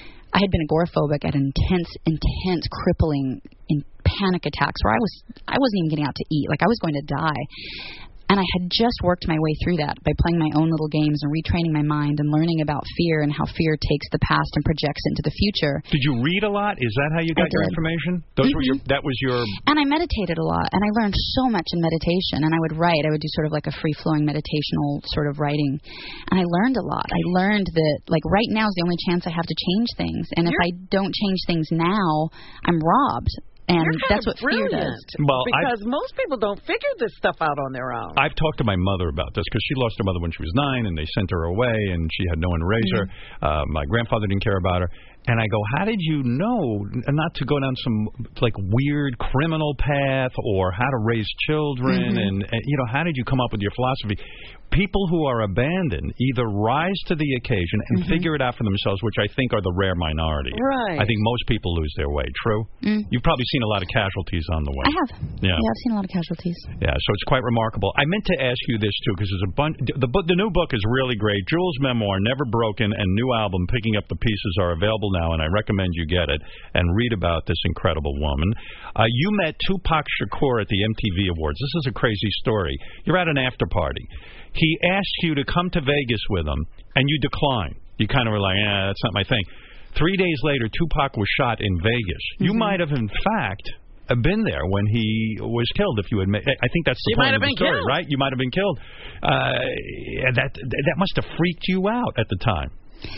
I had been agoraphobic at intense, crippling, in panic attacks where I wasn't even getting out to eat. Like, I was going to die. And I had just worked my way through that by playing my own little games and retraining my mind and learning about fear and how fear takes the past and projects it into the future. Did you read a lot? Is that how you got your information? Those were that was your... And I meditated a lot, and I learned so much in meditation. And I would write. I would do sort of like a free-flowing meditational sort of writing. And I learned a lot. I learned that, like, right now is the only chance I have to change things. And if I don't change things now, I'm robbed. And that's what fear does. Well, because most people don't figure this stuff out on their own. I've talked to my mother about this, because she lost her mother when she was 9, and they sent her away, and she had no one to raise her. My grandfather didn't care about her. And I go, how did you know not to go down some like weird criminal path or how to raise children? And how did you come up with your philosophy? People who are abandoned either rise to the occasion and figure it out for themselves, which I think are the rare minority. Right. I think most people lose their way. True? You've probably seen a lot of casualties on the way. I have. Yeah, I've seen a lot of casualties. Yeah, so it's quite remarkable. I meant to ask you this, too, because there's a bunch. The new book is really great. Jules' memoir, Never Broken, and new album, Picking Up the Pieces, are available now, and I recommend you get it and read about this incredible woman. You met Tupac Shakur at the MTV Awards. This is a crazy story. You're at an after party. He asked you to come to Vegas with him, and you declined. You kind of were like, that's not my thing. 3 days later, Tupac was shot in Vegas. You might have, in fact, been there when he was killed. If you admit, I think that's the point of the story, right? You might have been killed. That must have freaked you out at the time.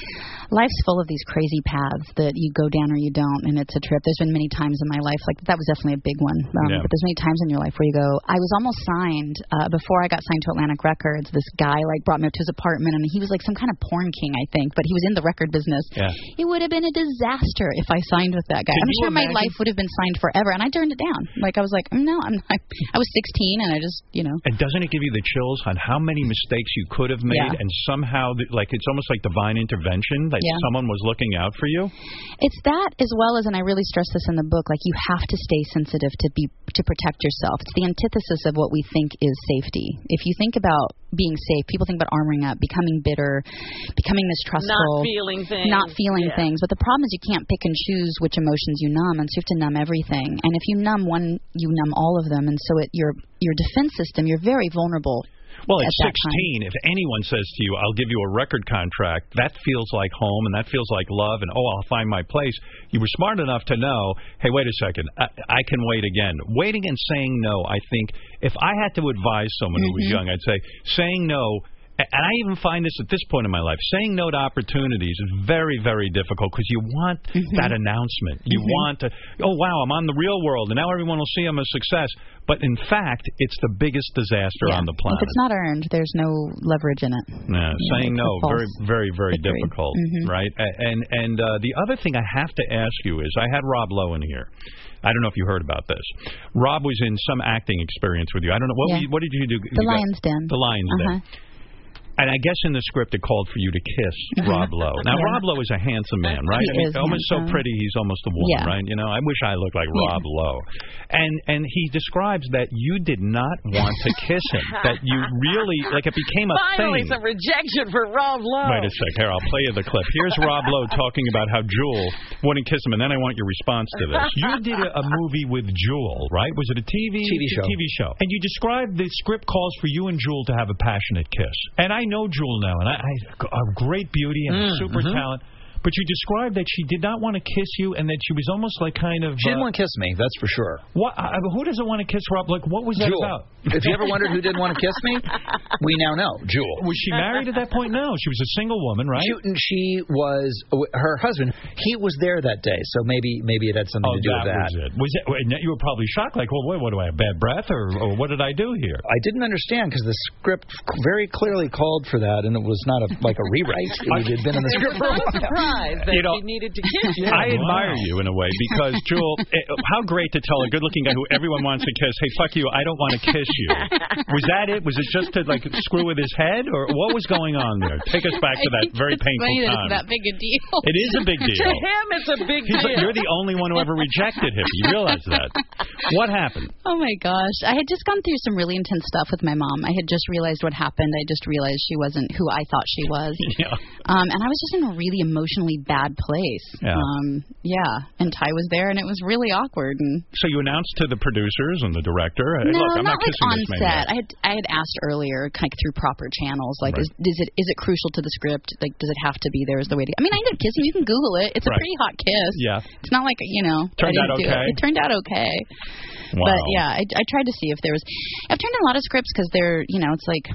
Life's full of these crazy paths that you go down or you don't, and it's a trip. There's been many times in my life, like that was definitely a big one. But there's many times in your life where you go, I was almost signed, before I got signed to Atlantic Records, this guy like brought me up to his apartment, and he was like some kind of porn king, I think, but he was in the record business. Yeah. It would have been a disaster if I signed with that guy. I'm sure my life would have been signed forever, and I turned it down. Like I was like, no, I'm not. I was 16, and I just, And doesn't it give you the chills on how many mistakes you could have made, and somehow, like it's almost like divine intervention, like someone was looking out for you? It's that, as well as, and I really stress this in the book, like you have to stay sensitive to protect yourself. It's the antithesis of what we think is safety. If you think about being safe, people think about armoring up, becoming bitter, becoming mistrustful, not feeling things. But the problem is you can't pick and choose which emotions you numb, and so you have to numb everything. And if you numb one, you numb all of them, and so your defense system, you're very vulnerable. Well, at 16, if anyone says to you, I'll give you a record contract, that feels like home and that feels like love and, I'll find my place. You were smart enough to know, hey, wait a second, I can wait again. Waiting and saying no, I think, if I had to advise someone who was young, I'd say saying no. And I even find this at this point in my life. Saying no to opportunities is very, very difficult because you want that announcement. You want to, wow, I'm on the real world, and now everyone will see I'm a success. But in fact, it's the biggest disaster on the planet. If it's not earned, there's no leverage in it. Yeah, saying no, very, very, very difficult, right? And the other thing I have to ask you is, I had Rob Lowe in here. I don't know if you heard about this. Rob was in some acting experience with you. I don't know. What did you do? The Lion's Den. The Lion's Den. And I guess in the script it called for you to kiss Rob Lowe. Now, Rob Lowe is a handsome man, right? He is almost so pretty, he's almost a woman, right? I wish I looked like Rob Lowe. And he describes that you did not want to kiss him, that you really, like it became a Finally, thing. some rejection for Rob Lowe. Wait a sec. Here, I'll play you the clip. Here's Rob Lowe talking about how Jewel wouldn't kiss him, and then I want your response to this. You did a movie with Jewel, right? Was it a TV show? TV show. And you described the script calls for you and Jewel to have a passionate kiss. And I know Jewel now, and a great beauty and a super talent. But you described that she did not want to kiss you, and that she was almost like kind of... She didn't want to kiss me, that's for sure. What? Who doesn't want to kiss Rob? Like, what was that Jewel. about? If you ever wondered who didn't want to kiss me, we now know. Jewel. Was she married at that point? No, she was a single woman, right? She was... Her husband, he was there that day, so maybe it had something to do with that. Was it. You were probably shocked, like, well, what do I have, bad breath, or what did I do here? I didn't understand, because the script very clearly called for that, and it was not like a rewrite. It had been in the script for a while. Surprised that needed to kiss you. I admire you in a way because, Jewel, how great to tell a good-looking guy who everyone wants to kiss, hey, fuck you, I don't want to kiss you. Was that it? Was it just to, like, screw with his head? Or what was going on there? Take us back to that very painful time. It's that big a deal. It is a big deal. To him, it's a big deal. Like, you're the only one who ever rejected him. You realize that. What happened? Oh, my gosh. I had just gone through some really intense stuff with my mom. I had just realized what happened. I just realized she wasn't who I thought she was. And I was just in a really emotionally bad place. And Ty was there, and it was really awkward. And so you announced to the producers and the director, hey, no, look, I'm not not kissing on this set. man. I had asked earlier, kind of through proper channels, like, is it crucial to the script? Like, does it have to be there? Is the way to? I mean, I ended up kissing. You can Google it. It's a pretty hot kiss. Yeah, it's not like Turned out okay. It turned out okay. Wow. But yeah, I tried to see if there was. I've turned in a lot of scripts because they're, it's like.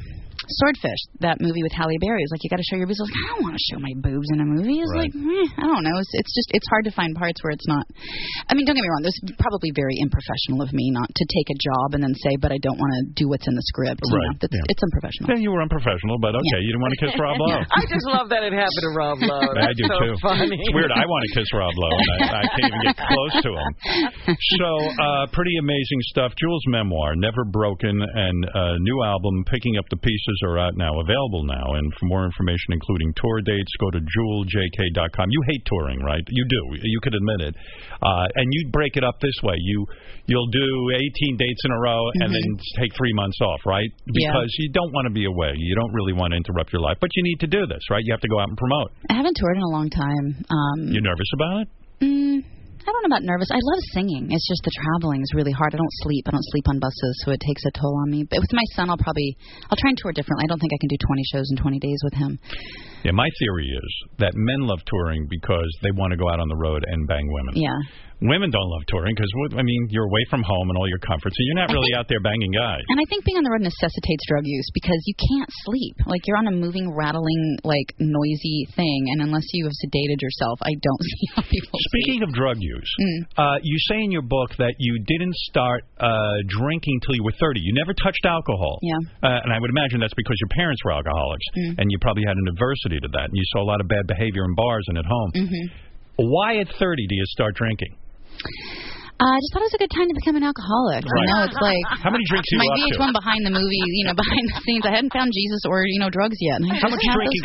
Swordfish, that movie with Halle Berry, is like, you got to show your boobs. I was like, I don't want to show my boobs in a movie. It's like, I don't know. It's hard to find parts where it's not. I mean, don't get me wrong. This is probably very unprofessional of me not to take a job and then say, but I don't want to do what's in the script. Right. You know, it's unprofessional. Yeah, you were unprofessional, but okay, you didn't want to kiss Rob Lowe. I just love that it happened to Rob Lowe. I do so too. Funny. It's weird. I want to kiss Rob Lowe, and I can't even get close to him. So, pretty amazing stuff. Jewel's memoir, Never Broken, and new album, Picking Up the Pieces, are out now, available now. And for more information, including tour dates, go to JewelJK.com. You hate touring, right? You do. You could admit it. And you break it up this way. You'll do 18 dates in a row and then take 3 months off, right? Because you don't want to be away. You don't really want to interrupt your life. But you need to do this, right? You have to go out and promote. I haven't toured in a long time. You nervous about it? I don't know about nervous. I love singing. It's just the traveling is really hard. I don't sleep. I don't sleep on buses, so it takes a toll on me. But with my son, I'll try and tour differently. I don't think I can do 20 shows in 20 days with him. Yeah, my theory is that men love touring because they want to go out on the road and bang women. Yeah. Women don't love touring because, I mean, you're away from home and all your comforts, and you're not really out there banging guys. And I think being on the road necessitates drug use because you can't sleep. Like, you're on a moving, rattling, like, noisy thing, and unless you have sedated yourself, I don't see how people Speaking of drug use, you say in your book that you didn't start drinking till you were 30. You never touched alcohol. Yeah. And I would imagine that's because your parents were alcoholics, and you probably had an adversity to that, and you saw a lot of bad behavior in bars and at home. Why at 30 do you start drinking? I just thought it was a good time to become an alcoholic. Right. You know, it's like how many drinks you my up VH1 to? behind the movie, you know, behind the scenes. I hadn't found Jesus or drugs yet. And How much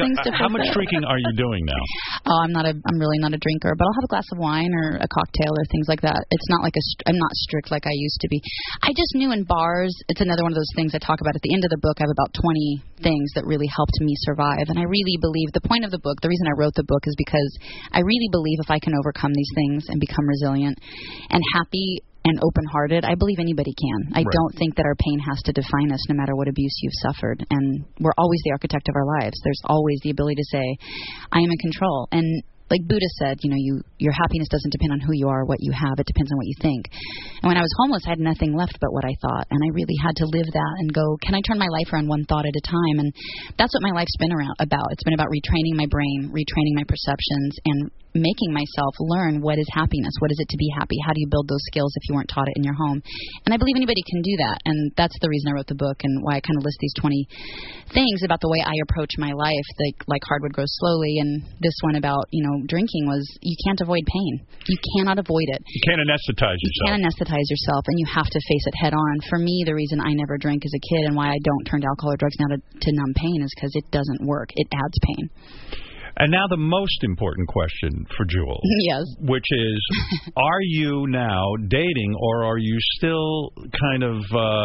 drinking are you doing now? Oh, I'm really not a drinker, but I'll have a glass of wine or a cocktail or things like that. It's not like I'm not strict like I used to be. I just knew in bars. It's another one of those things I talk about at the end of the book. I have about 20 things that really helped me survive, and I really believe the point of the book. The reason I wrote the book is because I really believe if I can overcome these things and become resilient and happy and open-hearted, I believe anybody can. I don't think that our pain has to define us no matter what abuse you've suffered. And we're always the architect of our lives. There's always the ability to say, I am in control. And like Buddha said, your happiness doesn't depend on who you are or what you have. It depends on what you think. And when I was homeless, I had nothing left but what I thought. And I really had to live that and go, can I turn my life around one thought at a time? And that's what my life's been about. It's been about retraining my brain, retraining my perceptions, and making myself learn what is happiness. What is it to be happy? How do you build those skills if you weren't taught it in your home? And I believe anybody can do that. And that's the reason I wrote the book and why I kind of list these 20 things about the way I approach my life, like hardwood grows slowly. And this one about, drinking was you can't avoid pain. You cannot avoid it. You can't anesthetize yourself. You can't anesthetize yourself, and you have to face it head on. For me, the reason I never drank as a kid and why I don't turn to alcohol or drugs now to numb pain is because it doesn't work. It adds pain. And now the most important question for Jewel. Yes. Which is, are you now dating or are you still kind of,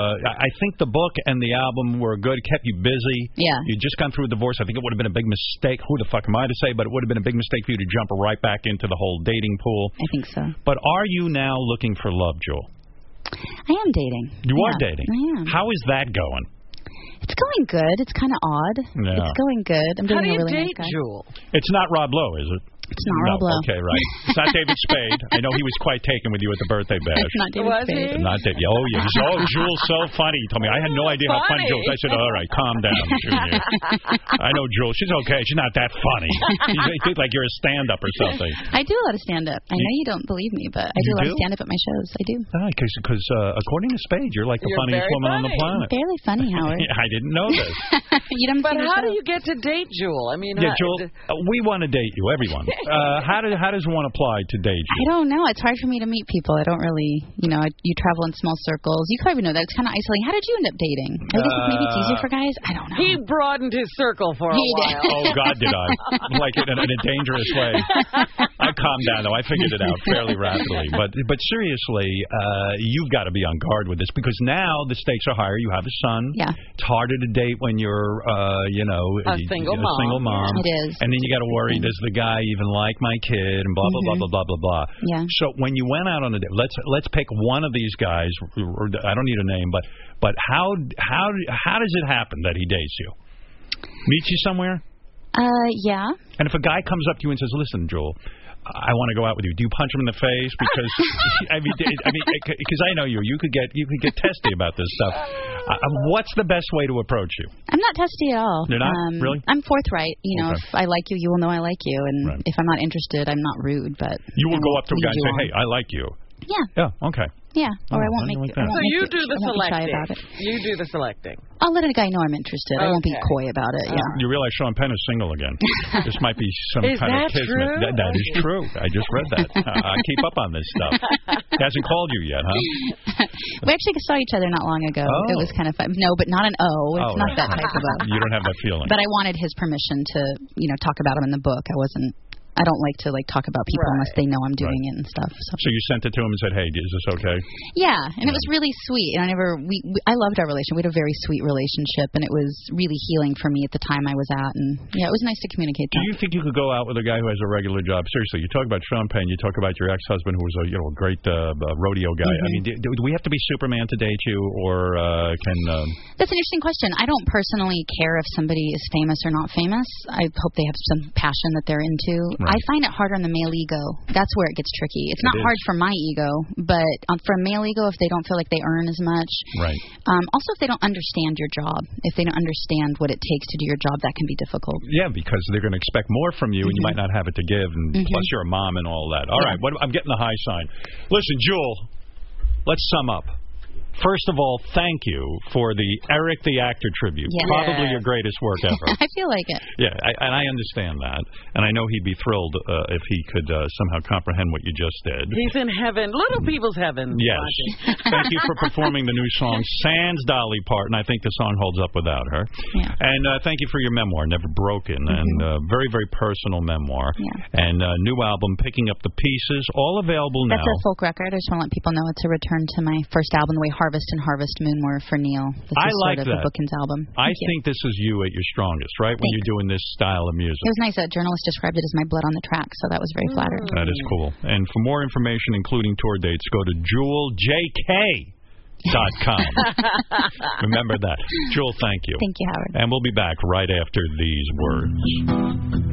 I think the book and the album were good, kept you busy. Yeah. You'd just gone through a divorce. I think it would have been a big mistake. Who the fuck am I to say? But it would have been a big mistake for you to jump right back into the whole dating pool. I think so. But are you now looking for love, Jewel? I am dating. You are dating? I am. How is that going? It's going good. It's kind of odd. Yeah. It's going good. I'm dating a really nice guy. Jewel? It's not Rob Lowe, is it? It's not Rob Lowe. Okay, right. It's not David Spade. I know he was quite taken with you at the birthday bash. It's not David Spade. Not David. Oh, yeah. Jewel's so funny. He told me. I had no idea how funny Jewel was. I said, all right, calm down, Junior. I know Jewel. She's okay. She's not that funny. You think like you're a stand-up or something. I do a lot of stand-up. I know you don't believe me, but I do a lot of stand-up at my shows. I do. Because according to Spade, you're like the funniest woman on the planet. Barely funny, Howard. I didn't know this. But how do you get to date Jewel? I mean, Jewel, we want to date you, everyone. How does one apply to date you? I don't know. It's hard for me to meet people. I don't really, you travel in small circles. You probably know that. It's kind of isolating. How did you end up dating? I guess maybe it's easier for guys. I don't know. He broadened his circle for a while. Oh, God, did I. Like in a dangerous way. I calmed down, though. I figured it out fairly rapidly. But seriously, you've got to be on guard with this because now the stakes are higher. You have a son. Yeah. It's harder to date when you're, a single mom. It is. And then you got to worry, does the guy even like my kid? And blah, blah, blah, blah, blah, blah. Yeah. So when you went out on a date, let's pick one of these guys. I don't need a name, but how does it happen that he dates you? Meets you somewhere? Yeah. And if a guy comes up to you and says, listen, Jewel, I want to go out with you. Do you punch him in the face? Because because I know you could get testy about this stuff. What's the best way to approach you? I'm not testy at all. You're not? Really? I'm forthright. If I like you, you will know I like you, and if I'm not interested, I'm not rude. But you will go up to a guy and say, "Hey, I like you." Yeah. Yeah. Okay. Yeah, or I won't make it. So you do the selecting. About it. You do the selecting. I'll let a guy know I'm interested. I won't be coy about it. Yeah. You realize Sean Penn is single again. This might be some is kind of kismet. True? That is true. I just read that. I keep up on this stuff. He hasn't called you yet, huh? We actually saw each other not long ago. Oh. It was kind of fun. No, but not an O. It's not that type of O. You don't have that feeling. But I wanted his permission to, talk about him in the book. I don't like to talk about people unless they know I'm doing it and stuff. So you sent it to him and said, "Hey, is this okay?" Yeah, and it was really sweet. And I loved our relationship. We had a very sweet relationship, and it was really healing for me at the time I was at. And it was nice to communicate that. Do you think you could go out with a guy who has a regular job? Seriously, you talk about Sean Penn, you talk about your ex-husband who was a great rodeo guy. Mm-hmm. I mean, do we have to be Superman to date you, or can? That's an interesting question. I don't personally care if somebody is famous or not famous. I hope they have some passion that they're into. Right. I find it harder on the male ego. That's where it gets tricky. It's not hard for my ego, but for a male ego, if they don't feel like they earn as much. Right. Also, if they don't understand your job, if they don't understand what it takes to do your job, that can be difficult. Yeah, because they're going to expect more from you, and you might not have it to give, and plus you're a mom and all that. All right, I'm getting the high sign. Listen, Jewel, let's sum up. First of all, thank you for the Eric the Actor tribute. Yes. Probably your greatest work ever. I feel like it. Yeah, and I understand that. And I know he'd be thrilled if he could somehow comprehend what you just did. He's in heaven. Little people's heaven. Yes. Thank you for performing the new song, Sans Dolly Parton. I think the song holds up without her. Yeah. And thank you for your memoir, Never Broken, and very, very personal memoir. Yeah. And new album, Picking Up the Pieces, all available now. That's a folk record. I just want to let people know it's a return to my first album, the way Harvest and Harvest Moon were for Neil. This I is like sort of that. a Bookends album. I think this is you at your strongest, right? When you're doing this style of music. It was nice. A journalist described it as my blood on the track, so that was very flattering. That is cool. And for more information, including tour dates, go to JewelJK.com. Remember that. Jewel, thank you. Thank you, Howard. And we'll be back right after these words.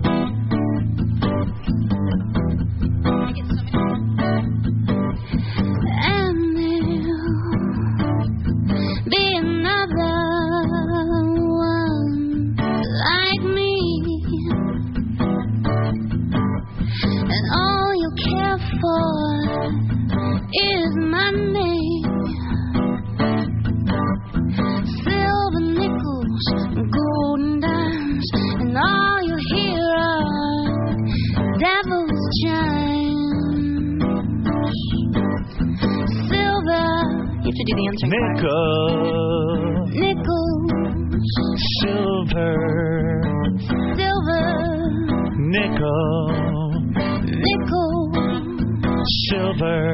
Is my name. Silver nickels, golden dimes, and all you hear are devil's chimes. Silver, you have to do the answering nickel, nickel, silver.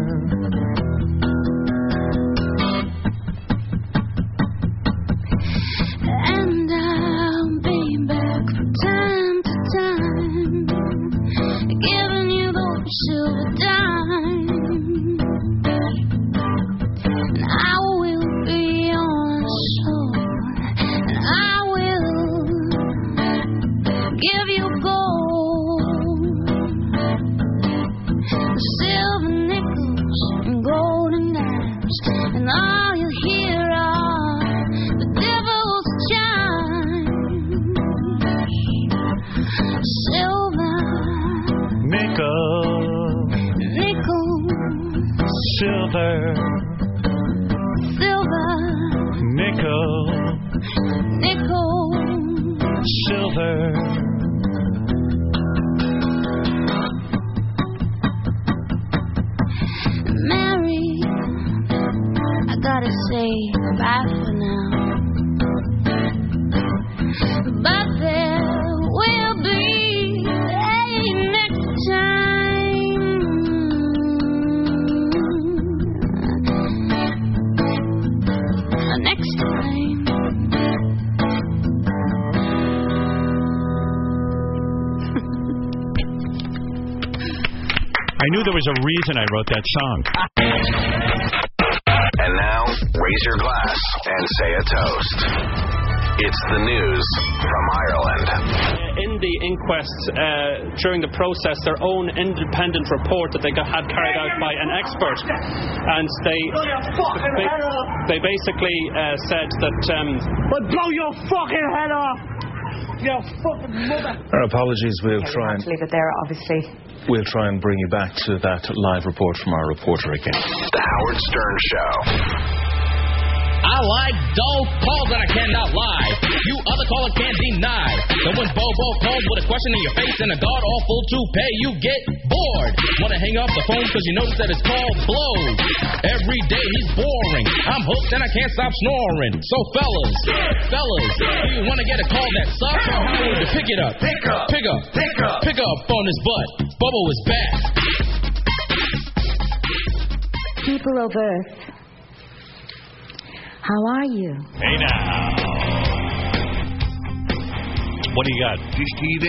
And I'll be back from time to time, giving you those silver dimes. And I will be on shore, and I will give you gold, silver nickels and golden dimes, and all you hear are the devil's chimes. Silver, nickel, nickel, silver, silver, nickel, nickel, silver. Mary, I gotta say bye for now, but there will be a next time. Next time. I knew there was a reason I wrote that song. And now, raise your glass and say a toast. It's the news from Ireland. In the inquest, during the process, their own independent report that they had carried out by an expert, and they basically said that I'll blow your fucking head off. Your fucking mother. Our apologies. We'll try and leave it there, obviously. We'll try and bring you back to that live report from our reporter again. The Howard Stern Show. I like dull calls that I cannot lie. You other caller can't deny. So when Bobo calls with a question in your face and a god-awful toupee, you get bored. Wanna hang up the phone because you notice that it's called blows. Every day he's boring. I'm hooked and I can't stop snoring. So fellas, do you want to get a call that sucks or how would you pick it up? Pick up on his butt. Bobo is back. People of Earth, how are you? Hey now. What do you got? Dish TV.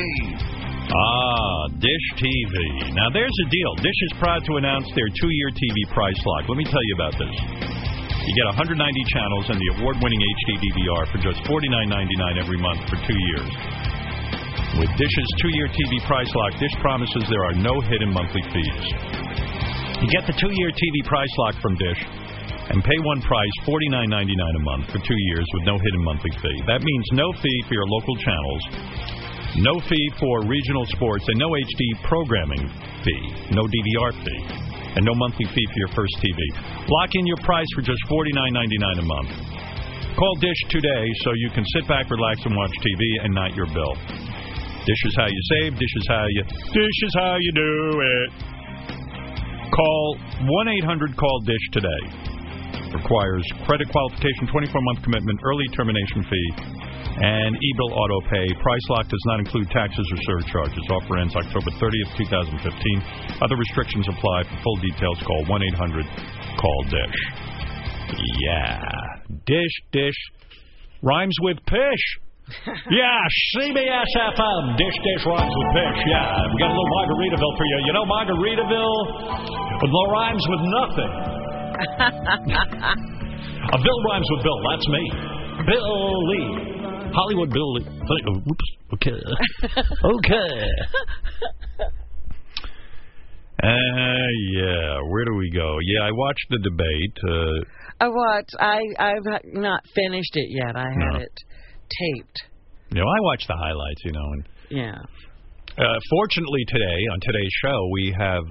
Dish TV. Now there's a deal. Dish is proud to announce their 2-year TV price lock. Let me tell you about this. You get 190 channels and the award-winning HD DVR for just $49.99 every month for 2 years. With Dish's 2-year TV price lock, Dish promises there are no hidden monthly fees. You get the 2-year TV price lock from Dish and pay one price, $49.99 a month for 2 years with no hidden monthly fee. That means no fee for your local channels, no fee for regional sports, and no HD programming fee, no DVR fee, and no monthly fee for your first TV. Lock in your price for just $49.99 a month. Call Dish today so you can sit back, relax, and watch TV and not your bill. Dish is how you save. Dish is how you do it. Call 1-800-CALL-DISH today. Requires credit qualification, 24-month commitment, early termination fee, and e-bill auto pay. Price lock does not include taxes or surcharges. Offer ends October 30th, 2015. Other restrictions apply. For full details, call 1-800-CALL-DISH. Yeah. Dish. Rhymes with pish. Yeah, CBS FM. Dish rhymes with pish. Yeah, we got a little Margaritaville for you. You know Margaritaville? With no rhymes with nothing. A Bill rhymes with Bill. That's me. Bill Lee. Hollywood Bill Lee. Oops. Okay. Okay. Yeah. Where do we go? Yeah, I watched the debate. I've not finished it yet. I had it taped. You know, I watched the highlights, you know. And, yeah. Fortunately today, on today's show, we have...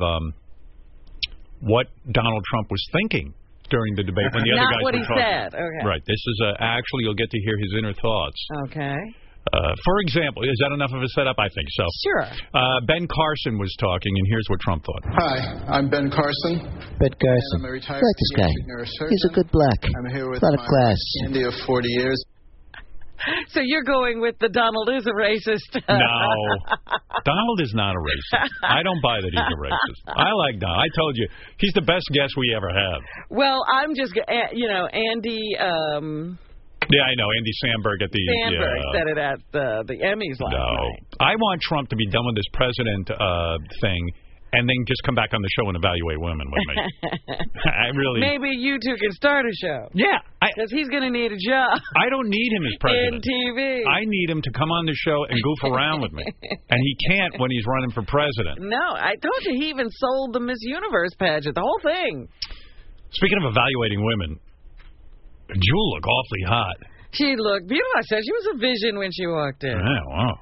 what Donald Trump was thinking during the debate when the other guys were talking. Not what he said. Okay. Right. This is actually you'll get to hear his inner thoughts. Okay. For example, is that enough of a setup? I think so. Sure. Ben Carson was talking, and here's what Trump thought. Hi, I'm Ben Carson. Ben Carson. I'm a retired I like this guy. He's a good black. I'm here with a lot of class. India of 40 years. So you're going with the Donald is a racist. No. Donald is not a racist. I don't buy that he's a racist. I like Donald. I told you, he's the best guest we ever have. Well, I'm just, Andy... yeah, I know. Andy Samberg at the... Samberg said it at the Emmys last night. I want Trump to be done with this president thing and then just come back on the show and evaluate women with me. I really... Maybe you two can start a show. Yeah. Because he's going to need a job. I don't need him as president. In TV. I need him to come on the show and goof around with me. And he can't when he's running for president. No, I told you he even sold the Miss Universe pageant, the whole thing. Speaking of evaluating women, Jewel looked awfully hot. She looked beautiful. I said she was a vision when she walked in. Yeah, wow.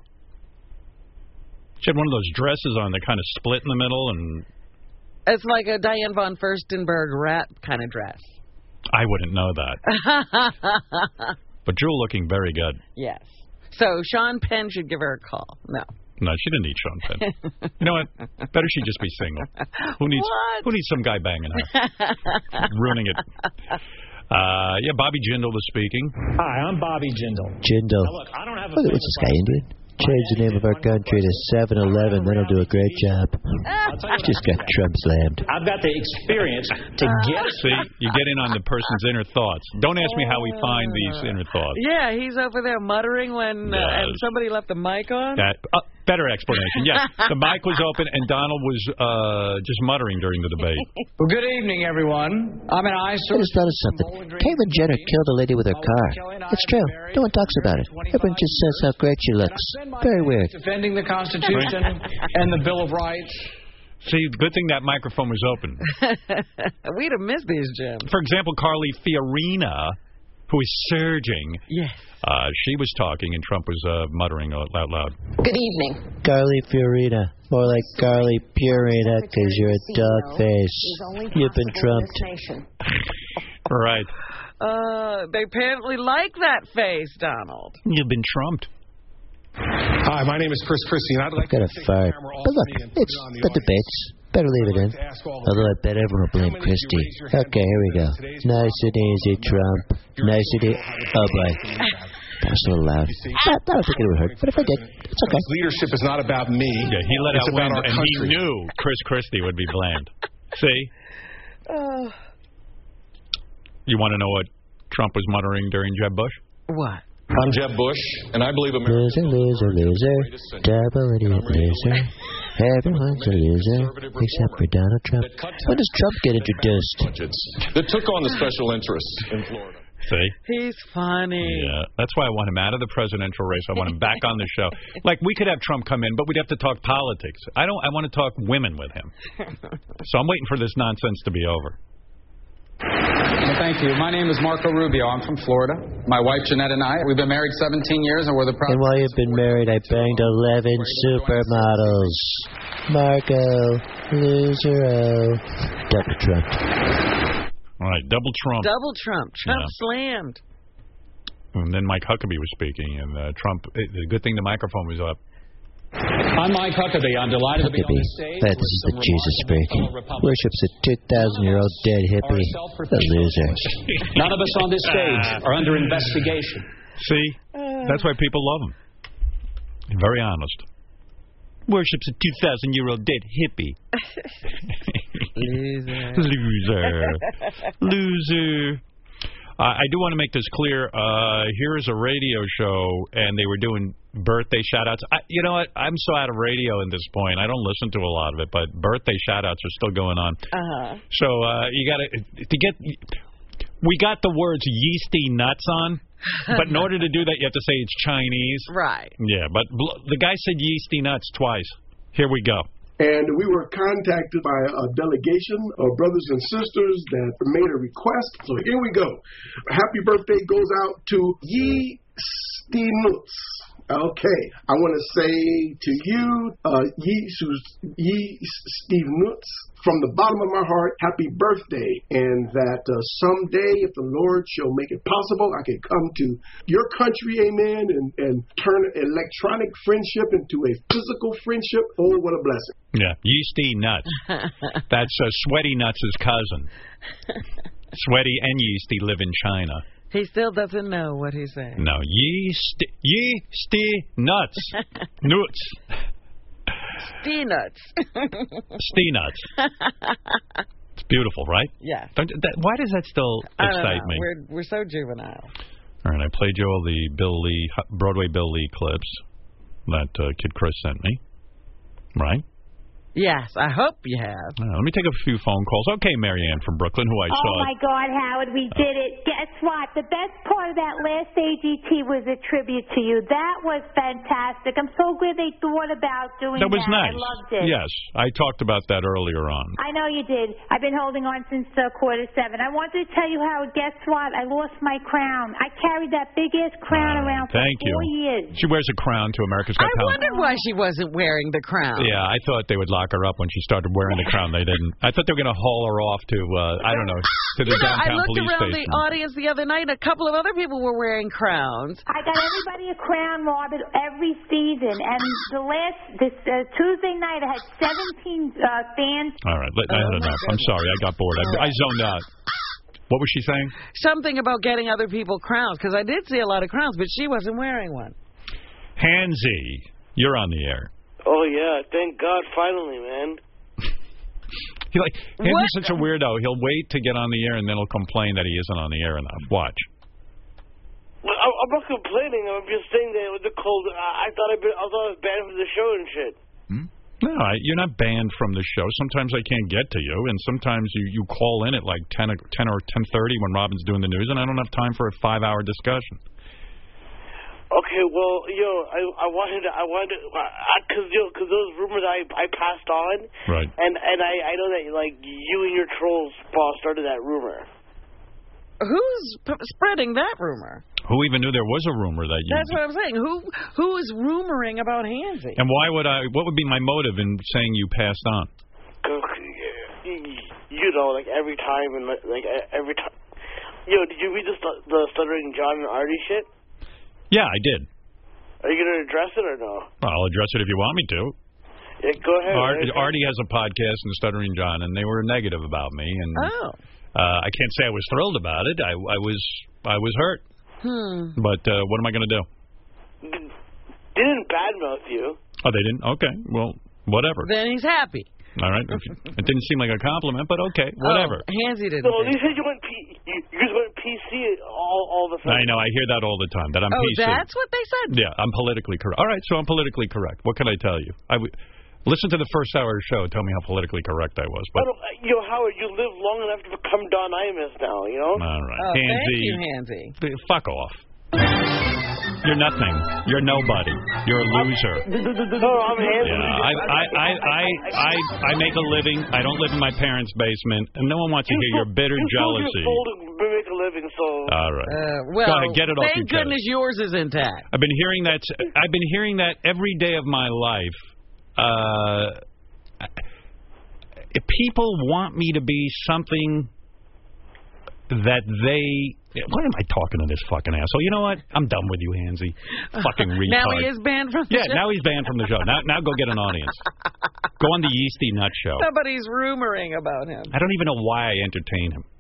She had one of those dresses on that kind of split in the middle, and it's like a Diane von Furstenberg rat kind of dress. I wouldn't know that. But Jewel looking very good. Yes. So Sean Penn should give her a call. No, she didn't need Sean Penn. You know what? Better she just be single. Who needs some guy banging her? Ruining it. Yeah, Bobby Jindal was speaking. Hi, I'm Bobby Jindal. Now, look, I don't have a what's this guy, Indian? Change the name of our country to 7-Eleven, then he'll do a great job. Just got Trump slammed. I've got the experience to get... See, you get in on the person's inner thoughts. Don't ask me how we find these inner thoughts. Yeah, he's over there muttering when and somebody left the mic on. Better explanation. Yes, the mic was open and Donald was just muttering during the debate. Well, good evening, everyone. I'm an eyesore. I just noticed something. Caitlyn Jenner killed a lady with her car. It's true. No one talks about it. Everyone just says how great she looks. Very weird. Defending the Constitution and the Bill of Rights. See, good thing that microphone was open. We'd have missed these, Jim. For example, Carly Fiorina, who is surging. Yes. She was talking, and Trump was muttering out loud. Good evening. Carly Fiorina. More like Carly Purina, because you're a dog face. You've been trumped. Right. They apparently like that face, Donald. You've been trumped. Hi, my name is Chris Christie, and I'd like to fart. But look, it's the debates. Better leave it in. Although I bet everyone will blame Christie. Okay, here we go. Nice and easy, Trump. Nice and easy. Oh, boy. That was a little loud. I don't think it would hurt, but if I did, it's okay. Leadership is not about me. Yeah, he let out wind, and he knew Chris Christie would be blamed. See? You want to know what Trump was muttering during Jeb Bush? What? I'm Jeb Bush, and I believe America... Loser. Double idiot loser. Everyone's a loser, except for Donald Trump. When does Trump get introduced? That took on the special interests in Florida. See? He's funny. Yeah, that's why I want him out of the presidential race. I want him back on the show. Like, we could have Trump come in, but we'd have to talk politics. I want to talk women with him. So I'm waiting for this nonsense to be over. Well, thank you. My name is Marco Rubio. I'm from Florida. My wife, Jeanette, and I, we've been married 17 years, and we're the proud... And while you've been married, I banged 11 supermodels. Marco, loser, double Trump. All right, double Trump. Double Trump. Trump slammed. And then Mike Huckabee was speaking, and Trump... The good thing the microphone was up. I'm Mike Huckabee. I'm delighted to be on the stage. This is the Jesus freak. Worships a 2,000-year-old dead hippie. A loser. None of us on this stage are under investigation. See? That's why people love him. Very honest. Worships a 2,000-year-old dead hippie. Loser. I do want to make this clear. Here's a radio show, and they were doing birthday shout-outs. You know what? I'm so out of radio at this point. I don't listen to a lot of it, but birthday shout-outs are still going on. So you got to get... We got the words yeasty nuts on, but in order to do that, you have to say it's Chinese. Right. Yeah, but the guy said yeasty nuts twice. Here we go. And we were contacted by a delegation of brothers and sisters that made a request. So here we go. Happy birthday goes out to Yeasty Nuts. Okay. I want to say to you, Yeasty Nuts, from the bottom of my heart, happy birthday. And that someday, if the Lord shall make it possible, I can come to your country, amen, and turn electronic friendship into a physical friendship. Oh, what a blessing. Yeah, Yeasty Nuts. That's Sweaty Nuts' cousin. Sweaty and Yeasty live in China. He still doesn't know what he's saying. No, yeasty nuts. Nuts. Steenuts. Steenuts. It's beautiful, right? Yeah. Why does that still excite me? We're so juvenile. All right, I played you all the Broadway Bill Lee clips that Kid Chris sent me. Right? Yes, I hope you have. Let me take a few phone calls. Okay, Marianne from Brooklyn, who I saw. Oh, my God, Howard, we did it. Guess what? The best part of that last AGT was a tribute to you. That was fantastic. I'm so glad they thought about doing that. That was nice. I loved it. Yes, I talked about that earlier on. I know you did. I've been holding on since 7:15. I wanted to tell you, Howard, guess what? I lost my crown. I carried that big-ass crown around for 4 years. She wears a crown to America's Got Talent. I wondered why she wasn't wearing the crown. Yeah, I thought they would lock her up when she started wearing the crown. They didn't. I thought they were going to haul her off to, I don't know, to the downtown police station. I looked around the audience the other night, and a couple of other people were wearing crowns. I got everybody a crown, Margaret, every season. And this Tuesday night, I had 17 fans. All right, I had enough. I'm sorry, I got bored. I zoned out. What was she saying? Something about getting other people crowns, because I did see a lot of crowns, but she wasn't wearing one. Hansy, you're on the air. Oh, yeah. Thank God, finally, man. Hansy's such a weirdo. He'll wait to get on the air, and then he'll complain that he isn't on the air enough. Watch. Well, I'm not complaining. I'm just saying that with the cold, I thought I was banned from the show and shit. No, you're not banned from the show. Sometimes I can't get to you, and sometimes you call in at like 10 or 10:30 when Robin's doing the news, and I don't have time for a 5-hour discussion. Okay, well, I wanted to, because those rumors I passed on, right? And I know that like you and your trolls started that rumor. Who's spreading that rumor? Who even knew there was a rumor that you... That's what I'm saying. Who is rumoring about Hansy? And why would I... What would be my motive in saying you passed on? You know, like every time and like every time... did you read the Stuttering John and Artie shit? Yeah, I did. Are you going to address it or no? Well, I'll address it if you want me to. Yeah, go ahead. Artie has a podcast in Stuttering John, and they were negative about me. And I can't say I was thrilled about it. I was hurt. But what am I going to do? They didn't badmouth you. Oh, they didn't? Okay. Well, whatever. Then he's happy. All right. It didn't seem like a compliment, but okay. Whatever. Hansy didn't. No, you said you guys went PC all the time. I know. I hear that all the time, that I'm PC. Oh, that's what they said? Yeah, I'm politically correct. All right, so I'm politically correct. What can I tell you? Listen to the first hour of the show. Tell me how politically correct I was. But Howard, you live long enough to become Don Imus now, you know? All right. Oh, Hansy, thank you, Hansy. Fuck off. You're nothing. You're nobody. You're a loser. No, I'm Hansy. I make a living. I don't live in my parents' basement, and no one wants to hear your bitter jealousy. You make a living, so... All right. Well, go ahead, get it off your thank goodness yours is intact. I've been hearing that every day of my life. If people want me to be something that they... Why am I talking to this fucking asshole? You know what? I'm done with you, Hansy. Fucking retard. Now he is banned from the show? Yeah, now he's banned from the show. Now go get an audience. Go on the Yeasty Nut Show. Somebody's rumoring about him. I don't even know why I entertain him.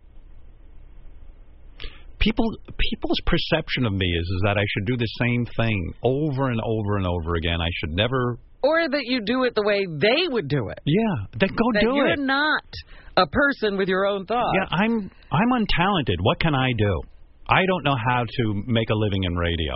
People's perception of me is that I should do the same thing over and over and over again. I should never... Or that you do it the way they would do it. Yeah, then go that do you're it. You're not a person with your own thoughts. Yeah, I'm untalented. What can I do? I don't know how to make a living in radio.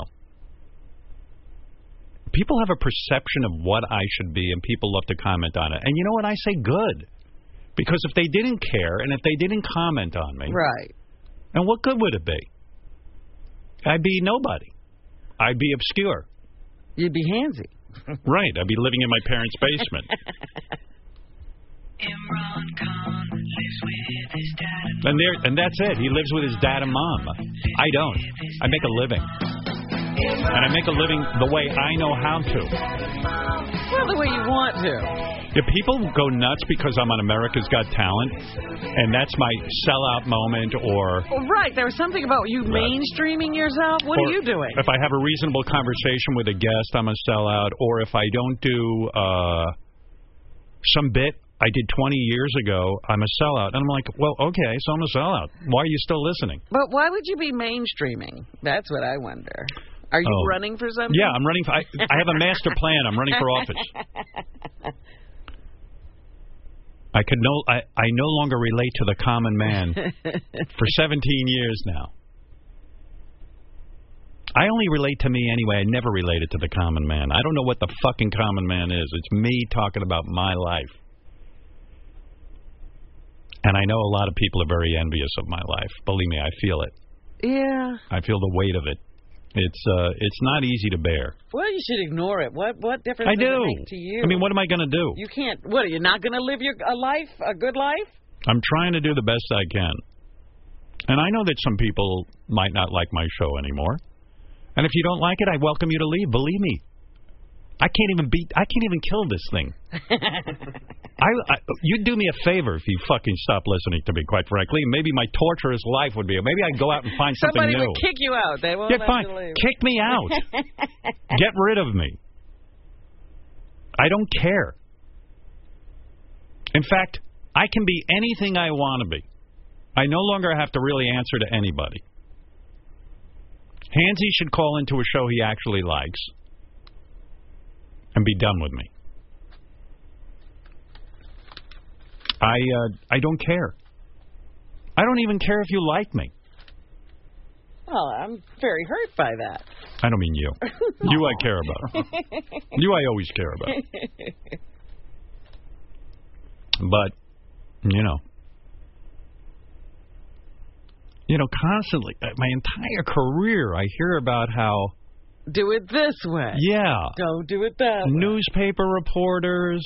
People have a perception of what I should be, and people love to comment on it. And you know what? I say good. Because if they didn't care, and if they didn't comment on me... Right. And what good would it be? I'd be nobody. I'd be obscure. You'd be Hansy. Right. I'd be living in my parents' basement. Imran Khan lives with his dad and that's it. He lives with his dad and mom. I don't. I make a living. And I make a living the way I know how to. Well, the way you want to. If people go nuts because I'm on America's Got Talent, and that's my sellout moment, or... Well, right, there was something about you mainstreaming yourself. What are you doing? If I have a reasonable conversation with a guest, I'm a sellout. Or if I don't do some bit I did 20 years ago, I'm a sellout. And I'm like, well, okay, so I'm a sellout. Why are you still listening? But why would you be mainstreaming? That's what I wonder. Are you running for something? Yeah, I'm running for... I have a master plan. I'm running for office. I no longer relate to the common man for 17 years now. I only relate to me anyway. I never related to the common man. I don't know what the fucking common man is. It's me talking about my life. And I know a lot of people are very envious of my life. Believe me, I feel it. Yeah. I feel the weight of it. It's not easy to bear. Well, you should ignore it. What difference does it make to you? I mean, what am I going to do? You can't. What, are you not going to live a good life? I'm trying to do the best I can. And I know that some people might not like my show anymore. And if you don't like it, I welcome you to leave. Believe me. I can't even kill this thing. You'd do me a favor if you fucking stop listening to me, quite frankly. Maybe my torturous life would be... Maybe I'd go out and find something new. Somebody would kick you out. They won't let you leave. Kick me out. Get rid of me. I don't care. In fact, I can be anything I want to be. I no longer have to really answer to anybody. Hansy should call into a show he actually likes and be done with me. I don't care. I don't even care if you like me. Well, I'm very hurt by that. I don't mean you. You I care about. You I always care about. But, constantly, my entire career, I hear about how... Do it this way. Yeah. Don't do it that way. Newspaper reporters,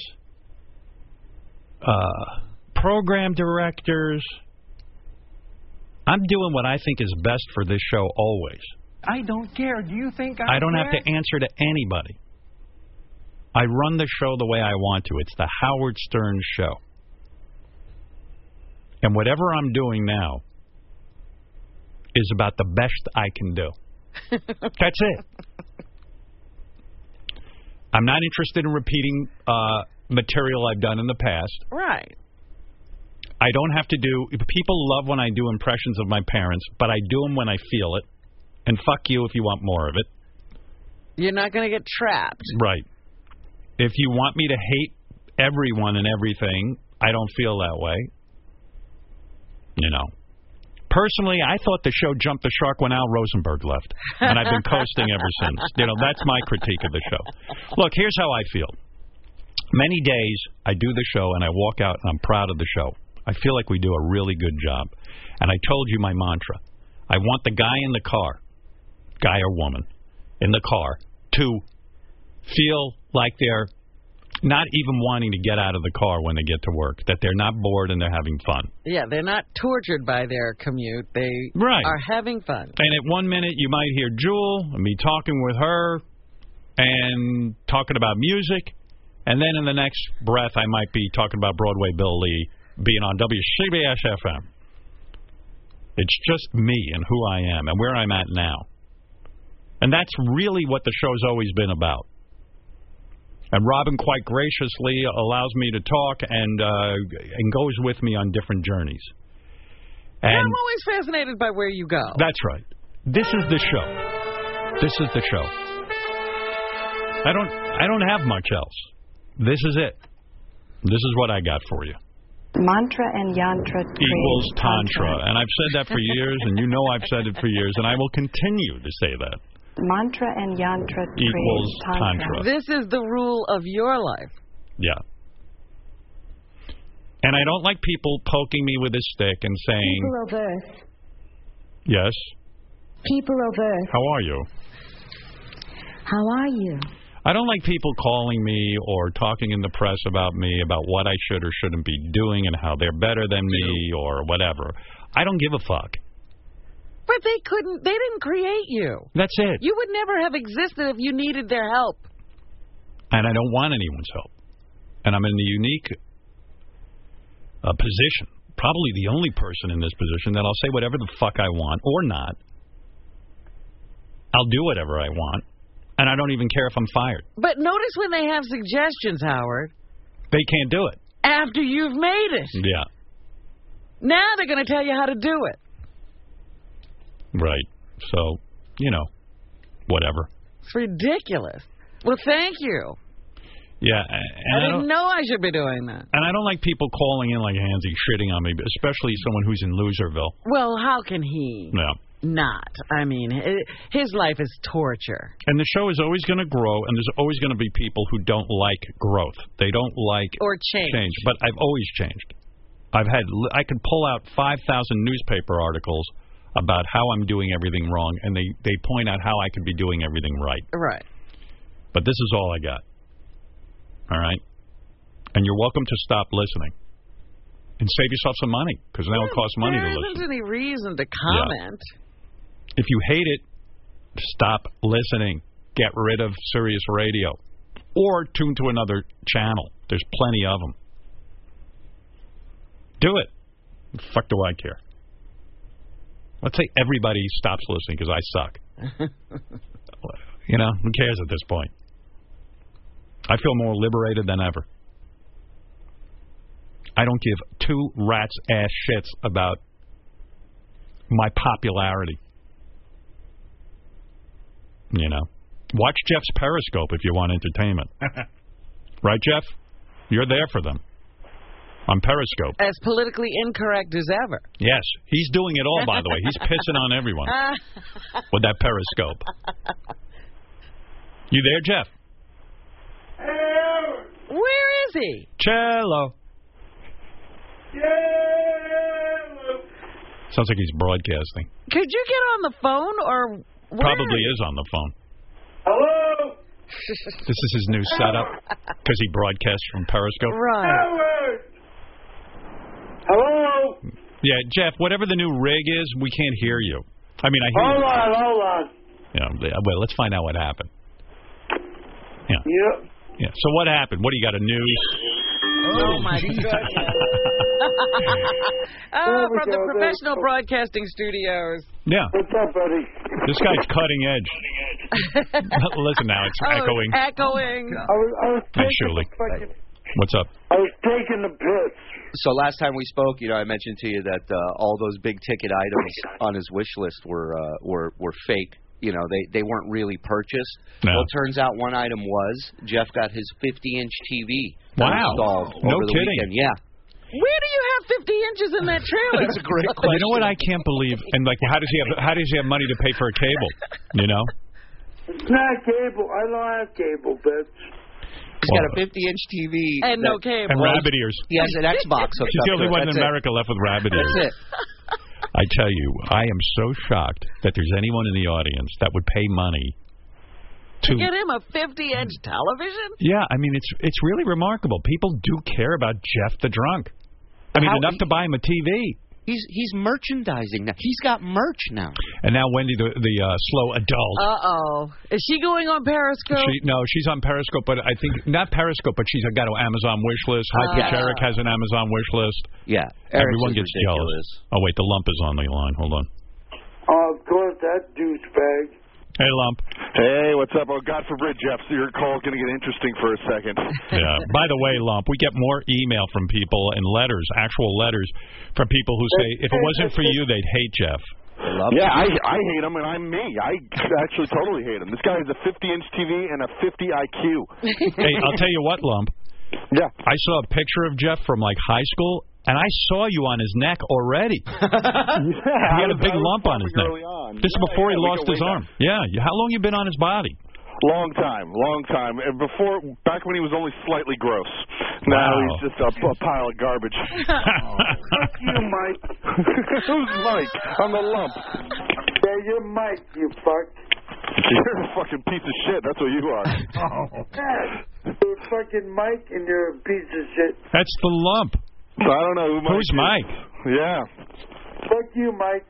program directors. I'm doing what I think is best for this show always. I don't care. Do you think I don't care? have to answer to anybody. I run the show the way I want to. It's the Howard Stern Show. And whatever I'm doing now is about the best I can do. That's it. I'm not interested in repeating material I've done in the past. Right. I don't have to do... People love when I do impressions of my parents, but I do them when I feel it. And fuck you if you want more of it. You're not going to get trapped. Right. If you want me to hate everyone and everything, I don't feel that way. Personally, I thought the show jumped the shark when Al Rosenberg left. And I've been coasting ever since. That's my critique of the show. Look, here's how I feel. Many days I do the show and I walk out and I'm proud of the show. I feel like we do a really good job. And I told you my mantra. I want the guy in the car, guy or woman, in the car, to feel like they're not even wanting to get out of the car when they get to work, that they're not bored and they're having fun. Yeah, they're not tortured by their commute. They are having fun. And at 1 minute you might hear Jewel and me talking with her and talking about music. And then in the next breath I might be talking about Broadway Bill Lee being on WCBS-FM. It's just me and who I am and where I'm at now. And that's really what the show's always been about. And Robin quite graciously allows me to talk and goes with me on different journeys. And I'm always fascinated by where you go. That's right. This is the show. This is the show. I don't have much else. This is it. This is what I got for you. Mantra and yantra equals tantra. And I've said that for years, and I've said it for years, and I will continue to say that. Mantra and yantra equals tantra. This is the rule of your life. Yeah. And I don't like people poking me with a stick and saying... People of Earth. Yes? People of Earth. How are you? How are you? I don't like people calling me or talking in the press about me, about what I should or shouldn't be doing and how they're better than me or whatever. I don't give a fuck. But they didn't create you. That's it. You would never have existed if you needed their help. And I don't want anyone's help. And I'm in the unique position, probably the only person in this position, that I'll say whatever the fuck I want or not. I'll do whatever I want. And I don't even care if I'm fired. But notice when they have suggestions, Howard. They can't do it. After you've made it. Yeah. Now they're going to tell you how to do it. Right. So, whatever. It's ridiculous. Well, thank you. Yeah. I didn't know I should be doing that. And I don't like people calling in like handsy, shitting on me, especially someone who's in Loserville. Well, how can he? Yeah. Not. I mean, his life is torture. And the show is always going to grow, and there's always going to be people who don't like growth. They don't like or change. But I've always changed. I could pull out 5,000 newspaper articles about how I'm doing everything wrong, and they point out how I could be doing everything right. Right. But this is all I got. All right? And you're welcome to stop listening. And save yourself some money, because now it costs money to listen. There isn't any reason to comment. Yeah. If you hate it, stop listening. Get rid of Sirius Radio. Or tune to another channel. There's plenty of them. Do it. The fuck do I care? Let's say everybody stops listening because I suck. Who cares at this point? I feel more liberated than ever. I don't give two rats' ass shits about my popularity. Watch Jeff's Periscope if you want entertainment. Right, Jeff? You're there for them. on Periscope. As politically incorrect as ever. Yes, he's doing it all, by the way. He's pissing on everyone with that Periscope. You there, Jeff? Where is he? Cello. Sounds like he's broadcasting. Could you get on the phone or... Probably is on the phone. Hello? This is his new setup because he broadcasts from Periscope. Right. Hello? Yeah, Jeff, whatever the new rig is, we can't hear you. I mean, I hear Hold you. on. Yeah, well, let's find out what happened. Yeah. Yep. Yeah. So what happened? What do you got, a news? Oh, my goodness. From the professional broadcasting studios. Yeah. What's up, buddy? This guy's cutting edge. Listen now, it's echoing. Echoing. I was Hey, Shuli. What's up? I was taking the piss. So last time we spoke, I mentioned to you that all those big ticket items on his wish list were fake. They weren't really purchased. No. Well, it turns out one item was. Jeff got his 50-inch TV installed over the weekend. Yeah. Where do you have 50 inches in that trailer? That's a great question. You know what I can't believe? And like, how does he have money to pay for a cable? You know? It's not cable. I don't have cable, bitch. He's got a 50-inch TV. And no cable. And rabbit ears. He has an Xbox hooked She's up the only to it. one in America left with rabbit ears. That's it. I tell you, I am so shocked that there's anyone in the audience that would pay money to get him a 50-inch television? Yeah, I mean, it's really remarkable. People do care about Jeff the Drunk. I mean, enough to buy him a TV. He's merchandising now. He's got merch now. And now Wendy, the slow adult. Uh-oh. Is she going on Periscope? No, she's on Periscope, but I think, not Periscope, but she's got an Amazon wish list. High Pitch Eric has an Amazon wish list. Yeah. Everyone gets jealous. Oh, wait, the lump is on the line. Hold on. Of course, that douchebag. Hey, Lump. Hey, what's up? Oh, God forbid, Jeff, so your call's going to get interesting for a second. Yeah. By the way, Lump, we get more email from people and letters, actual letters, from people who say, if it wasn't for you, they'd hate Jeff. Yeah, I hate him, and I'm me. I actually totally hate him. This guy has a 50-inch TV and a 50 IQ. Hey, I'll tell you what, Lump. Yeah. I saw a picture of Jeff from, like, high school, and I saw you on his neck already. He had a big lump on his neck. This is before he lost his arm. Yeah. How long you been on his body? Long time. And back when he was only slightly gross. Now he's just a pile of garbage. Fuck you, Mike. Who's Mike? I'm the lump. Yeah, you're Mike, you fuck. You're a fucking piece of shit. That's what you are. You're fucking Mike, and you're a piece of shit. That's the lump. I don't know who Mike Who's is. Mike? Yeah. Fuck you, Mike.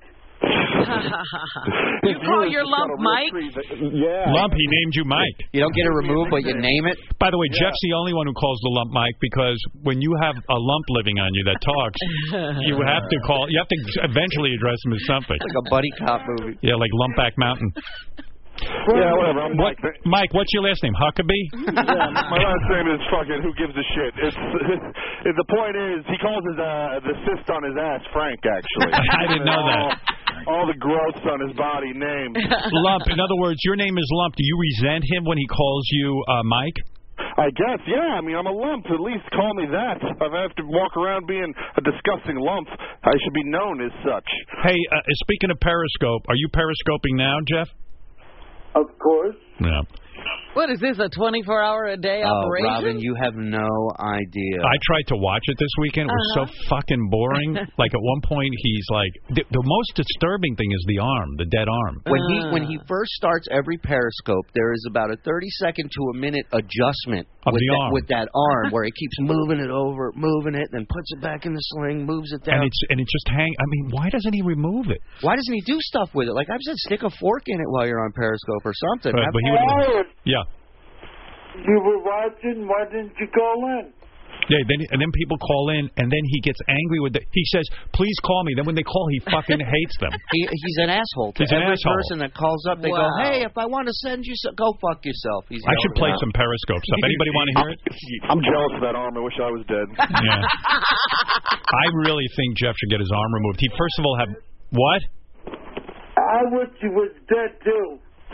You call your lump Mike? Yeah. Lump, he named you Mike. You don't get it removed, but you name it? By the way, Jeff's the only one who calls the lump Mike because when you have a lump living on you that talks, you have to eventually address him as something. It's like a buddy cop movie. Yeah, like Lumpback Mountain. Yeah, whatever. I'm Mike. Mike, what's your last name? Huckabee? Yeah, my last name is fucking who gives a shit. The point is, he calls the cyst on his ass Frank, actually. I didn't know that. All the growths on his body named. Lump. In other words, your name is Lump. Do you resent him when he calls you Mike? I guess, yeah. I mean, I'm a lump. At least call me that. If I have to walk around being a disgusting lump, I should be known as such. Hey, speaking of Periscope, are you Periscoping now, Jeff? Of course. Yeah. What is this, a 24-hour-a-day operation? Robin, you have no idea. I tried to watch it this weekend. It was so fucking boring. Like, at one point, he's like... The most disturbing thing is the arm, the dead arm. When he first starts every Periscope, there is about a 30-second to a minute adjustment with that arm, where he keeps moving it over, moving it, then puts it back in the sling, moves it down. And it just hangs... I mean, why doesn't he remove it? Why doesn't he do stuff with it? Like I've said, stick a fork in it while you're on Periscope or something. But he would... Yeah. You were watching. Why didn't you call in? Yeah, and then people call in, and then he gets angry with he says, please call me. Then when they call, he fucking hates them. He's an asshole. To every person that calls up, they go, hey, if I want to send you some, go fuck yourself. I should play some Periscope stuff. Anybody want to hear it? I'm jealous of that arm. I wish I was dead. Yeah. I really think Jeff should get his arm removed. He, first of all, have... What? I wish he was dead, too.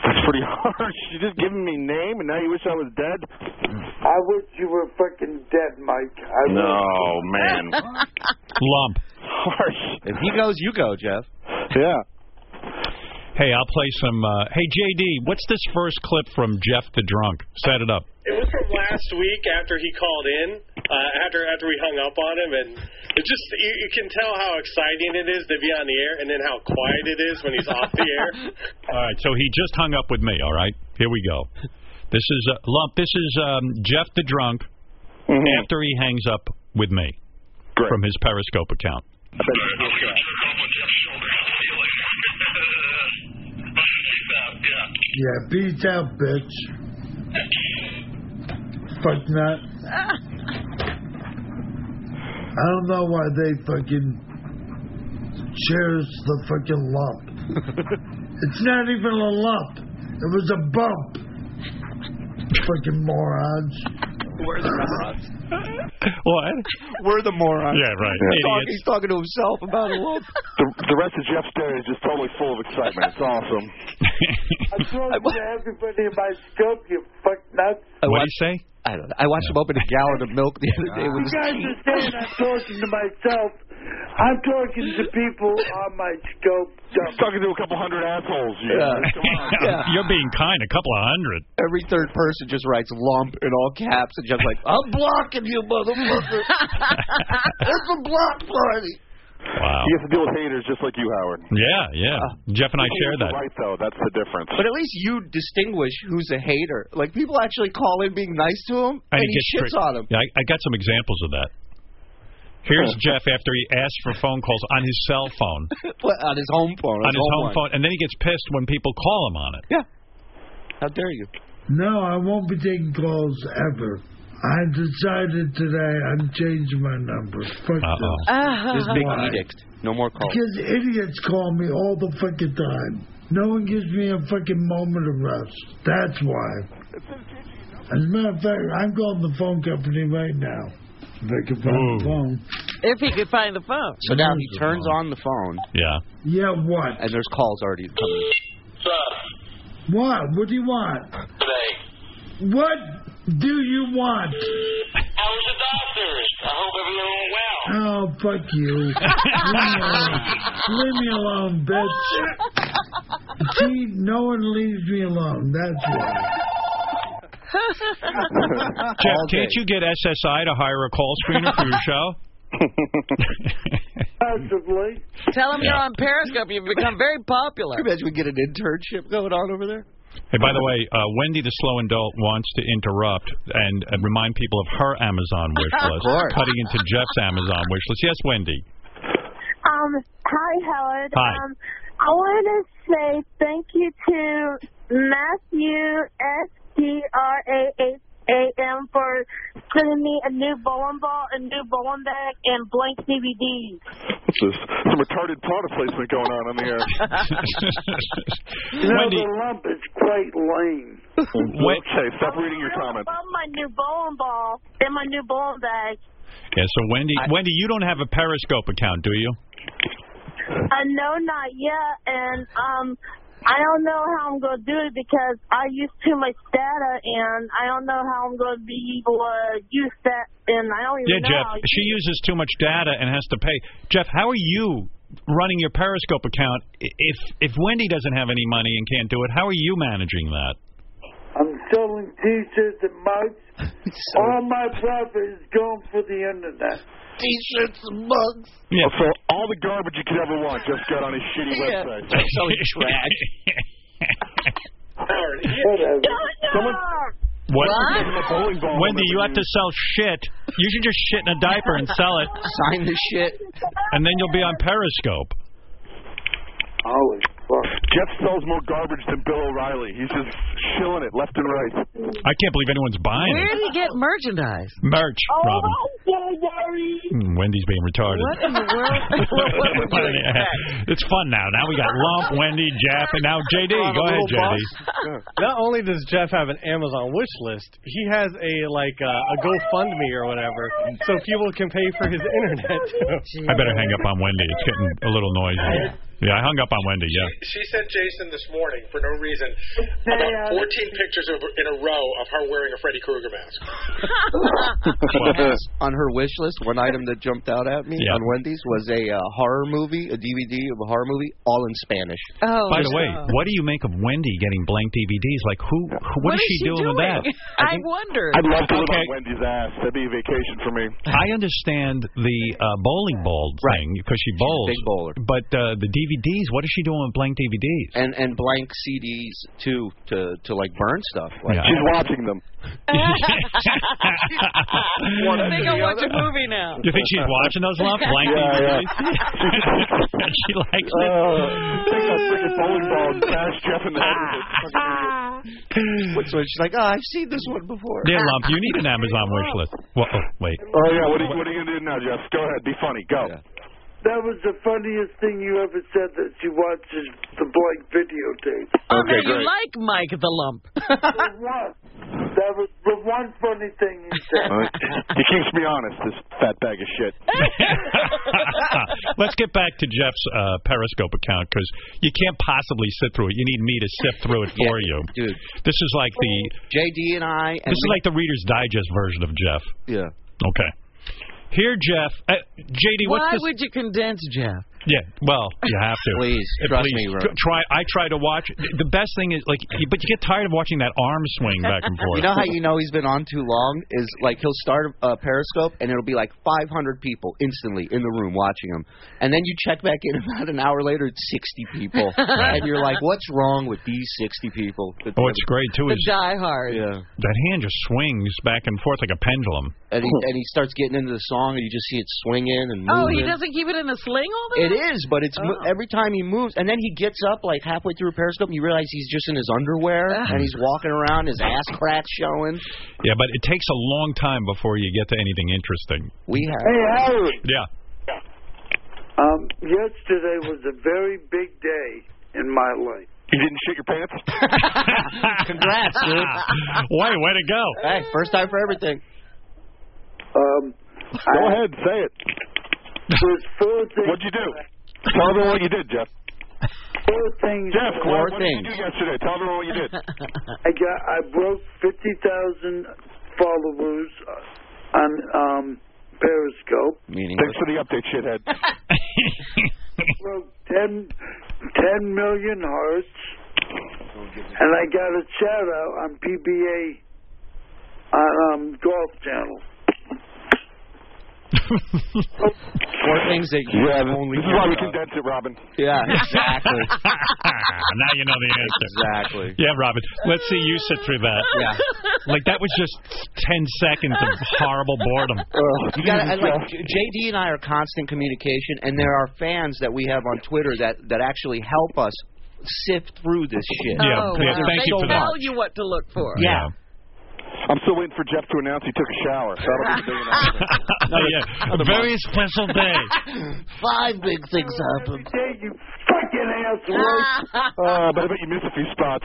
That's pretty harsh. You just giving me name, and now you wish I was dead? I wish you were fucking dead, Mike. No, man. Lump. Harsh. If he goes, you go, Jeff. Yeah. Hey, I'll play some... hey, JD, what's this first clip from Jeff the Drunk? Set it up. It was from last week after he called in, after we hung up on him, and it just you can tell how exciting it is to be on the air, and then how quiet it is when he's off the air. All right, so he just hung up with me, all right? Here we go. This is, Lump, this is Jeff the Drunk after he hangs up with me from his Periscope account. Yeah, peace out, bitch. Fuck that. I don't know why they fucking shares the fucking lump. It's not even a lump. It was a bump. Fucking morons. We're the morons. What? We're the morons. Yeah, right. He's talking to himself about a lump. The rest of Jeff's day is just totally full of excitement. It's awesome. I'm talking to everybody in my scope, you fuck nuts. What do you say? I don't know. I watched him open a gallon of milk the other day with You his guys teeth. are saying I'm talking to myself. I'm talking to people on my scope. I'm talking to a couple hundred assholes. You're being kind, a couple of hundred. Every third person just writes lump in all caps and just like, I'm blocking you, motherfucker. It's a block party. Wow. He has to deal with haters just like you, Howard. Yeah. Jeff and I share that. Right, though. That's the difference. But at least you distinguish who's a hater. Like, people actually call in being nice to him, and he shits on them. Yeah, I got some examples of that. Here's Jeff after he asks for phone calls on his cell phone. On his home phone. On his home phone. And then he gets pissed when people call him on it. Yeah. How dare you? No, I won't be taking calls ever. I decided today I'm changing my number. Fuck this. This big edict. No more calls. Because idiots call me all the fucking time. No one gives me a fucking moment of rest. That's why. As a matter of fact, I'm calling the phone company right now. If I can find the phone. If he could find the phone. So now he turns on the phone. Yeah. Yeah, what? And there's calls already coming. What? What do you want? Today. What do you want? How was the doctors? I hope everything went well. Oh, fuck you. Leave me alone, bitch. See, no one leaves me alone. That's why. Jeff, can't you get SSI to hire a call screener for your show? Possibly. Tell him you're on Periscope. You've become very popular. Can you imagine we get an internship going on over there? Hey, by the way, Wendy the Slow Adult wants to interrupt and remind people of her Amazon wish list. Cutting into Jeff's Amazon wish list. Yes, Wendy. Hi, Howard. Hi. I want to say thank you to Matthew STRAHAM for sending me a new bowling ball, a new bowling bag, and blank DVDs. What's this? Some retarded product placement going on the air. Wendy. The lump is quite lame. Okay, stop reading your comments. I love my new bowling ball and my new bowling bag. Yeah, so Wendy, you don't have a Periscope account, do you? No, not yet, and I don't know how I'm going to do it because I use too much data, and I don't know how I'm going to be able to use that, and I don't even know. Yeah, Jeff, she uses too much data and has to pay. Jeff, how are you running your Periscope account if Wendy doesn't have any money and can't do it? How are you managing that? I'm selling T-shirts and mugs. All my profit is going for the internet. T-shirts and mugs. Yeah. So all the garbage you could ever want just got on his shitty website. Selling trash. Someone... What? Wendy, you have to sell shit. You should just shit in a diaper and sell it. Sign the shit. And then you'll be on Periscope. Holy fuck. Jeff sells more garbage than Bill O'Reilly. He's just shilling it left and right. I can't believe anyone's buying Where it. did he get merchandise? Merch, Robin. Oh, Wendy's being retarded. What in the world? It's fun now. Now we got Lump, Wendy, Jeff, and now JD. Go ahead, JD. Not only does Jeff have an Amazon wish list, he has a GoFundMe or whatever, so people can pay for his internet. I better hang up on Wendy. It's getting a little noisy. Yeah, I hung up on Wendy, yeah. She sent Jason this morning, for no reason, about 14 pictures in a row of her wearing a Freddy Krueger mask. On her wish list, one item that jumped out at me on Wendy's was a horror movie, a DVD of a horror movie, all in Spanish. Oh, by the way, what do you make of Wendy getting blank DVDs? Like, what is she doing with that? I wonder. I'd love to live on Wendy's ass. That'd be a vacation for me. I understand the bowling ball thing because she bowls. Big bowler. But the DVDs, what is she doing with blank DVDs? And blank CDs too to like burn stuff. Like, she's watching them. I think I'll watch a movie now. You think she's watching those blank DVDs? She likes it. Take that freaking bowling ball and bash Jeff in the head with it. She's like, I've seen this one before. Yeah, Lump, you need an Amazon wish list. Well, wait. Oh, yeah, what are you going to do now, Jeff? Go ahead, be funny, go. Yeah. That was the funniest thing you ever said, that she watches the blank videotape. Oh, no, you like Mike the Lump. That was the one funny thing you said. He keeps me honest, this fat bag of shit. Let's get back to Jeff's Periscope account, because you can't possibly sit through it. You need me to sift through it for you. Dude. This is like the... JD and I... This is like the Reader's Digest version of Jeff. Yeah. Okay. Here, Jeff. JD, what's Why this? would you condense Jeff? Yeah, well, you have to. Please, trust me, Ron. I try to watch. The best thing is, but you get tired of watching that arm swing back and forth. You know how you know he's been on too long? Is like he'll start a Periscope, and it'll be like 500 people instantly in the room watching him. And then you check back in about an hour later, it's 60 people. And you're like, what's wrong with these 60 people? What's great, too, is... The diehard. Yeah. That hand just swings back and forth like a pendulum. And he starts getting into the song, and you just see it swinging and moving. Oh, he doesn't keep it in a sling all the time? It is, but it's every time he moves, and then he gets up like halfway through a Periscope, and you realize he's just in his underwear, and he's walking around, his ass crack showing. Yeah, but it takes a long time before you get to anything interesting. Hey, Howard. Yeah. Yesterday was a very big day in my life. You didn't shit your pants? Congrats, dude. Way to go. Hey, first time for everything. Go ahead, say it. There's 4 things. What'd you do? Tell everyone what you did, Jeff. 4 things. Jeff, Four what did you do yesterday? Tell everyone what you did. I broke 50,000 followers on Periscope. Thanks for the update, shithead. Broke 10 million hearts, and I got a shout out on PBA on Golf Channel. 4 things that you only... This is why we condense it, Robin. Yeah, exactly. Now you know the answer. Exactly. Yeah, Robin. Let's see you sit through that. Yeah. Like, that was just 10 seconds of horrible boredom. You got JD and I are constant communication, and there are fans that we have on Twitter that actually help us sift through this shit. Yeah, thank you for that. They tell you what to look for. Yeah. I'm still waiting for Jeff to announce he took a shower. That'll be the big announcement. A very special day. 5 big things happened. You fucking asshole. But I bet you missed a few spots.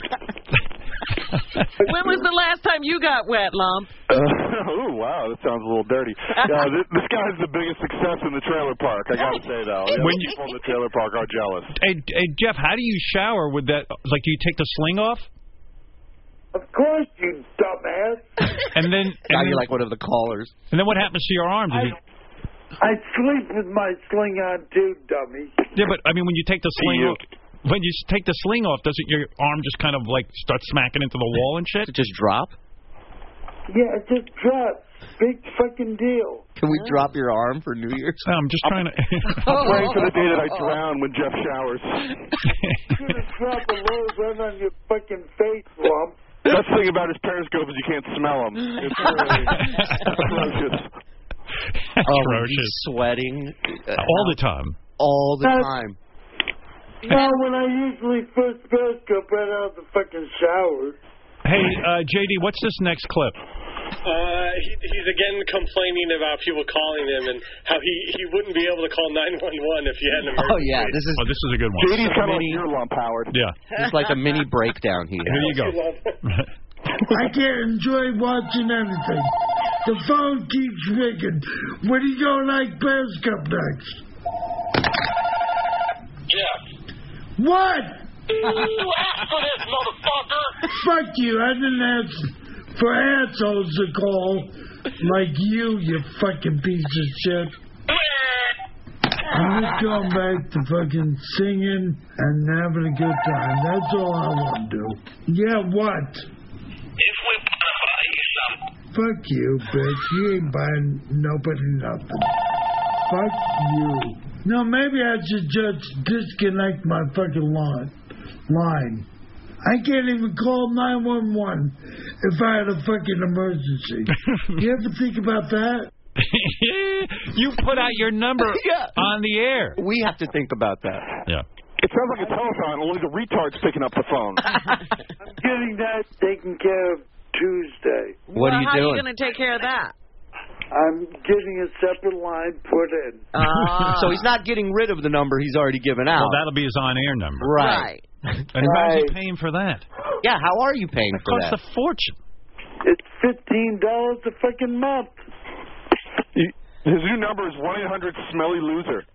When was the last time you got wet, Lump? Oh, wow, that sounds a little dirty. This guy's the biggest success in the trailer park, I gotta say, though. When people in the trailer park are jealous. Hey, Jeff, how do you shower with that? Like, do you take the sling off? Of course, you dumbass. And then you're like one of the callers. And then what happens to your arms? I sleep with my sling on too, dummy. Yeah, but I mean, when you take the sling off, when you take the sling off, doesn't your arm just kind of like start smacking into the wall and shit? Does it just drop? Yeah, it just drops. Big fucking deal. Can we drop your arm for New Year's? I'm just trying to... I'm praying for the day that I drown when Jeff showers. You're going to drop a load right on your fucking face, Lump. Best thing about his Periscope is you can't smell them. It's really atrocious. Atrocious. Sweating. All the time. All the time. No, when I usually first Periscope right out of the fucking shower. Hey, JD, what's this next clip? He's again complaining about people calling him and how he wouldn't be able to call 911 if you had an emergency. Oh, yeah. This is a good one. JD's kind of like your Lump, Howard. Yeah. It's like a mini breakdown here. Here you go. I can't enjoy watching anything. The phone keeps ringing. When are you going like Periscope next? Jeff. What? You asked for this, motherfucker. Fuck you. I didn't ask for assholes to call like you fucking piece of shit. I'm just going back to fucking singing and having a good time. That's all I want to do. Yeah, what? If we buy you something. Fuck you, bitch. You ain't buying nobody nothing. Fuck you. No, maybe I should just disconnect my fucking line. I can't even call 911 if I had a fucking emergency. You ever think about that? You put out your number on the air. We have to think about that. Yeah. It sounds like a telephone, only the retard's picking up the phone. I'm getting that taken care of Tuesday. What are you How doing? are you going to take care of that? I'm getting a separate line put in. So he's not getting rid of the number he's already given out. Well, that'll be his on-air number. Right. And how's he paying for that? Yeah, how are you paying for that? It costs a fortune. It's $15 a fucking month. His new number is 1-800-SMELLY-LOSER.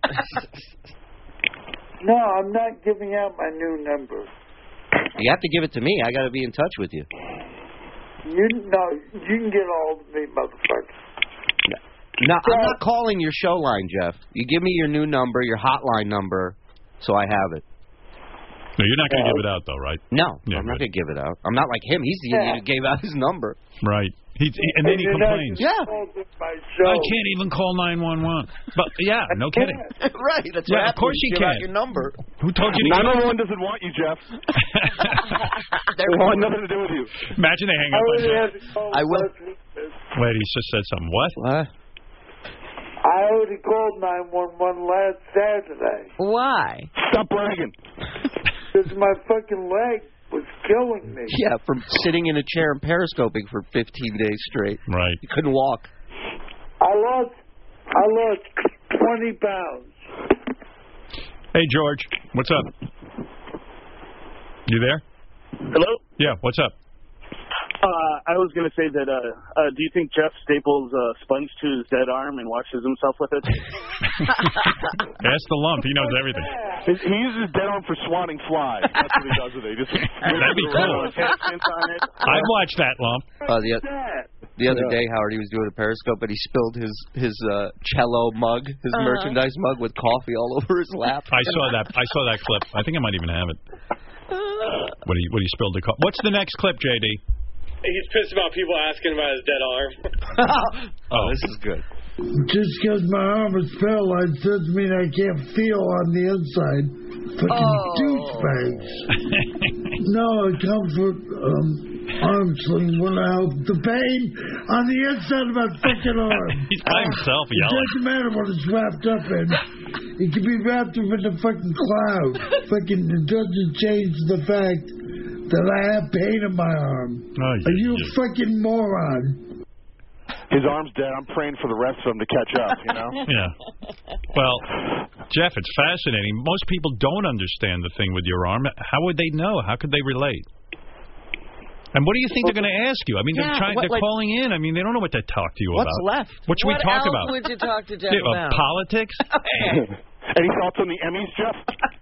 No, I'm not giving out my new number. You have to give it to me. I got to be in touch with you. You can get all of me, motherfucker. No, I'm not calling your show line, Jeff. You give me your new number, your hotline number, so I have it. No, you're not going to give it out, though, right? No, Yeah, I'm not going to give it out. I'm not like him. He's the idiot who gave out his number. Right. And then he complains. Yeah. I can't even call 911. But, yeah, no kidding. Right, that's Yeah, what of course you give can. out your number. Who told you to 911 doesn't want you, Jeff. They want nothing to do with you. Imagine they hang up on you. I will. Wait, he just said something. What? I already called 911 last Saturday. Why? Stop bragging. Because my fucking leg was killing me. Yeah, from sitting in a chair and periscoping for 15 days straight. Right. You couldn't walk. I lost 20 pounds. Hey, George. What's up? You there? Hello? Yeah, what's up? I was going to say that, do you think Jeff staples a sponge to his dead arm and washes himself with it? Ask the lump. He knows everything. He uses his dead arm for swatting flies. That's what he does with it. He just That'd be cool. I'd watch that lump. The other day, Howard, he was doing a Periscope, and he spilled his cello mug, his merchandise mug with coffee all over his lap. I saw that clip. I think I might even have it. When he spilled the coffee. What's the next clip, JD? He's pissed about people asking about his dead arm. Oh, this is good. Just because my arm is paralyzed doesn't mean I can't feel on the inside. Fucking douchebags. No, it comes with arm sling will help the pain on the inside of my fucking arm. He's by himself It yelling. doesn't matter what it's wrapped up in. It can be wrapped up in a fucking cloud. Fucking, it doesn't change the fact that I have pain in my arm. Are you a fucking moron? His arm's dead. I'm praying for the rest of them to catch up, you know? Yeah. Well, Jeff, it's fascinating. Most people don't understand the thing with your arm. How would they know? How could they relate? And what do you think they're going to ask you? I mean, they're calling in. I mean, they don't know what to talk to you about. What's left? What should we talk about? What else would you talk to Jeff about? Politics? Any thoughts on the Emmys, Jeff?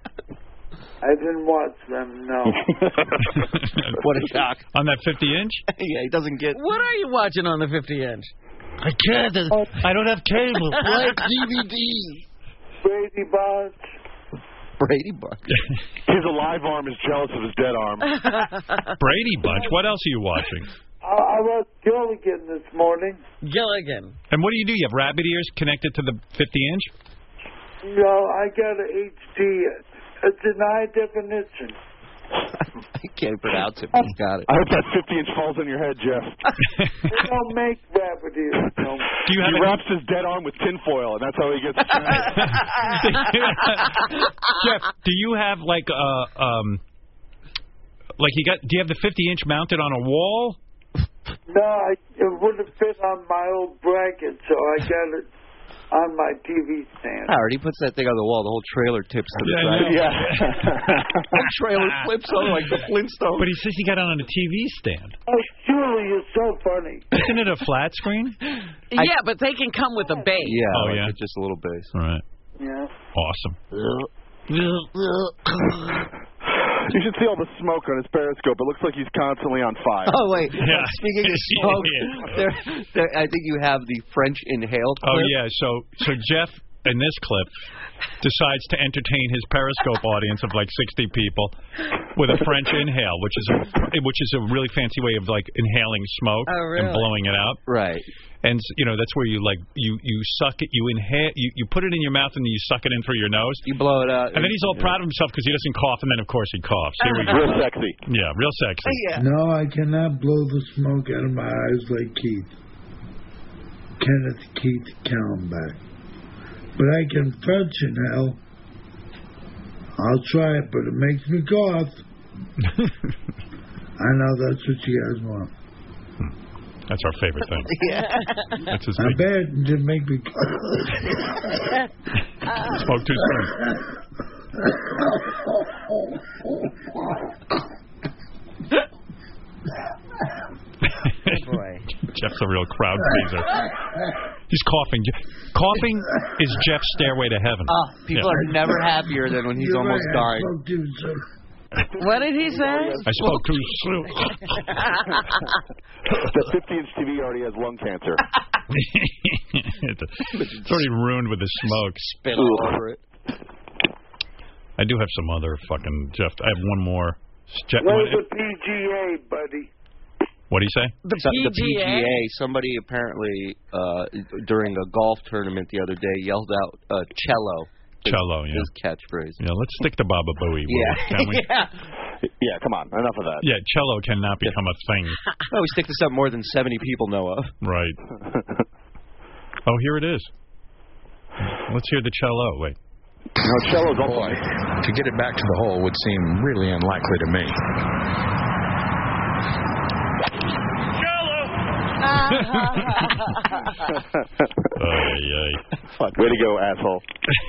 I didn't watch them, no. What a shock. On that 50-inch? Yeah, he doesn't get... What are you watching on the 50-inch? I can't. I don't have cable. Like DVD. Brady Bunch. Brady Bunch. His alive arm is jealous of his dead arm. Brady Bunch. What else are you watching? I watched Gilligan this morning. Gilligan. And what do? You have rabbit ears connected to the 50-inch? No, I got an HD. It's in high definition. I can't pronounce it, but he's got it. I hope that 50-inch falls on your head, Jeff. They don't make rabbit ears. No. He wraps his dead arm with tinfoil, and that's how he gets Jeff, do you have do you have the 50-inch mounted on a wall? No, it wouldn't fit on my old bracket, so I got it on my TV stand. Howard, he puts that thing on the wall, the whole trailer tips to the side. Yeah. The trailer flips over like the Flintstones. But he says he got it on a TV stand. Oh, Julie, you're so funny. Isn't it a flat screen? Yeah, but they can come with a base. Yeah, Oh, yeah. just a little base. All right. Yeah. Awesome. You should see all the smoke on his Periscope. It looks like he's constantly on fire. Oh, wait. Yeah. Speaking of smoke, I think you have the French inhaled clip. Oh, yeah. So Jeff, in this clip, decides to entertain his Periscope audience of like 60 people with a French inhale, which is a really fancy way of like inhaling smoke and blowing it out. Right. And that's where you suck it, you inhale, you put it in your mouth and then you suck it in through your nose. You blow it out. And then he's all proud of himself because he doesn't cough, and then of course he coughs. Here we go. Real sexy. Yeah, real sexy. Yeah. No, I cannot blow the smoke out of my eyes like Keith. Kenneth Keith Kallenbach. But I can French inhale. I'll try it, but it makes me cough. I know that's what you guys want. That's our favorite thing. Yeah. That's his I big... bet it didn't make me cough. Smoke too soon. Boy. Jeff's a real crowd pleaser. He's coughing. Coughing is Jeff's stairway to heaven. People are never happier than when he's almost dying. What did he say? I spoke too soon. The 50-inch TV already has lung cancer. It's already ruined with the smoke. Spit all over it. I do have some other fucking Jeff. I have one more. Where's the PGA, buddy? What do you say? The PGA. Somebody apparently during a golf tournament the other day yelled out cello. Cello, yeah. His catchphrase. Yeah, let's stick to Baba Booey. Yeah. Can we? Yeah, come on. Enough of that. Yeah, cello cannot become a thing. No, we stick to something more than 70 people know of. Right. Oh, here it is. Let's hear the cello. Wait. No, cello's all boy. To get it back to the hole would seem really unlikely to me. Way to go, asshole.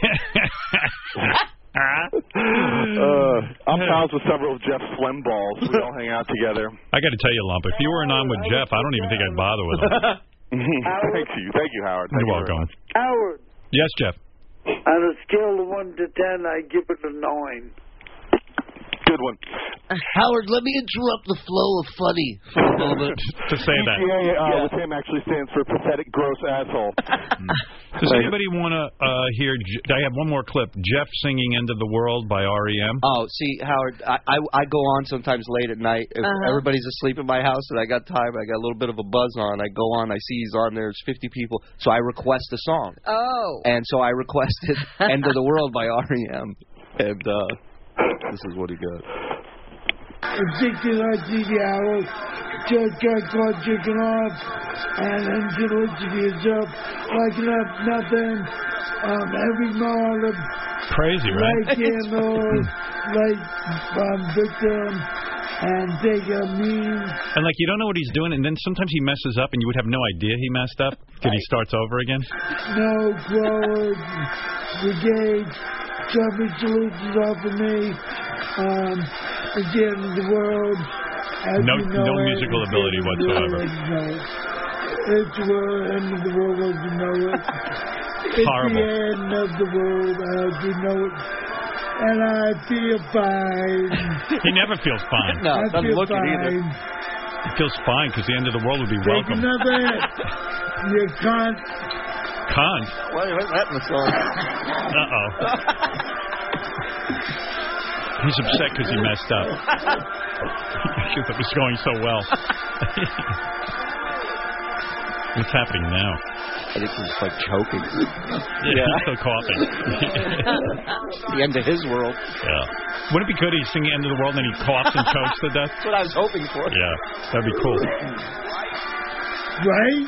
I'm pals with several of Jeff's phlegm balls. We all hang out together. I got to tell you, Lump, if you weren't on with Jeff, I don't even think I'd bother with him. Thank you, Howard. You're welcome. Howard, Yes, Jeff. on a scale of 1 to 10, I give it a 9. Good one. Howard, let me interrupt the flow of funny for a moment. To say that. PGA with him actually stands for pathetic, gross asshole. Does anybody want to hear? I have one more clip. Jeff singing "End of the World" by REM. Oh, see, Howard, I go on sometimes late at night. If everybody's asleep in my house and I got time, I got a little bit of a buzz on. I go on, I see he's on there. There's 50 people, so I request a song. Oh. And so I requested "End of the World" by REM, and this is what he got. Addicted like the hours, just got caught chicken off, and until it's yourself, like nothing, every morning, crazy, right? Like candles, like victim, and take a mean. And like you don't know what he's doing, and then sometimes he messes up, and you would have no idea he messed up till he starts over again. No forward, brigade, jumping solutions off of me. At the end of the world. No musical ability whatsoever. It's the end of the world as you know it. It's horrible. The end of the world as you know it. And I feel fine. He never feels fine. No, I doesn't feel look it either. fine. He feels fine because the end of the world would be Take welcome. another hit. You can't. Cunt? Why is that in the song? Uh-oh. He's upset because he messed up. Because it was going so well. What's happening now? I think he's like choking. Yeah, he's still coughing. The end of his world. Yeah. Wouldn't it be good he's singing "End of the World" and then he coughs and chokes to death? That's what I was hoping for. Yeah, that'd be cool. Right?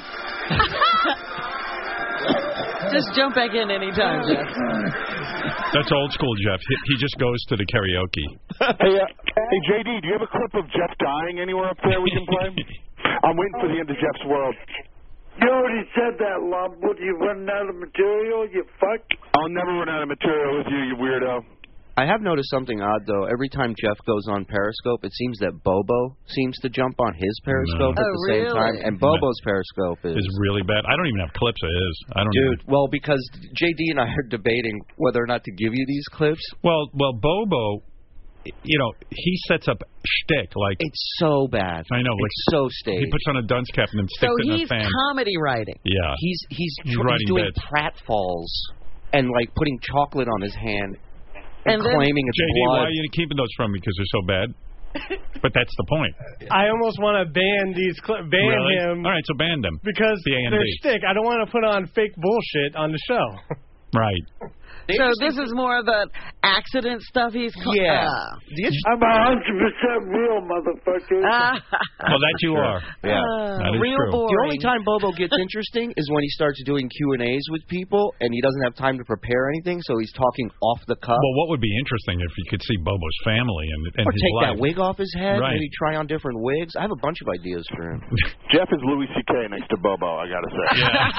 Just jump back in anytime, Jeff. That's old school, Jeff. He just goes to the karaoke. Hey, JD, do you have a clip of Jeff dying anywhere up there we can play? I'm waiting for the end of Jeff's world. You already said that, Lump. What, you running out of material, you fuck? I'll never run out of material with you, you weirdo. I have noticed something odd, though. Every time Jeff goes on Periscope, it seems that Bobo seems to jump on his Periscope at the same time. And Bobo's Periscope is really bad. I don't even have clips of his. I don't. Dude, well, because JD and I are debating whether or not to give you these clips. Well, Bobo, you know, he sets up shtick like it's so bad. I know, it's so staged. He puts on a dunce cap and then sticks it in a fan. So he's comedy writing. Yeah, he's writing doing bits. pratfalls and like putting chocolate on his hand and then, claiming it's JD, blood. why are you keeping those from me? Because they're so bad. But that's the point. I almost want to ban really? him. All right, so ban them. Because they're shtick. I don't want to put on fake bullshit on the show. Right. So this is more of the accident stuff he's... I'm 100% real, motherfucker. Well, that you are. Yeah. That is real true. boring. The only time Bobo gets interesting is when he starts doing Q&As with people, and he doesn't have time to prepare anything, so he's talking off the cuff. Well, what would be interesting if you could see Bobo's family and or his take life. that wig off his head, Right. maybe try on different wigs. I have a bunch of ideas for him. Jeff is Louis C.K. next to Bobo, I gotta say.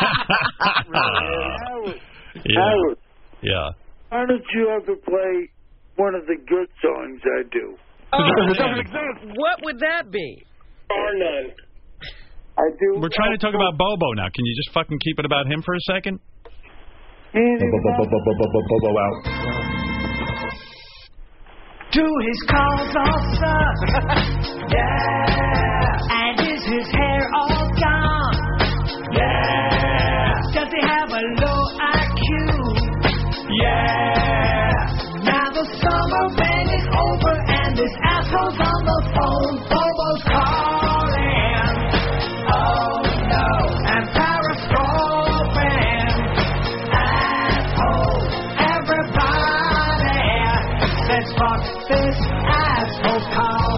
Howard, yeah. why don't you ever play one of the good songs I do? What would that be? Or none. I do. We're trying to talk about Bobo now. Can you just fucking keep it about him for a second? Bobo out. Do his calls all suck? Yeah. And is his hair all gone? Yeah. Does he have a low IQ? Yeah. Now the summer rain is over and this asshole's on the phone. Bobo's calling. Oh no. And periscoping. Asshole. Everybody says fuck this asshole call.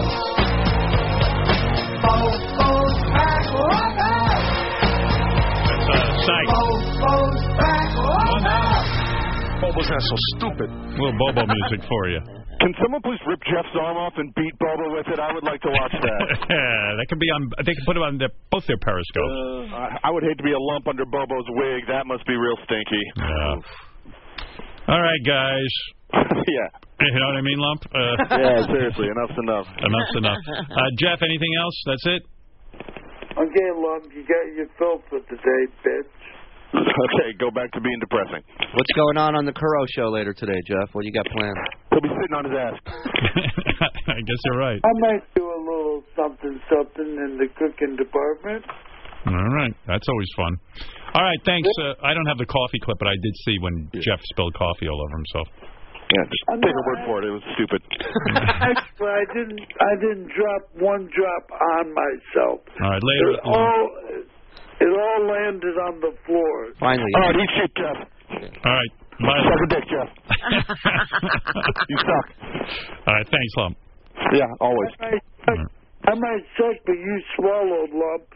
Bobo's back. What up? That's psych. Bobo's back. What up? Bobo's not so stupid. A little Bobo music for you. Can someone please rip Jeff's arm off and beat Bobo with it? I would like to watch that. That could be on. They can put it on both their periscopes. I would hate to be a lump under Bobo's wig. That must be real stinky. Yeah. All right, guys. Yeah. You know what I mean, Lump? Yeah, seriously. Enough's enough. Enough's enough. Jeff, anything else? That's it? Okay, Lump, you got your fill for today, bitch. Okay, go back to being depressing. What's going on the Kuro show later today, Jeff? What do you got planned? He'll be sitting on his ass. I guess you're right. I might do a little something in the cooking department. All right. That's always fun. All right, thanks. I don't have the coffee clip, but I did see when Jeff spilled coffee all over himself. Yeah, just take a word for it. It was stupid. Actually, I didn't drop one drop on myself. All right, later. It all landed on the floor. Finally. All right, eat shit, Jeff. All right. Bye. Suck a dick, Jeff. You suck. All right, thanks, Lump. Yeah, always. I might suck, but you swallowed, Lump.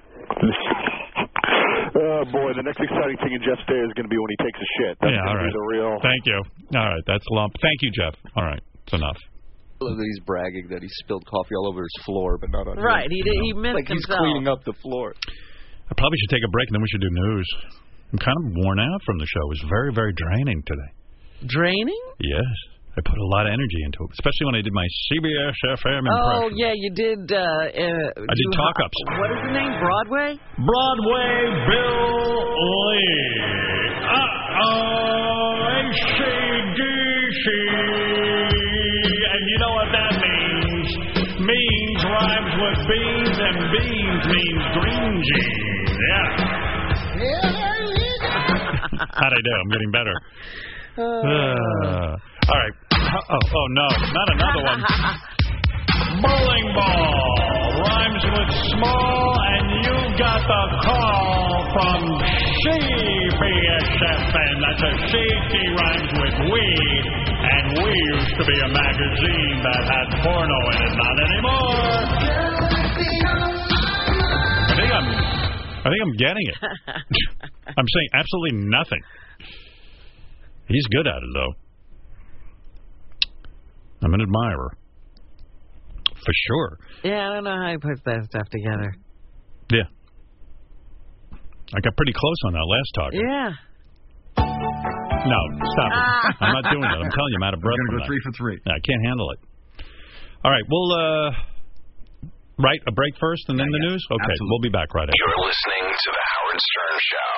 Oh, boy, the next exciting thing in Jeff's day is going to be when he takes a shit. That's Yeah, all going to right. be the real... Thank you. All right, that's Lump. Thank you, Jeff. All right, it's enough. I love that he's bragging that he spilled coffee all over his floor, but not on Right, him. he missed like he's himself. cleaning up the floor. I probably should take a break, and then we should do news. I'm kind of worn out from the show. It was very, very draining today. Draining? Yes. I put a lot of energy into it, especially when I did my CBS FM impression. Oh, yeah, you did. I did talk-ups. What is the name? Broadway? Broadway Bill Lee. AC/DC. And you know what that means. Means rhymes with beans, and beans means green jeans. Yeah. How'd I do? I'm getting better. All right. Oh, no. Not another one. Bowling ball rhymes with small, and you got the call from CBSFM. That's a safety rhymes with we, and we used to be a magazine that had porno in it. Not anymore. I think I'm getting it. I'm saying absolutely nothing. He's good at it, though. I'm an admirer. For sure. Yeah, I don't know how he puts that stuff together. Yeah. I got pretty close on that last talk. Yeah. No, stop it. I'm not doing that. I'm telling you, I'm out of breath. We're going to go 3 for 3. I can't handle it. All right, we'll right a break first and then the news. Okay, absolutely. We'll be back right after. You're listening to the Howard Stern Show.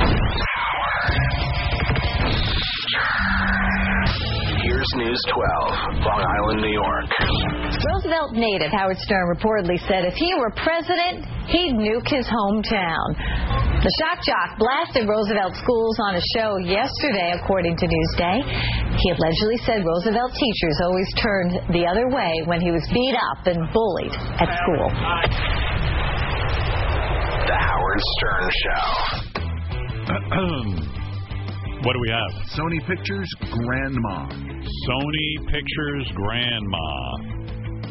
Here's News 12, Long Island, New York. Roosevelt native Howard Stern reportedly said if he were president, he'd nuke his hometown. The shock jock blasted Roosevelt schools on a show yesterday, according to Newsday. He allegedly said Roosevelt teachers always turned the other way when he was beat up and bullied at school. The Howard Stern Show. What do we have? Sony Pictures Grandma. Sony Pictures Grandma.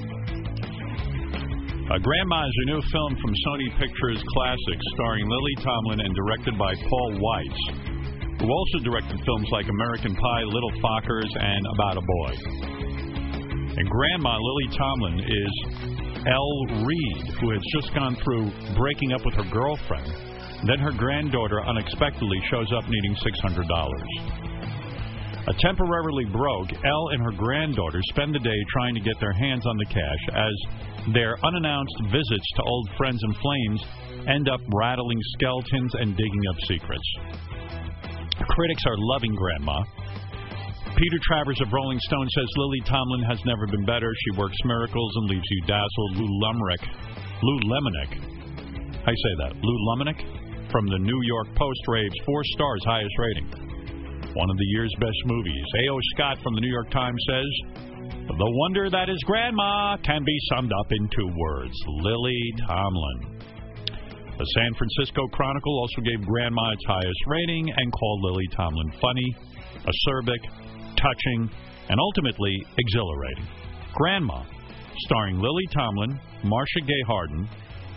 Grandma is a new film from Sony Pictures Classics starring Lily Tomlin and directed by Paul Weitz, who also directed films like American Pie, Little Fockers, and About a Boy. And Grandma, Lily Tomlin, is Elle Reed, who has just gone through breaking up with her girlfriend. Then her granddaughter unexpectedly shows up needing $600. Temporarily broke, Elle and her granddaughter spend the day trying to get their hands on the cash as their unannounced visits to old friends and flames end up rattling skeletons and digging up secrets. Critics are loving Grandma. Peter Travers of Rolling Stone says Lily Tomlin has never been better. She works miracles and leaves you dazzled. Lou Lemonick. I say that. Lou Lemonick from the New York Post raves 4 stars, highest rating. One of the year's best movies. A.O. Scott from the New York Times says, the wonder that is Grandma can be summed up in 2 words. Lily Tomlin. The San Francisco Chronicle also gave Grandma its highest rating and called Lily Tomlin funny, acerbic, touching, and ultimately exhilarating. Grandma, starring Lily Tomlin, Marcia Gay Harden,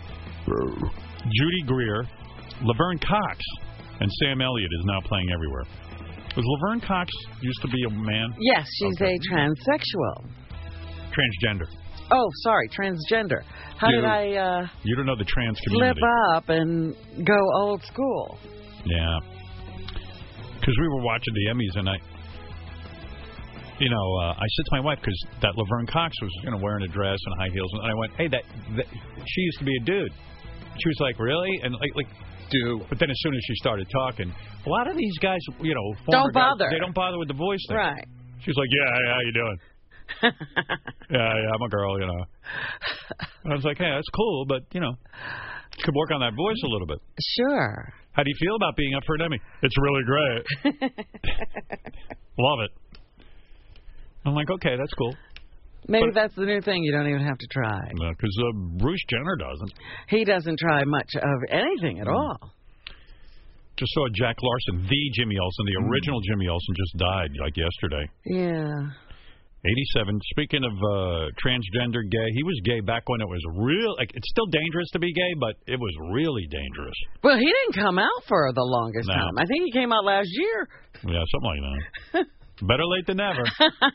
Judy Greer, Laverne Cox, and Sam Elliott is now playing everywhere. Was Laverne Cox used to be a man? Yes, she's a transsexual. Transgender. Oh, sorry, transgender. How did I you don't know the trans community. Flip up and go old school? Yeah. Because we were watching the Emmys, and I said to my wife, because that Laverne Cox was wearing a dress and high heels, and I went, hey, that she used to be a dude. She was like, really? And like dude. But then as soon as she started talking, a lot of these guys, don't bother. They don't bother with the voice thing. Right. She was like, yeah, how you doing? yeah, I'm a girl, And I was like, hey, that's cool, but, could work on that voice a little bit. Sure. How do you feel about being up for an Emmy? It's really great. Love it. I'm like, okay, that's cool. Maybe that's the new thing. You don't even have to try. Because Bruce Jenner doesn't. He doesn't try much of anything at all. Just saw Jack Larson, the Jimmy Olsen, the original Jimmy Olsen, just died like yesterday. Yeah. 87. Speaking of transgender gay, he was gay back when it was real. It's still dangerous to be gay, but it was really dangerous. Well, he didn't come out for the longest time. I think he came out last year. Yeah, something like that. Better late than never.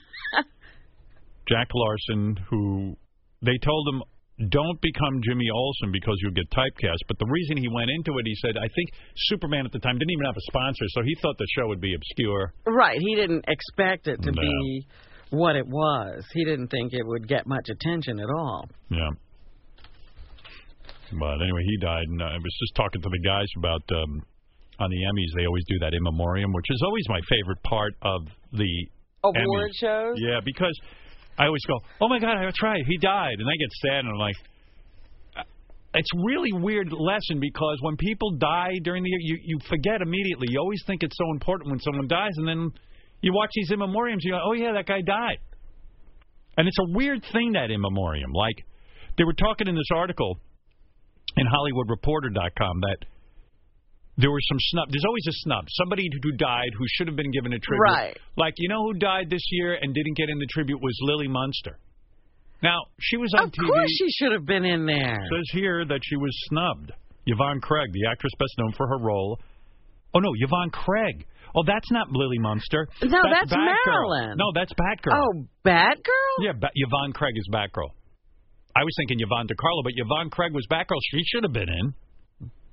Jack Larson, who they told him, don't become Jimmy Olsen because you'll get typecast. But the reason he went into it, he said, I think Superman at the time didn't even have a sponsor, so he thought the show would be obscure. Right. He didn't expect it to be what it was. He didn't think it would get much attention at all. Yeah. But anyway, he died, and I was just talking to the guys about, on the Emmys, they always do that in memoriam, which is always my favorite part of the award shows? Yeah, because I always go, oh, my God, that's right, he died. And I get sad, and I'm like, it's really weird lesson, because when people die during the year, you forget immediately. You always think it's so important when someone dies, and then you watch these in memoriams, you go, oh, yeah, that guy died. And it's a weird thing, that in memoriam. Like, they were talking in this article in HollywoodReporter.com that there was some snub. There's always a snub. Somebody who died who should have been given a tribute. Right. Like, who died this year and didn't get in the tribute was Lily Munster. Now, she was on TV. Of course she should have been in there. It says here that she was snubbed. Yvonne Craig, the actress best known for her role. Oh, no, Yvonne Craig. Oh, that's not Lily Munster. No, that's Marilyn. No, that's Batgirl. Oh, Batgirl? Yeah, Yvonne Craig is Batgirl. I was thinking Yvonne DiCarlo, but Yvonne Craig was Batgirl. She should have been in.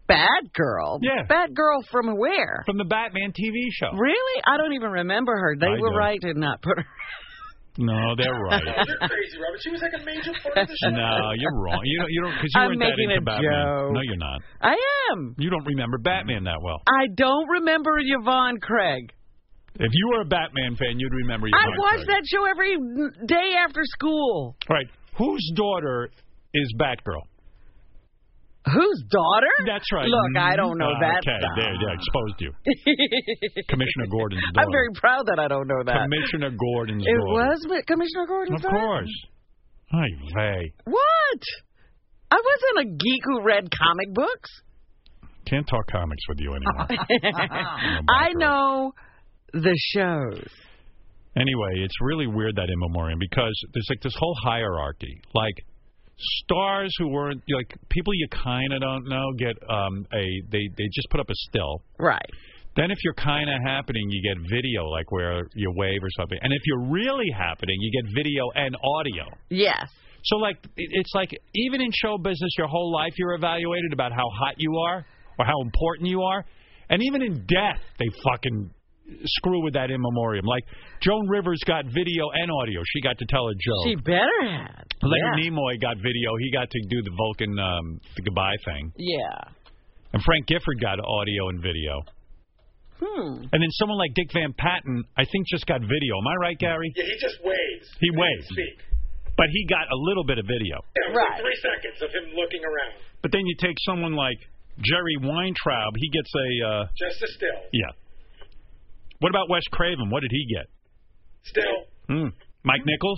Batgirl? Yeah. Batgirl from where? From the Batman TV show. Really? I don't even remember her. They were right to not put her. No, they're right. Oh, you're crazy, Robert. She was like a major part of the show. No, you're wrong. You don't because you I'm weren't that making into a Batman. joke. No, you're not. I am. You don't remember Batman that well. I don't remember Yvonne Craig. If you were a Batman fan, you'd remember Yvonne I watched Craig. that show every day after school. All right. Whose daughter is Batgirl? Whose daughter? That's right. Look, I don't know that Okay, stuff. there, exposed you. Commissioner Gordon's daughter. I'm very proud that I don't know that. Commissioner Gordon's It daughter. was Commissioner Gordon's daughter? Of course. Ay vey. What? I wasn't a geek who read comic books. Can't talk comics with you anymore. I know the shows. Anyway, it's really weird, that in memoriam, because there's like this whole hierarchy. Like, stars who weren't, like, people you kind of don't know get they just put up a still. Right. Then if you're kind of happening, you get video, like where you wave or something. And if you're really happening, you get video and audio. Yes. So, like, it's like even in show business, your whole life you're evaluated about how hot you are or how important you are. And even in death, they fucking screw with that in memoriam. Like, Joan Rivers got video and audio. She got to tell a joke. She better have. Leonard Nimoy got video. He got to do the Vulcan the goodbye thing. Yeah. And Frank Gifford got audio and video. And then someone like Dick Van Patten, I think, just got video. Am I right, Gary? Yeah, he just waves. He waves. Speak. But he got a little bit of video. Yeah, it was like 3 seconds of him looking around. But then you take someone like Jerry Weintraub. He gets a... Just a still. Yeah. What about Wes Craven? What did he get? Still. Mike Nichols?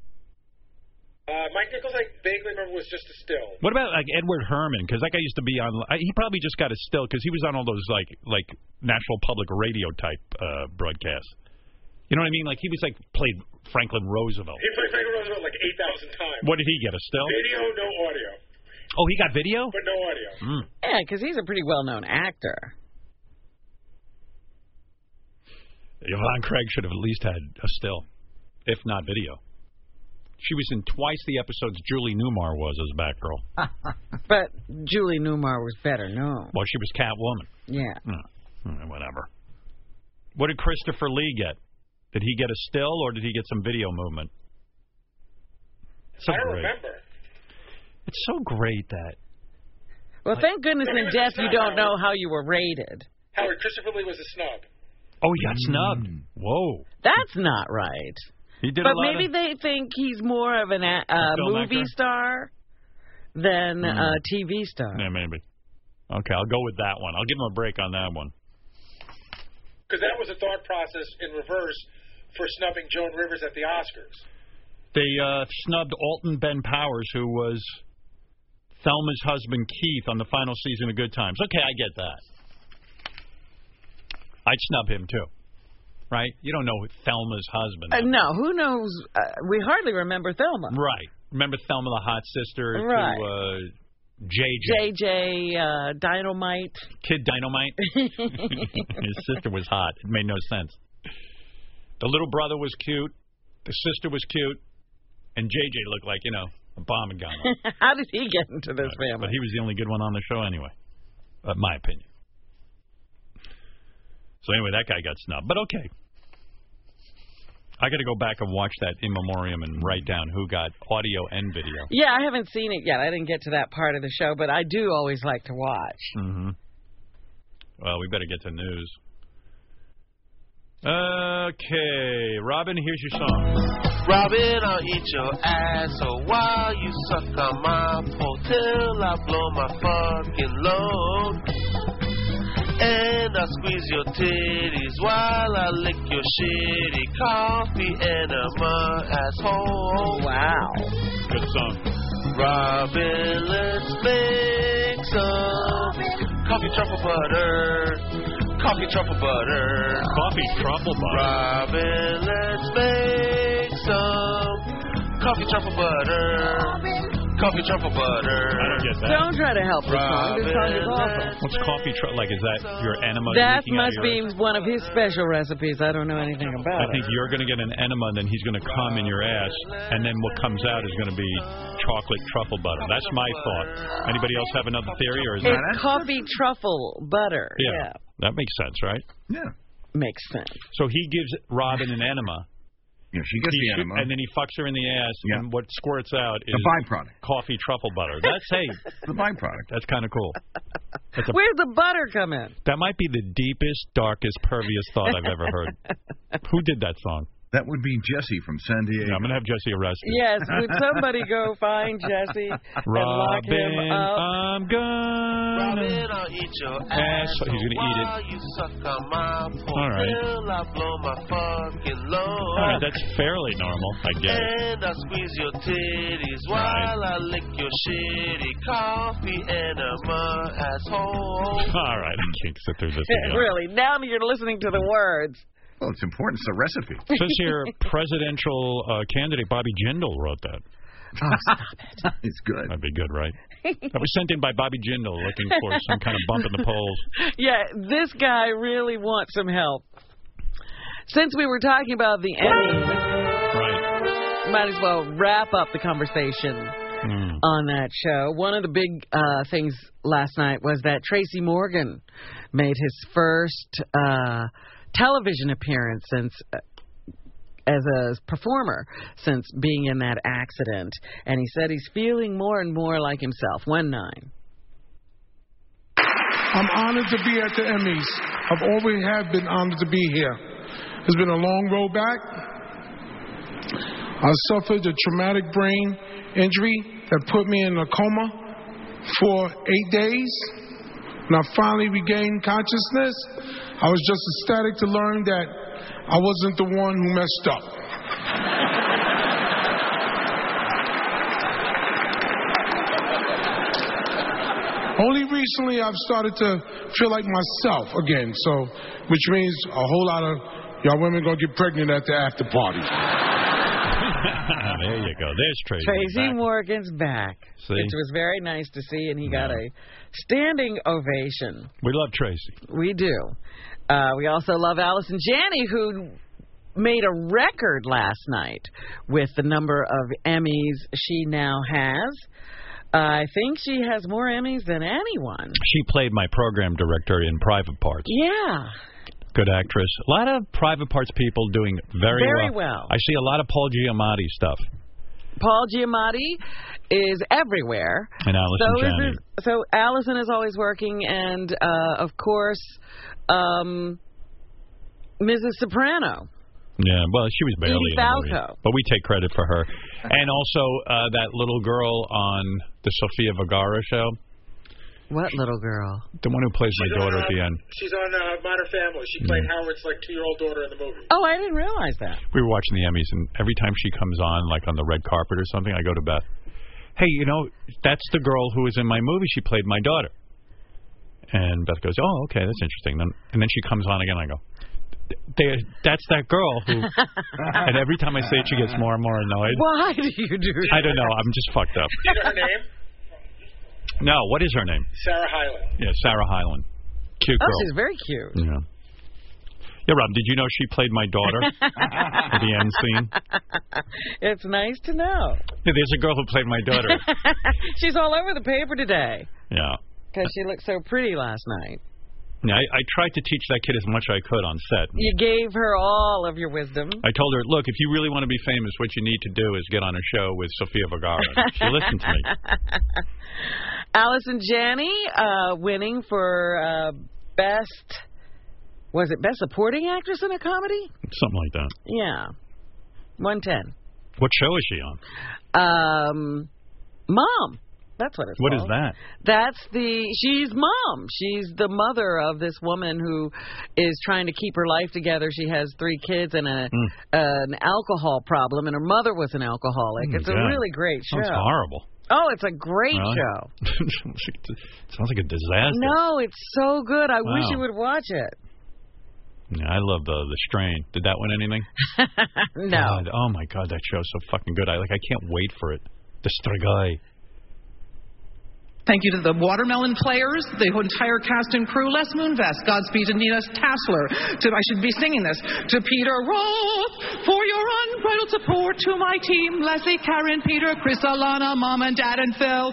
Mike Nichols, I vaguely remember, was just a still. What about like Edward Herman? Because that guy used to be on. He probably just got a still because he was on all those like National Public Radio type broadcasts. You know what I mean? Like he was like played Franklin Roosevelt. He played Franklin Roosevelt like 8,000 times. What did he get? A still? Video, no audio. Oh, he got video? But no audio. Yeah, because he's a pretty well-known actor. Yvonne Craig should have at least had a still, if not video. She was in twice the episodes Julie Newmar was as Batgirl. But Julie Newmar was better known. Well, she was Catwoman. Yeah. Whatever. What did Christopher Lee get? Did he get a still or did he get some video movement? So I don't great. remember. It's so great that... Well, thank goodness in death you don't know how you were rated. Howard, Christopher Lee was a snub. Oh, he got snubbed. Whoa. That's not right. He did but a lot maybe they think he's more of a movie actor? star than a TV star. Yeah, maybe. Okay, I'll go with that one. I'll give him a break on that one. Because that was a thought process in reverse for snubbing Joan Rivers at the Oscars. They snubbed Alton Ben Powers, who was Thelma's husband, Keith, on the final season of Good Times. Okay, I get that. I'd snub him, too. Right? You don't know Thelma's husband. No, who knows? We hardly remember Thelma. Right. Remember Thelma, the hot sister Right. to JJ. JJ Dynamite. Kid Dynamite. His sister was hot. It made no sense. The little brother was cute. The sister was cute. And JJ looked like, a bomb had gone off. How did he get into this family? But he was the only good one on the show anyway. My opinion. So anyway, that guy got snubbed. But okay. I got to go back and watch that in memoriam and write down who got audio and video. Yeah, I haven't seen it yet. I didn't get to that part of the show, but I do always like to watch. Mm-hmm. Well, we better get to news. Okay, Robin, here's your song. Robin, I'll eat your ass while you suck on my pole till I blow my fucking load. And I squeeze your titties while I lick your shitty coffee enema asshole. Wow. Good song. Robin, let's make some coffee truffle butter. Coffee truffle butter. Coffee truffle butter. Robin, let's make some coffee truffle butter. Coffee truffle butter. I don't get that. Don't try to help this song. This song is awesome. What's coffee truffle? Like, is that your enema? That must be one of his special recipes. I don't know anything about it. I think you're going to get an enema, and then he's going to come in your ass, and then what comes out is going to be chocolate truffle butter. That's my thought. Anybody else have another theory? Or is it's that coffee truffle butter. Yeah. That makes sense, right? Yeah. Makes sense. So he gives Robin an enema. Yeah, she gets the enema. And then he fucks her in the ass, and what squirts out is... the byproduct. Coffee truffle butter. That's, hey... the byproduct. That's kind of cool. Where's the butter come in? That might be the deepest, darkest, pervious thought I've ever heard. Who did that song? That would be Jesse from San Diego. Yeah, I'm going to have Jesse arrested. Yes, would somebody go find Jesse and lock him up? I'm gonna Robin, I'll eat your ass. He's going to eat it. You suck on my All right. I blow my fucking load. All right, that's fairly normal, I guess. And I squeeze your titties while I lick your shitty coffee enema asshole. All right, I can't sit through this again. Really, now you're listening to the words. Well, it's important. It's a recipe. It says here, presidential candidate Bobby Jindal wrote that. Oh, stop it. It's good. That'd be good, right? That was sent in by Bobby Jindal looking for some kind of bump in the polls. Yeah, this guy really wants some help. Since we were talking about the Emmys, right, might as well wrap up the conversation on that show. One of the big things last night was that Tracy Morgan made his first television appearance since as a performer since being in that accident, and he said he's feeling more and more like himself. 1-9. I'm honored to be at the Emmys. I've always have been honored to be here. It's been a long road back. I suffered a traumatic brain injury that put me in a coma for 8 days. When I finally regained consciousness, I was just ecstatic to learn that I wasn't the one who messed up. Only recently I've started to feel like myself again, so which means a whole lot of y'all women gonna get pregnant at the after party. There you go. There's Tracy. Tracy back. Morgan's back, See? which was very nice to see, and he got a standing ovation. We love Tracy. We do. We also love Allison Janney, who made a record last night with the number of Emmys she now has. I think she has more Emmys than anyone. She played my program director in Private Parts. Yeah. Good actress. A lot of Private Parts people doing very well. I see a lot of Paul Giamatti stuff. Paul Giamatti is everywhere. And Allison Janney. So Allison is always working, and of course, Mrs. Soprano. Yeah, well, she was barely in the movie, Falco. but we take credit for her. And also that little girl on the Sofia Vergara show. What little girl? The one who plays my daughter at the end. She's on Modern Family. She played Howard's 2-year-old daughter in the movie. Oh, I didn't realize that. We were watching the Emmys, and every time she comes on, like on the red carpet or something, I go to Beth. Hey, you know, that's the girl who was in my movie. She played my daughter. And Beth goes, oh, okay, that's interesting. And then she comes on again, and I go, that's that girl who... And every time I say it, she gets more and more annoyed. Why do you do that? I don't know. I'm just fucked up. Do you know her name? No, what is her name? Sarah Hyland. Yeah, Sarah Hyland. Cute girl. Oh, she's very cute. Yeah. Yeah, Rob, did you know she played my daughter at the end scene? It's nice to know. Yeah, there's a girl who played my daughter. She's all over the paper today. Yeah. Because she looked so pretty last night. Yeah, I tried to teach that kid as much as I could on set. You gave her all of your wisdom. I told her, look, if you really want to be famous, what you need to do is get on a show with Sofia Vergara. She listened to me. Allison Janney winning for best supporting actress in a comedy? Something like that. Yeah. 110. What show is she on? Mom. That's what it's What called. is that? She's Mom. She's the mother of this woman who is trying to keep her life together. She has 3 kids and an alcohol problem, and her mother was an alcoholic. It's a really great show. Sounds horrible. Oh, it's a great show. Sounds like a disaster. No, it's so good. I wish you would watch it. Yeah, I love the Strain. Did that win anything? No. God, oh my God, that show's so fucking good. I can't wait for it. The Strigoi. Thank you to the Watermelon Players, the entire cast and crew, Les Moonves, Godspeed to Nina Tassler, I should be singing this, to Peter Roth, for your unbridled support, to my team, Leslie, Karen, Peter, Chris, Alana, Mom and Dad, and Phil.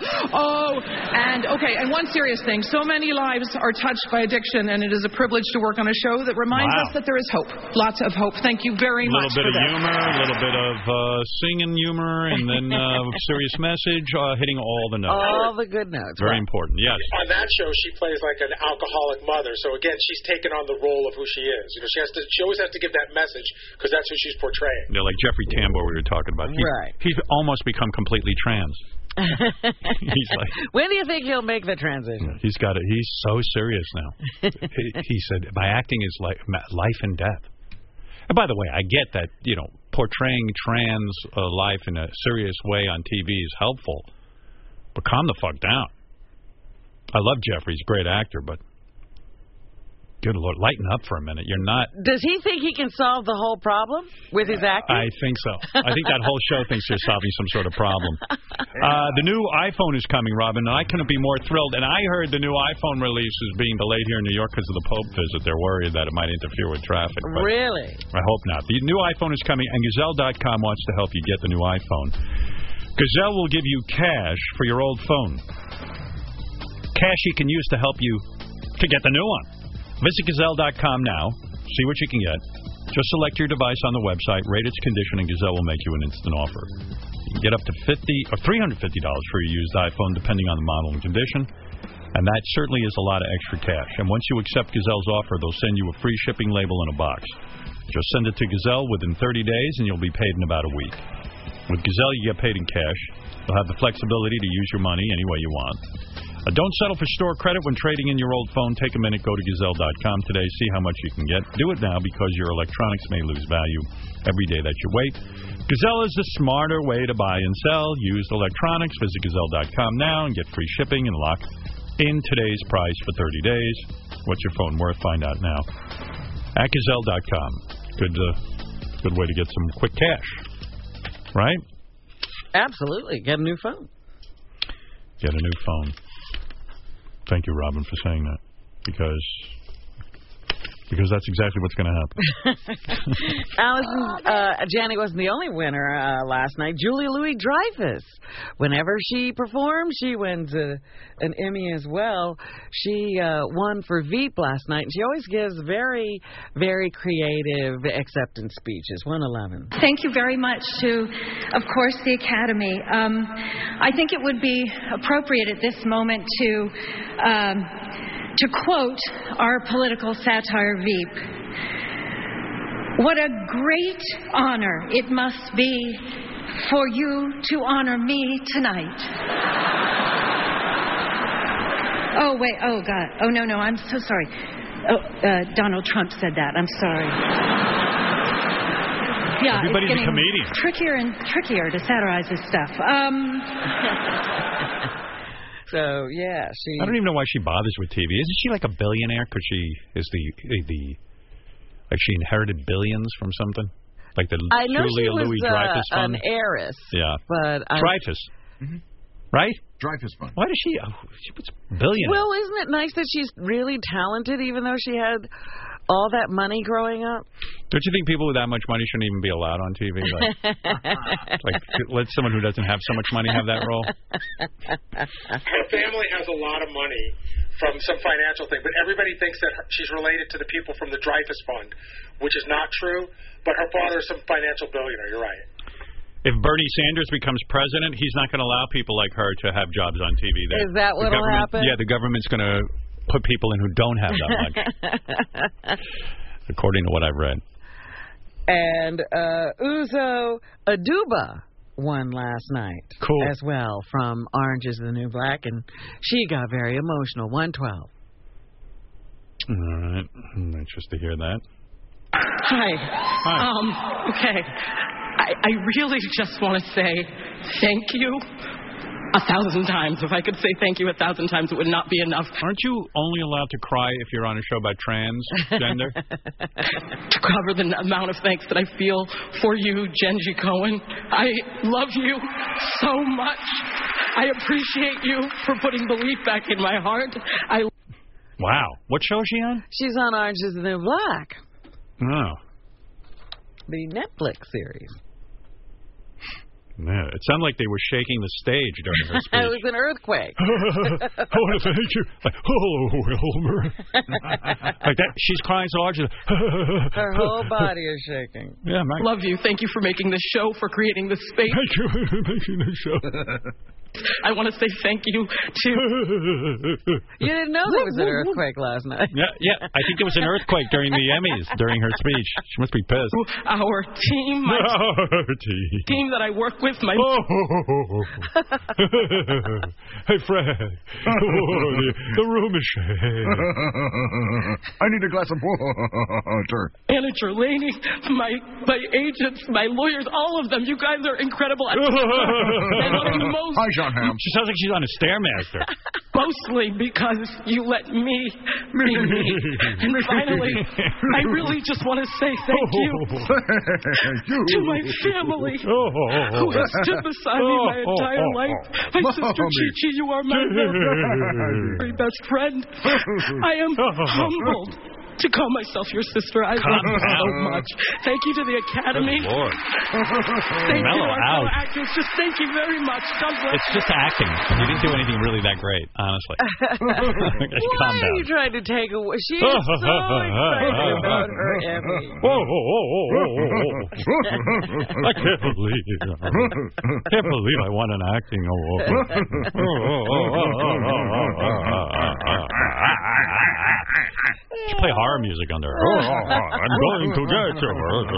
And one serious thing. So many lives are touched by addiction, and it is a privilege to work on a show that reminds us that there is hope. Lots of hope. Thank you very much for that. A little bit of humor, a little bit of singing humor, and then serious message, hitting all the notes. All the good notes. Very important, yes. On that show, she plays like an alcoholic mother. So again, she's taken on the role of who she is. You know, she always has to give that message because that's who she's portraying. Yeah, like Jeffrey Tambor we were talking about. He's almost become completely trans. He's like, when do you think he'll make the transition? He's got it. He's so serious now. He said, my acting is like life and death. And by the way, I get that, you know, portraying trans life in a serious way on TV is helpful. But calm the fuck down. I love Jeffrey. He's a great actor, but good Lord, lighten up for a minute. You're not... Does he think he can solve the whole problem with his acting? I think so. I think that whole show thinks they're solving some sort of problem. The new iPhone is coming, Robin, and I couldn't be more thrilled. And I heard the new iPhone release is being delayed here in New York because of the Pope visit. They're worried that it might interfere with traffic. Really? I hope not. The new iPhone is coming, and Gazelle.com wants to help you get the new iPhone. Gazelle will give you cash for your old phone. Cash you can use to help you to get the new one. Visit Gazelle.com now. See what you can get. Just select your device on the website, rate its condition, and Gazelle will make you an instant offer. You can get up to $50 or $350 for your used iPhone, depending on the model and condition. And that certainly is a lot of extra cash. And once you accept Gazelle's offer, they'll send you a free shipping label in a box. Just send it to Gazelle within 30 days, and you'll be paid in about a week. With Gazelle, you get paid in cash. You'll have the flexibility to use your money any way you want. Don't settle for store credit when trading in your old phone. Take a minute, go to Gazelle.com today, see how much you can get. Do it now because your electronics may lose value every day that you wait. Gazelle is the smarter way to buy and sell used electronics. Visit Gazelle.com now and get free shipping and lock in today's price for 30 days. What's your phone worth? Find out now. At Gazelle.com. Good way to get some quick cash. Right? Absolutely. Get a new phone. Get a new phone. Thank you, Robin, for saying that. Because that's exactly what's going to happen. Allison, Janet wasn't the only winner last night. Julia Louis-Dreyfus. Whenever she performs, she wins an Emmy as well. She won for Veep last night, and she always gives very, very creative acceptance speeches. 111. Thank you very much to, of course, the Academy. I think it would be appropriate at this moment to quote our political satire Veep. What a great honor it must be for you to honor me tonight. Oh, wait. Oh, God. Oh, no. I'm so sorry. Oh, Donald Trump said that. I'm sorry. Yeah, everybody's it's getting a comedian. Trickier and trickier to satirize this stuff. So, yeah, I don't even know why she bothers with TV. Isn't she like a billionaire? Because she is like she inherited billions from something? Like the I know Julia she was Louis-Dreyfus fund? an heiress. Yeah. But Dreyfus. Right? Dreyfus Fund. Why does she was billionaire? Well, isn't it nice that she's really talented, even though she had all that money growing up? Don't you think people with that much money shouldn't even be allowed on TV? Like let someone who doesn't have so much money have that role? Her family has a lot of money from some financial thing, but everybody thinks that she's related to the people from the Dreyfus Fund, which is not true, but her father is some financial billionaire. You're right. If Bernie Sanders becomes president, he's not going to allow people like her to have jobs on TV. Is that what will happen? Yeah, the government's going to put people in who don't have that much, according to what I've read. And Uzo Aduba won last night as well from Orange is the New Black, and she got very emotional. 112. All right. I'm anxious to hear that. Hi. Okay. I really just want to say thank you 1,000 times. If I could say thank you 1,000 times, it would not be enough. Aren't you only allowed to cry if you're on a show about transgender? To cover the amount of thanks that I feel for you, Genji Cohen. I love you so much. I appreciate you for putting belief back in my heart. Wow. What show is she on? She's on Orange is the New Black. Oh. The Netflix series. Yeah, it sounded like they were shaking the stage during her speech. It was an earthquake. I want to thank you. Like, oh, Wilmer. Like that. She's crying so hard. Her whole body is shaking. Yeah, Mike. Love you. Thank you for making this show, for creating this space. Thank you for making this show. I want to say thank you to... You didn't know there was an earthquake last night. Yeah. I think there was an earthquake during the Emmys, during her speech. She must be pissed. Our team, team that I work with, my... Hey, Fred. The room is shaking. I need a glass of water. Manager Laney, my agents, my lawyers, all of them. You guys are incredible. And what I'm most... Hi, John Hamm. She sounds like she's on a Stairmaster. Mostly because you let me be me. And finally, I really just want to say thank you to my family who has stood beside me my entire life. My sister Chi-Chi, you are my very best friend. I am humbled to call myself your sister. I love you so much. Thank you to the Academy. Good Lord. Thank you to our fellow actors. Just thank you very much. God bless. It's just acting. You didn't do anything really that great, honestly. Why are you trying to take away? She is so excited about her Emmy. I can't believe I won an acting award. She play horror music under her. I'm going to get you.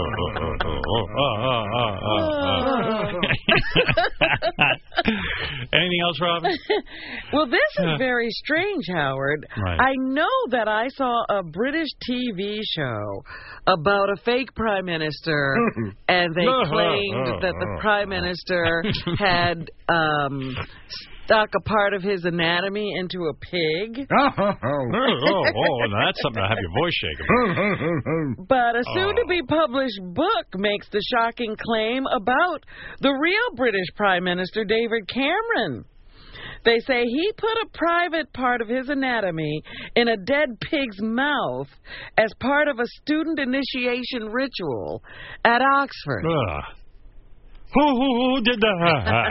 Anything else, Robin? Well, this is very strange, Howard. Right. I know that I saw a British TV show about a fake prime minister, and they claimed that the prime minister had stuck a part of his anatomy into a pig. That's something to have your voice shaking. But a soon-to-be-published book makes the shocking claim about the real British Prime Minister, David Cameron. They say he put a private part of his anatomy in a dead pig's mouth as part of a student initiation ritual at Oxford. Who did that?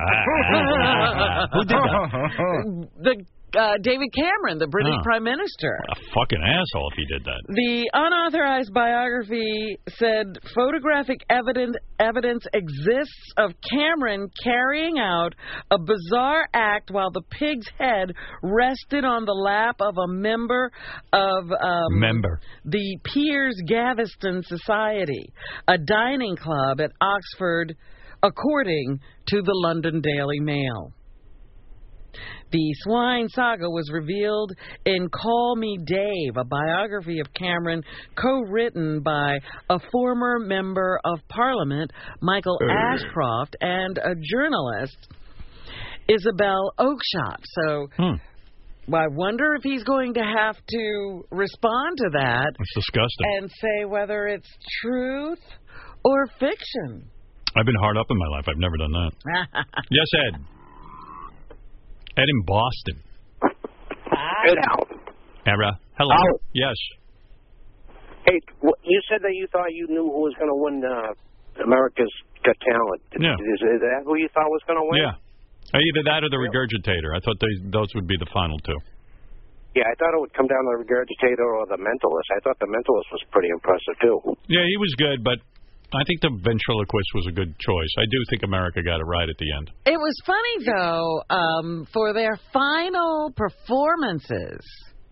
Who did that? David Cameron, the British Prime Minister. A fucking asshole if he did that. The unauthorized biography said photographic evidence exists of Cameron carrying out a bizarre act while the pig's head rested on the lap of a member of the Piers Gaveston Society, a dining club at Oxford, according to the London Daily Mail. The swine saga was revealed in Call Me Dave, a biography of Cameron co-written by a former member of Parliament, Michael Ashcroft, and a journalist, Isabel Oakeshott. So I wonder if he's going to have to respond to that. That's disgusting. And say whether it's truth or fiction. I've been hard up in my life. I've never done that. Yes, Ed. Ed in Boston. Hey, now. Era. Hello. Oh. Yes. Hey, you said that you thought you knew who was going to win America's Got Talent. Yeah. Is that who you thought was going to win? Yeah. Either that or the Regurgitator. I thought those would be the final two. Yeah, I thought it would come down to the Regurgitator or the Mentalist. I thought the Mentalist was pretty impressive, too. Yeah, he was good, but I think the ventriloquist was a good choice. I do think America got it right at the end. It was funny, though, for their final performances,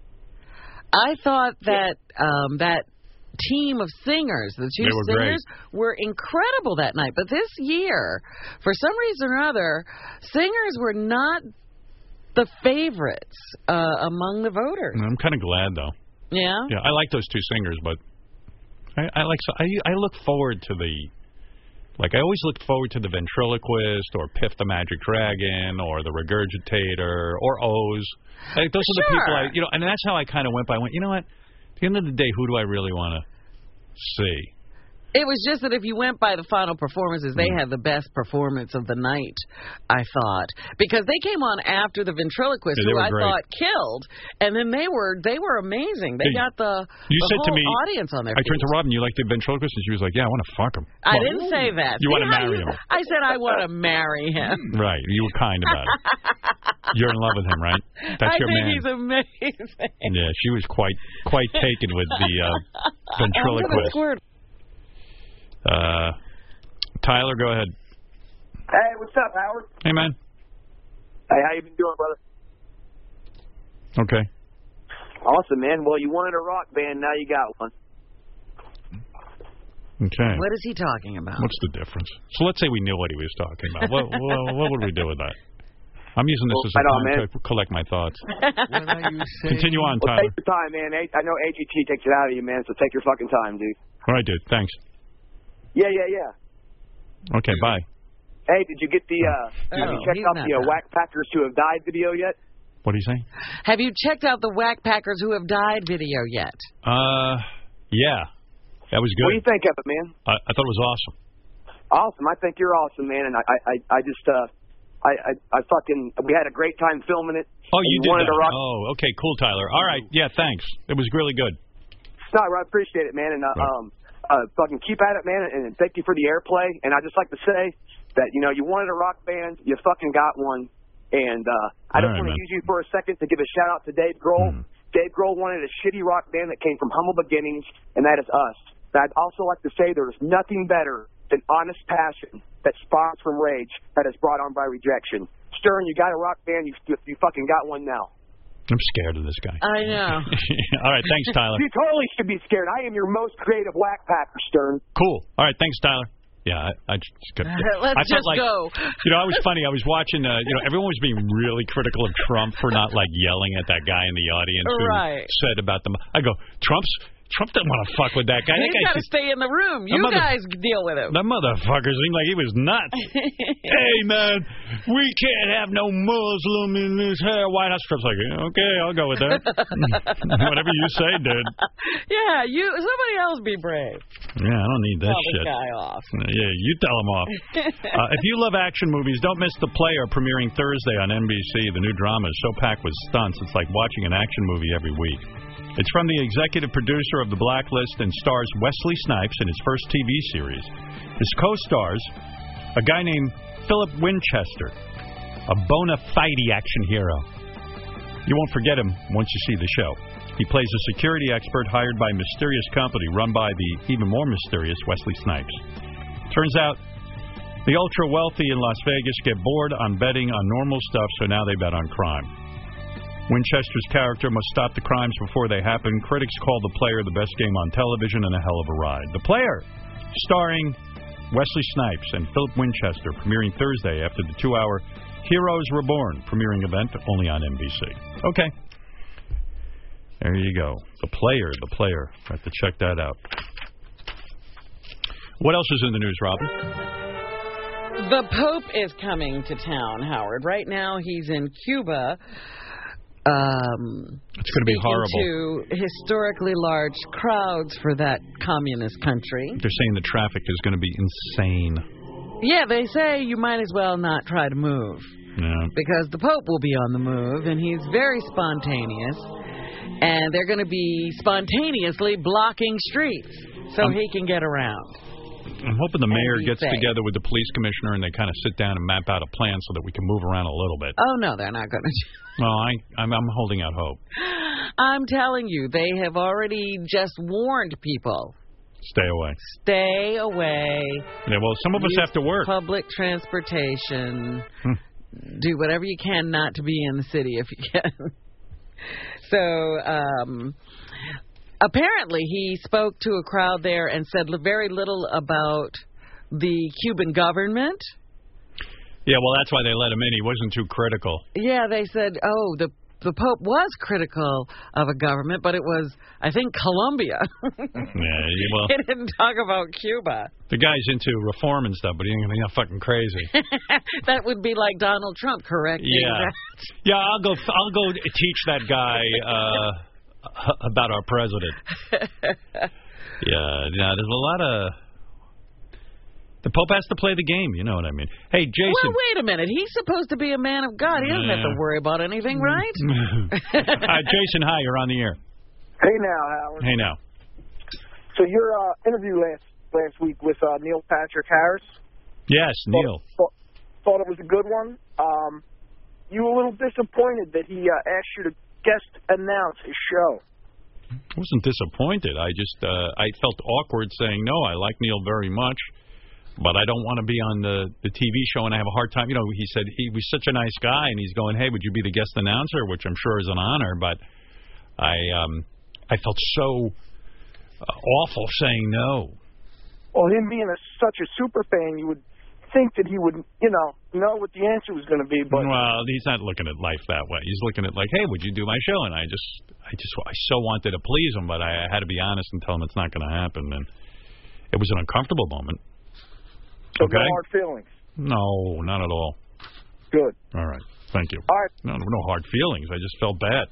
I thought that that team of singers, the two singers, were incredible that night. But this year, for some reason or other, singers were not the favorites among the voters. I'm kind of glad, though. Yeah? Yeah, I like those two singers, but I look forward to I always look forward to the ventriloquist or Piff the Magic Dragon or the Regurgitator or Oz. Those are the people and that's how I kind of went by. I went, you know what? At the end of the day, who do I really want to see? It was just that if you went by the final performances, they had the best performance of the night, I thought. Because they came on after the ventriloquist, who I thought killed, and then they were amazing. They got the whole audience on their feet. I turned to Robin, you like the ventriloquist? And she was like, yeah, I want to fuck him. I didn't say that. You want to marry him. I said I want to marry him. Right. You were kind about it. You're in love with him, right? That's your man. I think he's amazing. Yeah, she was quite taken with the ventriloquist. Tyler, go ahead. Hey, what's up, Howard? Hey, man. Hey, how you been doing, brother? Okay. Awesome, man. Well, you wanted a rock band, now you got one. Okay. What is he talking about? What's the difference? So let's say we knew what he was talking about. What would we do with that? I'm using this as a time to collect my thoughts. Continue on, Tyler. Take your time, man. I know AGT takes it out of you, man, so take your fucking time, dude. All right, dude. Thanks. Yeah. Okay, bye. Hey, did you get the, have you checked out the Whack Packers Who Have Died video yet? What do you say? Have you checked out the Whack Packers Who Have Died video yet? Yeah. That was good. What do you think of it, man? I thought it was awesome. Awesome. I think you're awesome, man, and I just, we had a great time filming it. Oh, you did that? Oh, okay, cool, Tyler. All right, yeah, thanks. It was really good. No, I appreciate it, man, and fucking keep at it, man, and thank you for the airplay. And I just like to say that, you wanted a rock band, you fucking got one. And I just want to use you for a second to give a shout out to Dave Grohl. Dave Grohl wanted a shitty rock band that came from humble beginnings, and that is us. But I'd also like to say there's nothing better than honest passion that spawns from rage that is brought on by rejection. Stern, you got a rock band, you fucking got one now. I'm scared of this guy. I know. All right, thanks, Tyler. You totally should be scared. I am your most creative Whack Packer, Stern. Cool. All right, thanks, Tyler. Yeah, I just couldn't. Let's just go. It was funny. I was watching, everyone was being really critical of Trump for not, yelling at that guy in the audience who said about them. I go, Trump doesn't want to fuck with that guy. He's got to stay in the room. You guys deal with him. That motherfucker seemed like he was nuts. Hey, man, we can't have no Muslim in this White House. Trump's like, okay, I'll go with that. Whatever you say, dude. Yeah, somebody else be brave. Yeah, I don't need that shit. Tell this guy off. Yeah, you tell him off. If you love action movies, don't miss The Player premiering Thursday on NBC. The new drama is so packed with stunts, it's like watching an action movie every week. It's from the executive producer of The Blacklist and stars Wesley Snipes in his first TV series. His co-stars, a guy named Philip Winchester, a bona fide action hero. You won't forget him once you see the show. He plays a security expert hired by a mysterious company run by the even more mysterious Wesley Snipes. Turns out, the ultra-wealthy in Las Vegas get bored on betting on normal stuff, so now they bet on crime. Winchester's character must stop the crimes before they happen. Critics call The Player the best game on television and a hell of a ride. The Player, starring Wesley Snipes and Philip Winchester, premiering Thursday after the 2-hour Heroes Reborn premiering event only on NBC. Okay. There you go. The Player. I have to check that out. What else is in the news, Robin? The Pope is coming to town, Howard. Right now he's in Cuba. It's going to be horrible. To historically large crowds for that communist country. They're saying the traffic is going to be insane. Yeah, they say you might as well not try to move. Yeah. Because the Pope will be on the move, and he's very spontaneous. And they're going to be spontaneously blocking streets so he can get around. I'm hoping the mayor gets together with the police commissioner and they kind of sit down and map out a plan so that we can move around a little bit. Oh, no, they're not going to. Well, I'm holding out hope. I'm telling you, they have already just warned people. Stay away. Stay away. Yeah, well, some of us have to work. Public transportation. Do whatever you can not to be in the city if you can. So, apparently, he spoke to a crowd there and said very little about the Cuban government. Yeah, well, that's why they let him in. He wasn't too critical. Yeah, they said, the Pope was critical of a government, but it was, I think, Colombia. Yeah, well, he didn't talk about Cuba. The guy's into reform and stuff, but he ain't fucking crazy. That would be like Donald Trump, correct? Yeah. Yeah, I'll go teach that guy about our president. Yeah, there's a The Pope has to play the game, you know what I mean. Hey, Jason. Well, wait a minute. He's supposed to be a man of God. He doesn't have to worry about anything, right? Jason, hi. You're on the air. Hey now, Howard. Hey now. So your interview last week with Neil Patrick Harris. Yes, Neil. Thought it was a good one. You were a little disappointed that he asked you to guest announce his show. I wasn't disappointed. I just I felt awkward saying no. I like Neil very much, but I don't want to be on the TV show and I have a hard time. You know, he said he was such a nice guy, and he's going, hey, would you be the guest announcer? Which I'm sure is an honor, but I felt so awful saying no. Well, him being such a super fan, you would think that he would, know what the answer was going to be. But well, he's not looking at life that way. He's looking at like, hey, would you do my show? And I so wanted to please him, but I had to be honest and tell him it's not going to happen. And it was an uncomfortable moment. So okay. No hard feelings. No, not at all. Good. All right. Thank you. All right. No hard feelings. I just felt bad.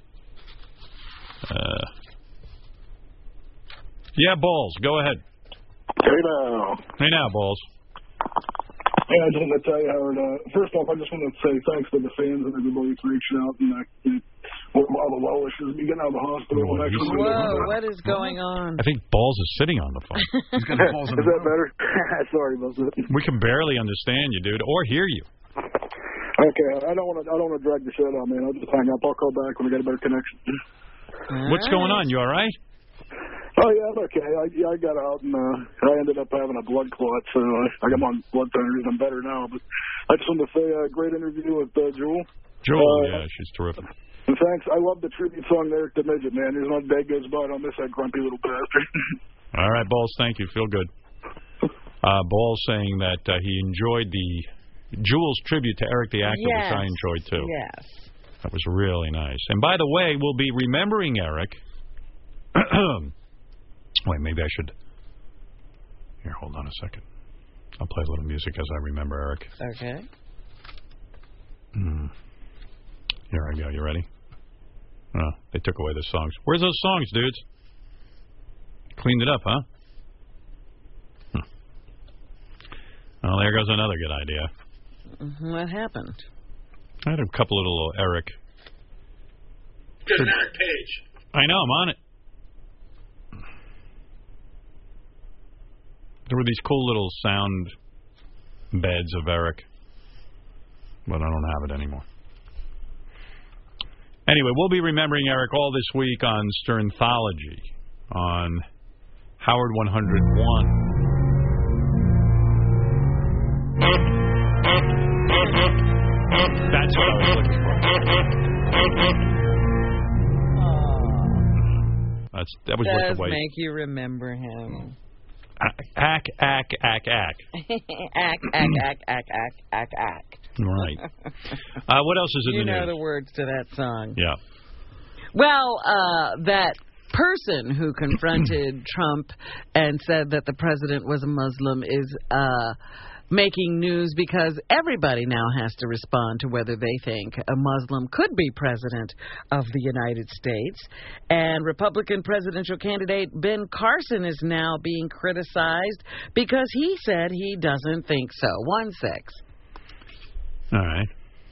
Yeah, Balls. Go ahead. Hey now, Balls. Yeah, I just want to tell you, Howard, first off, I just want to say thanks to the fans and everybody for reaching out and all the well wishes. You getting out of the hospital. Whoa, what is going on? I think Balls is sitting on the phone. He's got the balls in Is that better? Sorry about that. We can barely understand you, dude, or hear you. Okay, I don't want to drag the shit out, man. I'll just hang up. I'll call back when we get a better connection. What's going on? You all right? Oh, yeah, I'm okay. I got out, and I ended up having a blood clot, so I got on blood thinners. I'm better now. But I just wanted to say a great interview with Jewel. Jewel, yeah, she's terrific. And thanks. I love the tribute song there to Midget, man. There's not a day goes by I don't miss that grumpy little bastard. All right, Balls, thank you. Feel good. Balls saying that he enjoyed the Jewel's tribute to Eric the Actor, which I enjoyed, too. Yes. That was really nice. And by the way, we'll be remembering Eric. Wait, maybe I should... Here, hold on a second. I'll play a little music as I remember Eric. Okay. Here I go. You ready? Oh, they took away the songs. Where's those songs, dudes? Cleaned it up, huh? Well, there goes another good idea. What happened? I had a couple of little Eric. There's an Eric page. I know, I'm on it. There were these cool little sound beds of Eric, but I don't have it anymore. Anyway, we'll be remembering Eric all this week on Sternthology on Howard 101. That's what I was looking for. That was worth the wait. Does make you remember him. Ack. Ack. Right. What else is in the news? You know the words to that song. Yeah. Well, that person who confronted Trump and said that the president was a Muslim is making news because everybody now has to respond to whether they think a Muslim could be president of the United States. And Republican presidential candidate Ben Carson is now being criticized because he said he doesn't think so. 1-6. All right.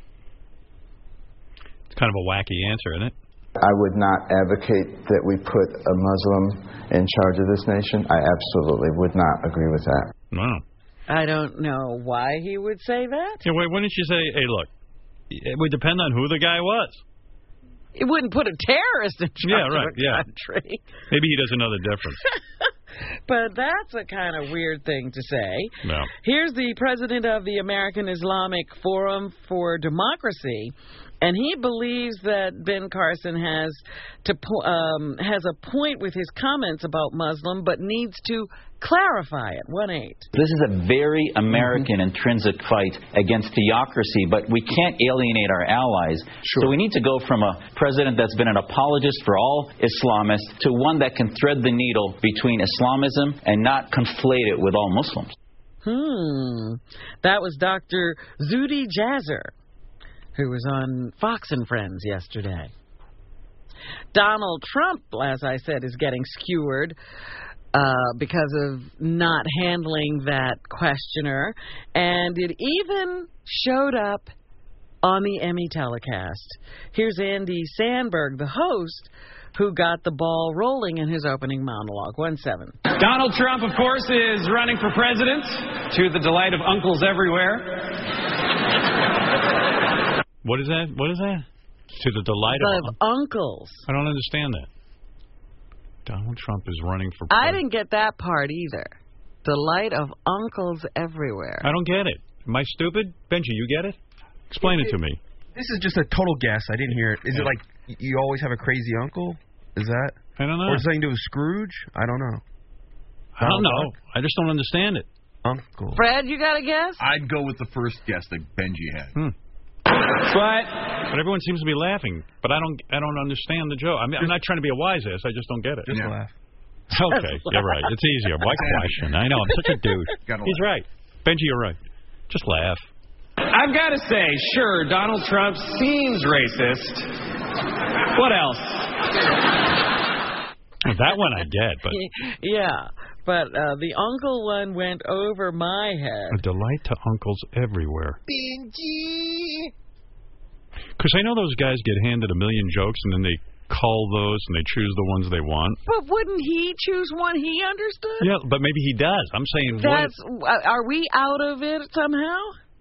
It's kind of a wacky answer, isn't it? I would not advocate that we put a Muslim in charge of this nation. I absolutely would not agree with that. Wow. I don't know why he would say that. Yeah, wait, why didn't you say, hey, look, it would depend on who the guy was. It wouldn't put a terrorist in charge of a country. Maybe he doesn't know the difference. But that's a kind of weird thing to say. No. Here's the president of the American Islamic Forum for Democracy, and he believes that Ben Carson has a point with his comments about Muslim, but needs to clarify it. 1-8. This is a very American intrinsic fight against theocracy, but we can't alienate our allies. Sure. So we need to go from a president that's been an apologist for all Islamists to one that can thread the needle between Islamism and not conflate it with all Muslims. That was Dr. Zuhdi Jasser, who was on Fox and Friends yesterday. Donald Trump, as I said, is getting skewered because of not handling that questioner. And it even showed up on the Emmy telecast. Here's Andy Samberg, the host, who got the ball rolling in his opening monologue. 1-7. Donald Trump, of course, is running for president to the delight of uncles everywhere. What is that? What is that? To the delight of uncles. I don't understand that. Donald Trump is running for I president. didn't get that part either. Delight of uncles everywhere. I don't get it. Am I stupid? Benji, you get it? Explain it to me. This is just a total guess. I didn't hear it. Is it like you always have a crazy uncle? Is that? I don't know. Or something to do with Scrooge? I don't know. I don't know. I just don't understand it. Uncle. Fred, you got a guess? I'd go with the first guess that Benji had. But everyone seems to be laughing. But I don't understand the joke. I mean, I'm not trying to be a wise ass. I just don't get it. Just laugh. Okay, you're right. It's easier. Why question? I know. I'm such a douche. He's right. Benji, you're right. Just laugh. I've got to say, sure, Donald Trump seems racist. What else? That one I get, but... Yeah, but the uncle one went over my head. A delight to uncles everywhere. Benji! Because I know those guys get handed a million jokes and then they cull those and they choose the ones they want. But wouldn't he choose one he understood? Yeah, but maybe he does. I'm saying... Are we out of it somehow?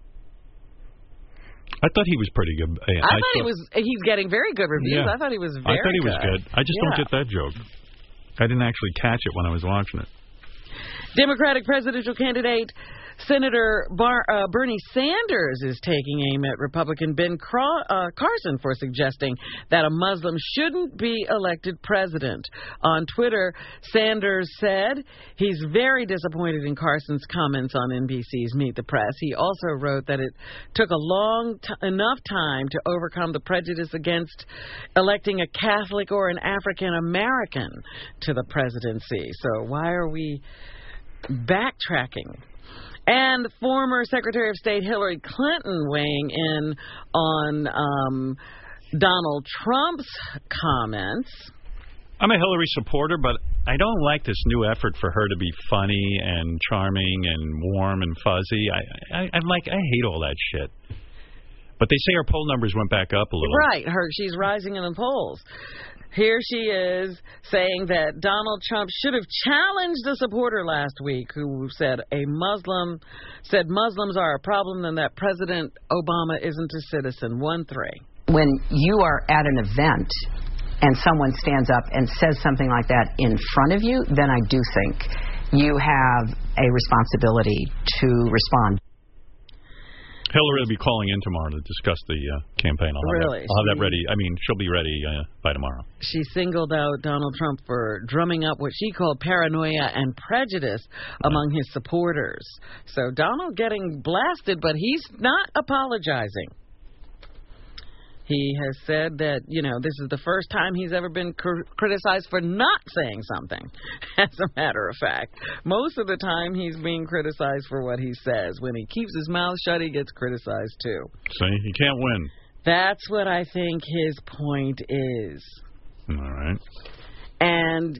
I thought he was pretty good. I thought he's getting very good reviews. Yeah. I thought he was very good. I thought he was good. I just don't get that joke. I didn't actually catch it when I was watching it. Democratic presidential candidate Senator Bernie Sanders is taking aim at Republican Ben Carson for suggesting that a Muslim shouldn't be elected president. On Twitter, Sanders said he's very disappointed in Carson's comments on NBC's Meet the Press. He also wrote that it took enough time to overcome the prejudice against electing a Catholic or an African American to the presidency. So why are we backtracking? And former Secretary of State Hillary Clinton weighing in on Donald Trump's comments. I'm a Hillary supporter, but I don't like this new effort for her to be funny and charming and warm and fuzzy. I hate all that shit. But they say her poll numbers went back up a little. Right. She's rising in the polls. Here she is saying that Donald Trump should have challenged a supporter last week who said Muslims are a problem and that President Obama isn't a citizen. 1-3. When you are at an event and someone stands up and says something like that in front of you, then I do think you have a responsibility to respond. Hillary will be calling in tomorrow to discuss the campaign. I'll have that ready. I mean, she'll be ready by tomorrow. She singled out Donald Trump for drumming up what she called paranoia and prejudice among his supporters. So Donald getting blasted, but he's not apologizing. He has said that, this is the first time he's ever been criticized for not saying something, as a matter of fact. Most of the time, he's being criticized for what he says. When he keeps his mouth shut, he gets criticized, too. See, he can't win. That's what I think his point is. All right. And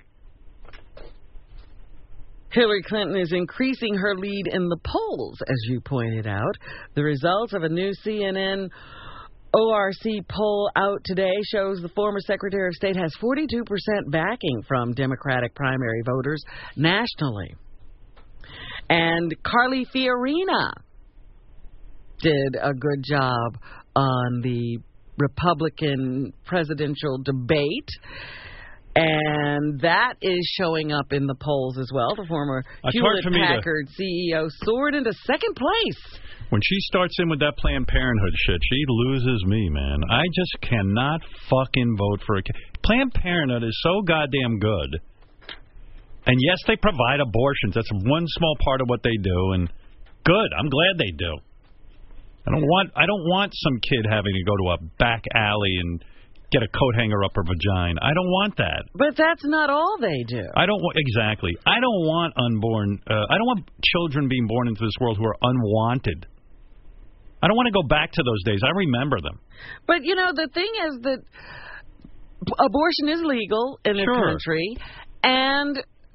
Hillary Clinton is increasing her lead in the polls, as you pointed out. The results of a new CNN ORC poll out today shows the former Secretary of State has 42% backing from Democratic primary voters nationally. And Carly Fiorina did a good job on the Republican presidential debate. And that is showing up in the polls as well. The former Hewlett-Packard CEO soared into second place. When she starts in with that Planned Parenthood shit, she loses me, man. I just cannot fucking vote for Planned Parenthood is so goddamn good. And yes, they provide abortions. That's one small part of what they do, and good. I'm glad they do. I don't want some kid having to go to a back alley and get a coat hanger up her vagina. I don't want that. But that's not all they do. Exactly. I don't want I don't want children being born into this world who are unwanted. I don't want to go back to those days. I remember them. But, the thing is that abortion is legal in this country, and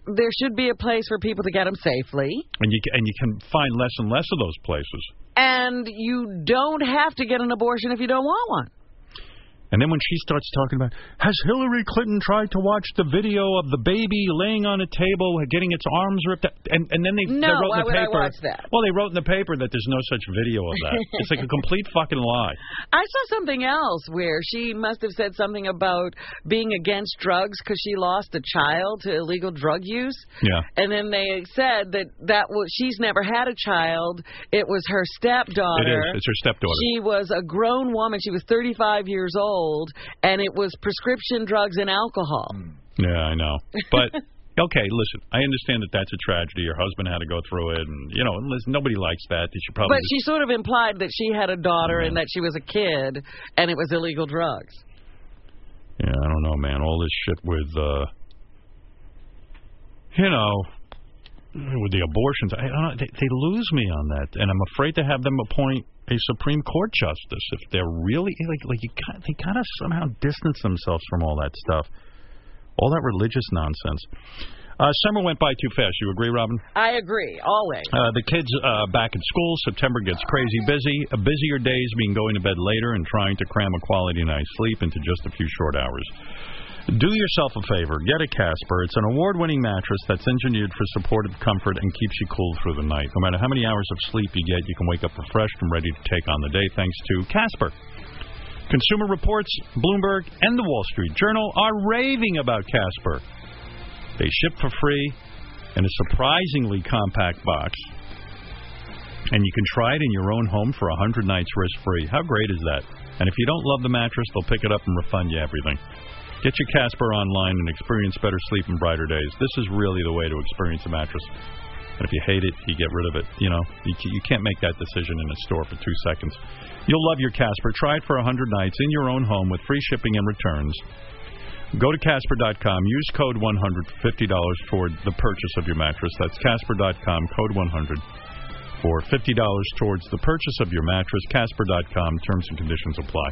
there should be a place for people to get them safely. And you can find less and less of those places. And you don't have to get an abortion if you don't want one. And then when she starts talking about, has Hillary Clinton tried to watch the video of the baby laying on a table, getting its arms ripped out? And then they wrote in the paper. Why would I watch that? Well, they wrote in the paper that there's no such video of that. It's like a complete fucking lie. I saw something else where she must have said something about being against drugs because she lost a child to illegal drug use. Yeah. And then they said that she's never had a child. It was her stepdaughter. It is. It's her stepdaughter. She was a grown woman. She was 35 years old. And it was prescription drugs and alcohol. Yeah, I know. But, okay, listen, I understand that that's a tragedy. Your husband had to go through it, and, you know, nobody likes that. They should probably. But she sort of implied that she had a daughter and that she was a kid, and it was illegal drugs. Yeah, I don't know, man. All this shit with, you know, with the abortions, I don't know, they lose me on that, and I'm afraid to have them appoint a Supreme Court justice if they're really they gotta somehow distance themselves from all that stuff, all that religious nonsense. Summer went by too fast. You agree, Robin? I agree, always. The kids back at school. September gets crazy busy. Busier days mean going to bed later and trying to cram a quality night's sleep into just a few short hours. Do yourself a favor. Get a Casper. It's an award-winning mattress that's engineered for supportive comfort and keeps you cool through the night. No matter how many hours of sleep you get, you can wake up refreshed and ready to take on the day thanks to Casper. Consumer Reports, Bloomberg, and the Wall Street Journal are raving about Casper. They ship for free in a surprisingly compact box, and you can try it in your own home for 100 nights risk-free. How great is that? And if you don't love the mattress, they'll pick it up and refund you everything. Get your Casper online and experience better sleep and brighter days. This is really the way to experience a mattress. And if you hate it, you get rid of it. You know, you can't make that decision in a store for 2 seconds. You'll love your Casper. Try it for 100 nights in your own home with free shipping and returns. Go to Casper.com. Use code 100 for $50 toward the purchase of your mattress. That's Casper.com, code 100 for $50 towards the purchase of your mattress. Casper.com. Terms and conditions apply.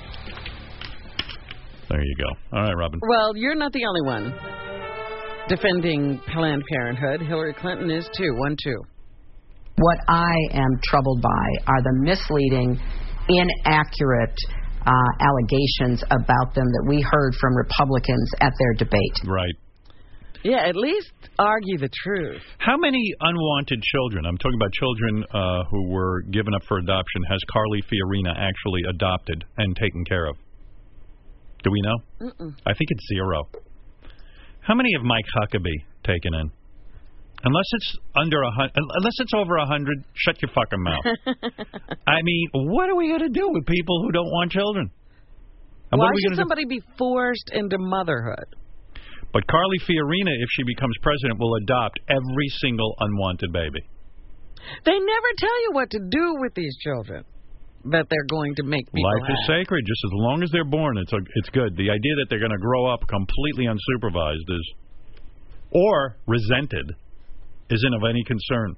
There you go. All right, Robin. Well, you're not the only one defending Planned Parenthood. Hillary Clinton is too. 1-2. What I am troubled by are the misleading, inaccurate allegations about them that we heard from Republicans at their debate. Right. Yeah, at least argue the truth. How many unwanted children, I'm talking about children who were given up for adoption, has Carly Fiorina actually adopted and taken care of? Do we know? I think it's 0. How many have Mike Huckabee taken in? Unless it's unless it's over 100, shut your fucking mouth. I mean, what are we going to do with people who don't want children? And why should somebody be forced into motherhood? But Carly Fiorina, if she becomes president, will adopt every single unwanted baby. They never tell you what to do with these children that they're going to make people Life is sacred. Just as long as they're born, it's good. The idea that they're going to grow up completely unsupervised or resented isn't of any concern.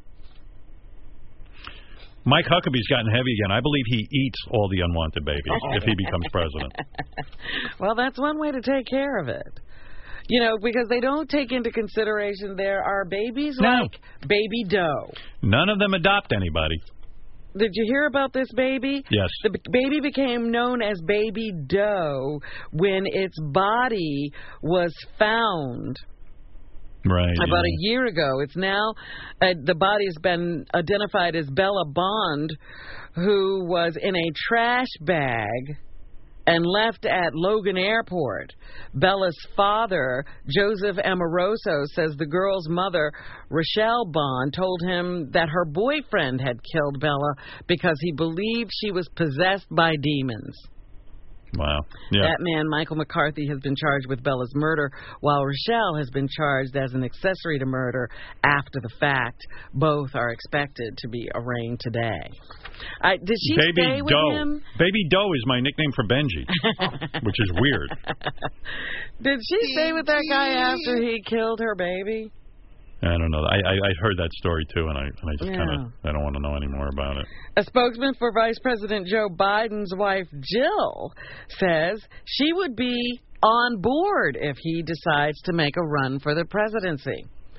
Mike Huckabee's gotten heavy again. I believe he eats all the unwanted babies if he becomes president. Well, that's one way to take care of it. You know, because they don't take into consideration there are babies like Baby Doe. None of them adopt anybody. Did you hear about this baby? Yes. The baby became known as Baby Doe when its body was found. Right. About a year ago. It's now, the body has been identified as Bella Bond, who was in a trash bag and left at Logan Airport. Bella's father, Joseph Amoroso, says the girl's mother, Rochelle Bond, told him that her boyfriend had killed Bella because he believed she was possessed by demons. Wow. Yeah. That man, Michael McCarthy, has been charged with Bella's murder, while Rochelle has been charged as an accessory to murder after the fact. Both are expected to be arraigned today. Did she stay with him? Baby Doe is my nickname for Benji, which is weird. Did she stay with that guy after he killed her baby? I don't know. I heard that story too, and I just kind of I don't want to know any more about it. A spokesman for Vice President Joe Biden's wife Jill says she would be on board if he decides to make a run for the presidency.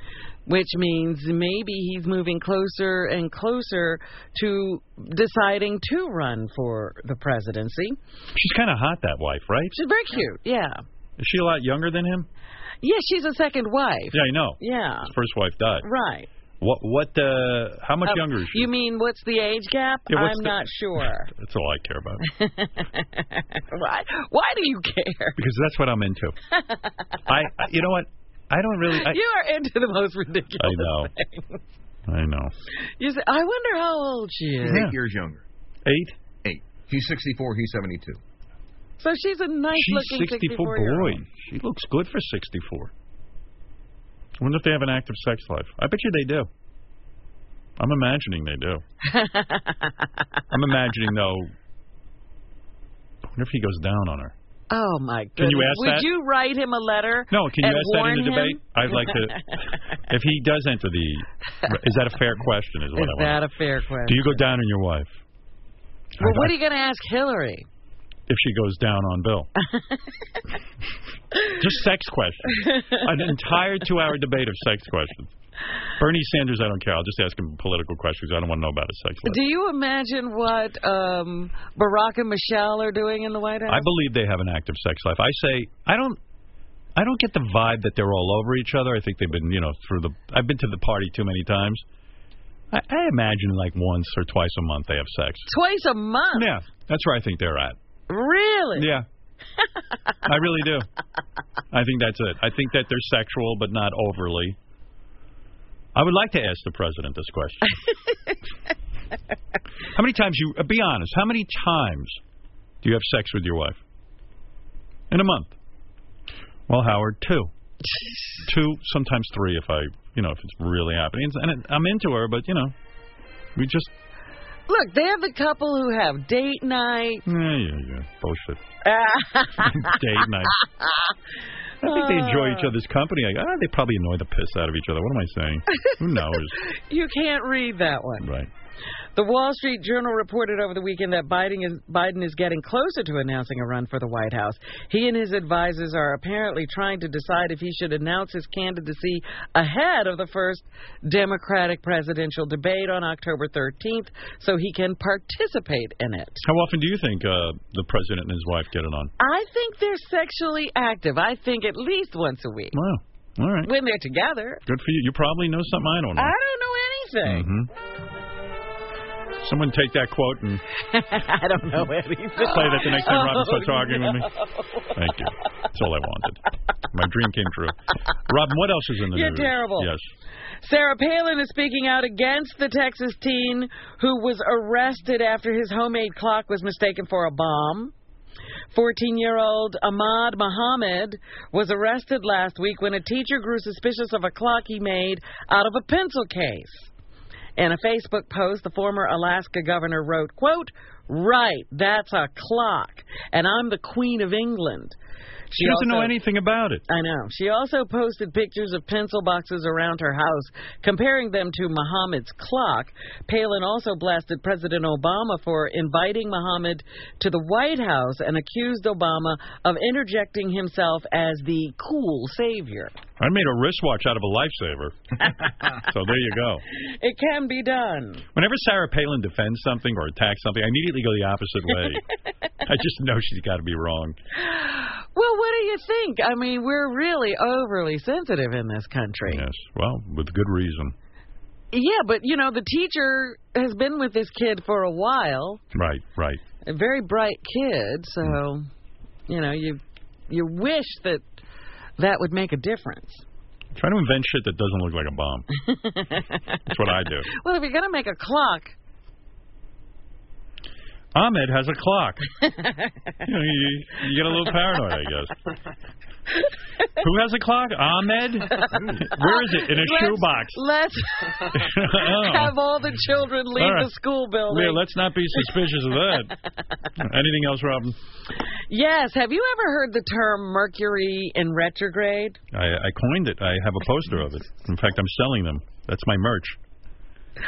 which means maybe he's moving closer and closer to deciding to run for the presidency. She's kind of hot, that wife, right? She's very cute, yeah. Is she a lot younger than him? Yeah, she's a second wife. Yeah, I know. Yeah. His first wife died. Right. How much younger is she? You mean what's the age gap? Yeah, I'm not sure. That's all I care about. Why do you care? Because that's what I'm into. You know what? I don't really... You are into the most ridiculous things. I know. You say, I wonder how old she is. She's 8 years younger. 8? 8. He's 64, he's 72. So she's a nice-looking 64-year-old. Boy, she looks good for 64. I wonder if they have an active sex life. I bet you they do. I'm imagining they do. I'm imagining, though, I wonder if he goes down on her. Oh, my goodness. Can you ask Would that? you write him a letter? No, can you ask that in the him? debate? I'd like to. If he does enter the. Is that a fair question? Is that a fair question? Do you go down on your wife? Well, what are you going to ask Hillary? If she goes down on Bill. Just sex questions. An entire 2-hour debate of sex questions. Bernie Sanders, I don't care. I'll just ask him political questions. I don't want to know about his sex life. Do you imagine what Barack and Michelle are doing in the White House? I believe they have an active sex life. I say, I don't get the vibe that they're all over each other. I think they've been, I've been to the party too many times. I imagine like once or twice a month they have sex. Twice a month? Yeah, that's where I think they're at. Really? Yeah. I really do. I think that's it. I think that they're sexual, but not overly. I would like to ask the president this question. How many times be honest, how many times do you have sex with your wife? In a month? Well, Howard, 2. 2, sometimes 3 if if it's really happening. And I'm into her, but, we just... Look, they have the couple who have date night. Yeah. Bullshit. Date night. I think they enjoy each other's company. They probably annoy the piss out of each other. What am I saying? Who knows? You can't read that one. Right. The Wall Street Journal reported over the weekend that Biden is getting closer to announcing a run for the White House. He and his advisors are apparently trying to decide if he should announce his candidacy ahead of the first Democratic presidential debate on October 13th so he can participate in it. How often do you think the president and his wife get it on? I think they're sexually active. I think at least once a week. Wow. All right. When they're together. Good for you. You probably know something I don't know. I don't know anything. Mm-hmm. Someone take that quote and... I don't know anything. Play that the next time Robin starts arguing with me. Thank you. That's all I wanted. My dream came true. Robin, what else is in the news? You're terrible. Yes. Sarah Palin is speaking out against the Texas teen who was arrested after his homemade clock was mistaken for a bomb. 14-year-old Ahmad Muhammad was arrested last week when a teacher grew suspicious of a clock he made out of a pencil case. In a Facebook post, the former Alaska governor wrote, quote, "Right, that's a clock, and I'm the Queen of England." She doesn't know anything about it. I know. She also posted pictures of pencil boxes around her house, comparing them to Muhammad's clock. Palin also blasted President Obama for inviting Muhammad to the White House and accused Obama of interjecting himself as the cool savior. I made a wristwatch out of a lifesaver. So there you go. It can be done. Whenever Sarah Palin defends something or attacks something, I immediately go the opposite way. I just know she's got to be wrong. Well, what do you think? I mean, we're really overly sensitive in this country. Yes, well, with good reason. Yeah, but, the teacher has been with this kid for a while. Right. A very bright kid, so, you wish that would make a difference. Try to invent shit that doesn't look like a bomb. That's what I do. Well, if you're going to make a clock... Ahmed has a clock. You get a little paranoid, I guess. Who has a clock? Ahmed? Where is it? In a shoebox. Let's have all the children leave the school building. Yeah, let's not be suspicious of that. Anything else, Robin? Yes. Have you ever heard the term Mercury in retrograde? I coined it. I have a poster of it. In fact, I'm selling them. That's my merch.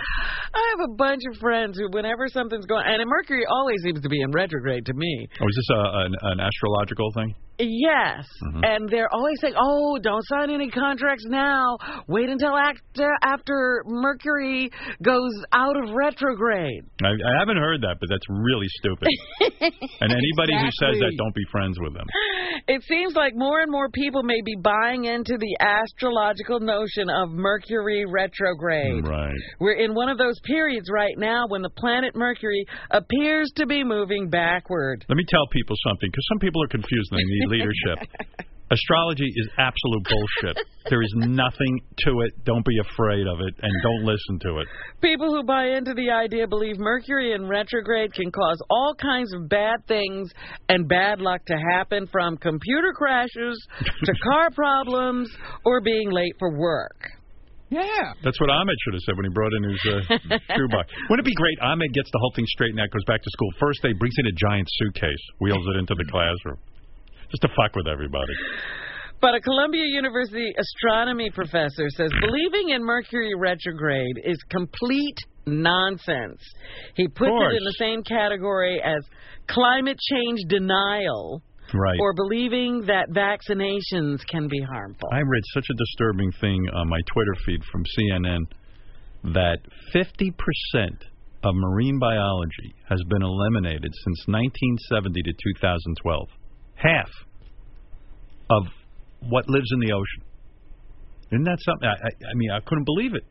I have a bunch of friends who, whenever something's going, and Mercury always seems to be in retrograde to me. Oh, is this an astrological thing? Yes, and they're always saying, "Oh, don't sign any contracts now. Wait until after Mercury goes out of retrograde." I haven't heard that, but that's really stupid. And anybody who says that, don't be friends with them. It seems like more and more people may be buying into the astrological notion of Mercury retrograde. Right. We're in one of those periods right now when the planet Mercury appears to be moving backward. Let me tell people something, because some people are confused and they need leadership. Astrology is absolute bullshit. There is nothing to it. Don't be afraid of it, and don't listen to it. People who buy into the idea believe Mercury in retrograde can cause all kinds of bad things and bad luck to happen, from computer crashes to car problems or being late for work. Yeah. That's what Ahmed should have said when he brought in his shoebox. Wouldn't it be great? Ahmed gets the whole thing straightened out, goes back to school. First day, brings in a giant suitcase, wheels it into the classroom. Just to fuck with everybody. But a Columbia University astronomy professor says believing in Mercury retrograde is complete nonsense. He puts it in the same category as climate change denial. Right. Or believing that vaccinations can be harmful. I read such a disturbing thing on my Twitter feed from CNN that 50% of marine biology has been eliminated since 1970 to 2012. Half of what lives in the ocean. Isn't that something? I mean, I couldn't believe it.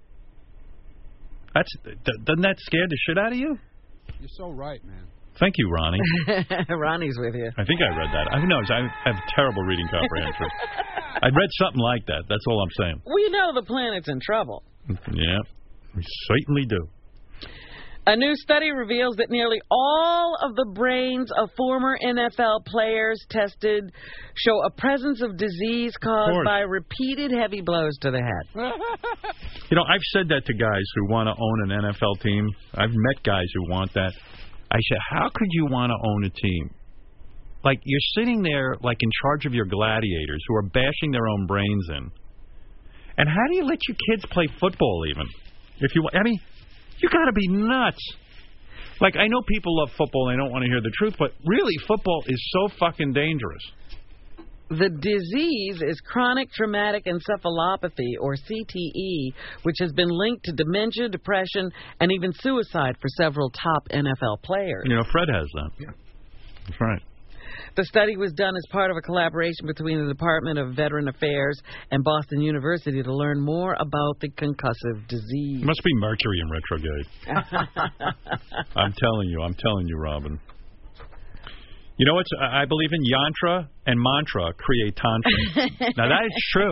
Doesn't that scare the shit out of you? You're so right, man. Thank you, Ronnie. Ronnie's with you. I think I read that. I have terrible reading comprehension. I read something like that. That's all I'm saying. We know the planet's in trouble. Yeah, we certainly do. A new study reveals that nearly all of the brains of former NFL players tested show a presence of disease caused by repeated heavy blows to the head. You know, I've said that to guys who want to own an NFL team. I've met guys who want that. I said, how could you want to own a team? Like, you're sitting there, like, in charge of your gladiators who are bashing their own brains in. And how do you let your kids play football, even? I mean, you got to be nuts. Like, I know people love football and they don't want to hear the truth, but really, football is so fucking dangerous. The disease is chronic traumatic encephalopathy, or CTE, which has been linked to dementia, depression, and even suicide for several top NFL players. You know, Fred has that. Yeah. That's right. The study was done as part of a collaboration between the Department of Veteran Affairs and Boston University to learn more about the concussive disease. It must be Mercury in retrograde. I'm telling you, Robin. You know what? I believe in yantra and mantra create tantra. Now, that is true.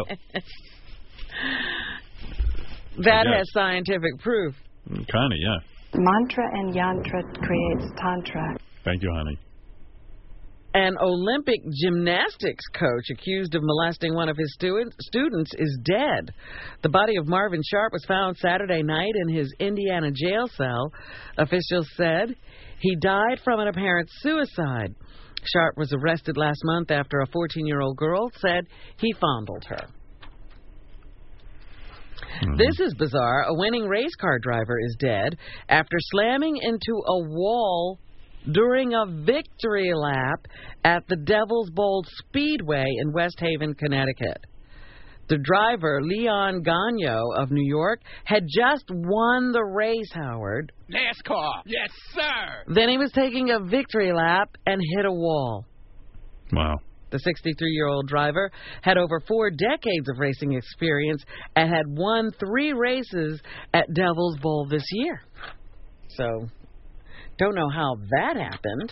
That has scientific proof. Kind of, yeah. Mantra and yantra creates tantra. Thank you, honey. An Olympic gymnastics coach accused of molesting one of his students is dead. The body of Marvin Sharp was found Saturday night in his Indiana jail cell. Officials said he died from an apparent suicide. Sharp was arrested last month after a 14-year-old girl said he fondled her. This is bizarre. A winning race car driver is dead after slamming into a wall during a victory lap at the Devil's Bowl Speedway in West Haven, Connecticut. The driver, Leon Gagno of New York, had just won the race, Howard. NASCAR. Yes, sir. Then he was taking a victory lap and hit a wall. Wow. The 63-year-old driver had over 4 decades of racing experience and had won 3 races at Devil's Bowl this year. So, don't know how that happened.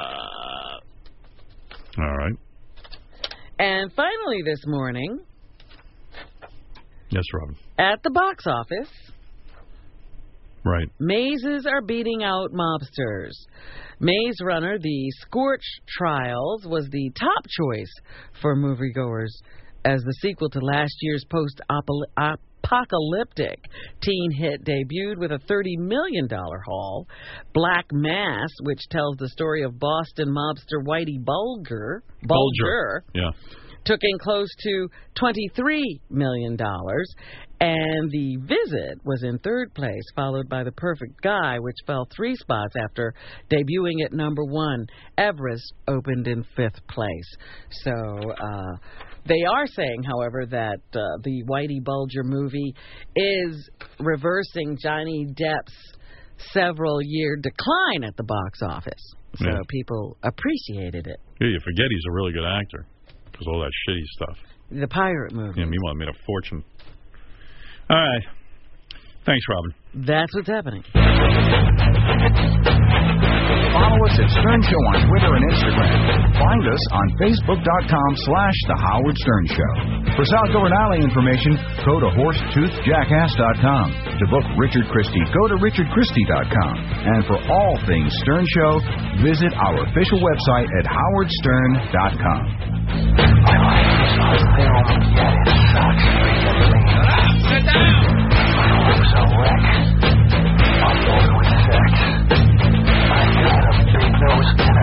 All right. And finally this morning... Yes, Robin. At the box office... Right. Mazes are beating out mobsters. Maze Runner, The Scorch Trials, was the top choice for moviegoers as the sequel to last year's post-apocalyptic teen hit debuted with a $30 million haul. Black Mass, which tells the story of Boston mobster Whitey Bulger, Yeah. took in close to $23 million. And The Visit was in third place, followed by The Perfect Guy, which fell 3 spots after debuting at number 1. Everest opened in 5th place. So they are saying, however, that the Whitey Bulger movie is reversing Johnny Depp's several-year decline at the box office. So people appreciated it. Yeah, you forget he's a really good actor because all that shitty stuff. The pirate movie. Yeah, meanwhile, made a fortune. All right. Thanks, Robin. That's what's happening. Follow us at Stern Show on Twitter and Instagram. Find us on Facebook.com/The Howard Stern Show. For South Dakota Alley information, go to HorsetoothJackass.com. To book Richard Christie, go to RichardChristie.com. And for all things Stern Show, visit our official website at HowardStern.com. Sit down! I was a wreck. I'm over with sex. I got a big nose and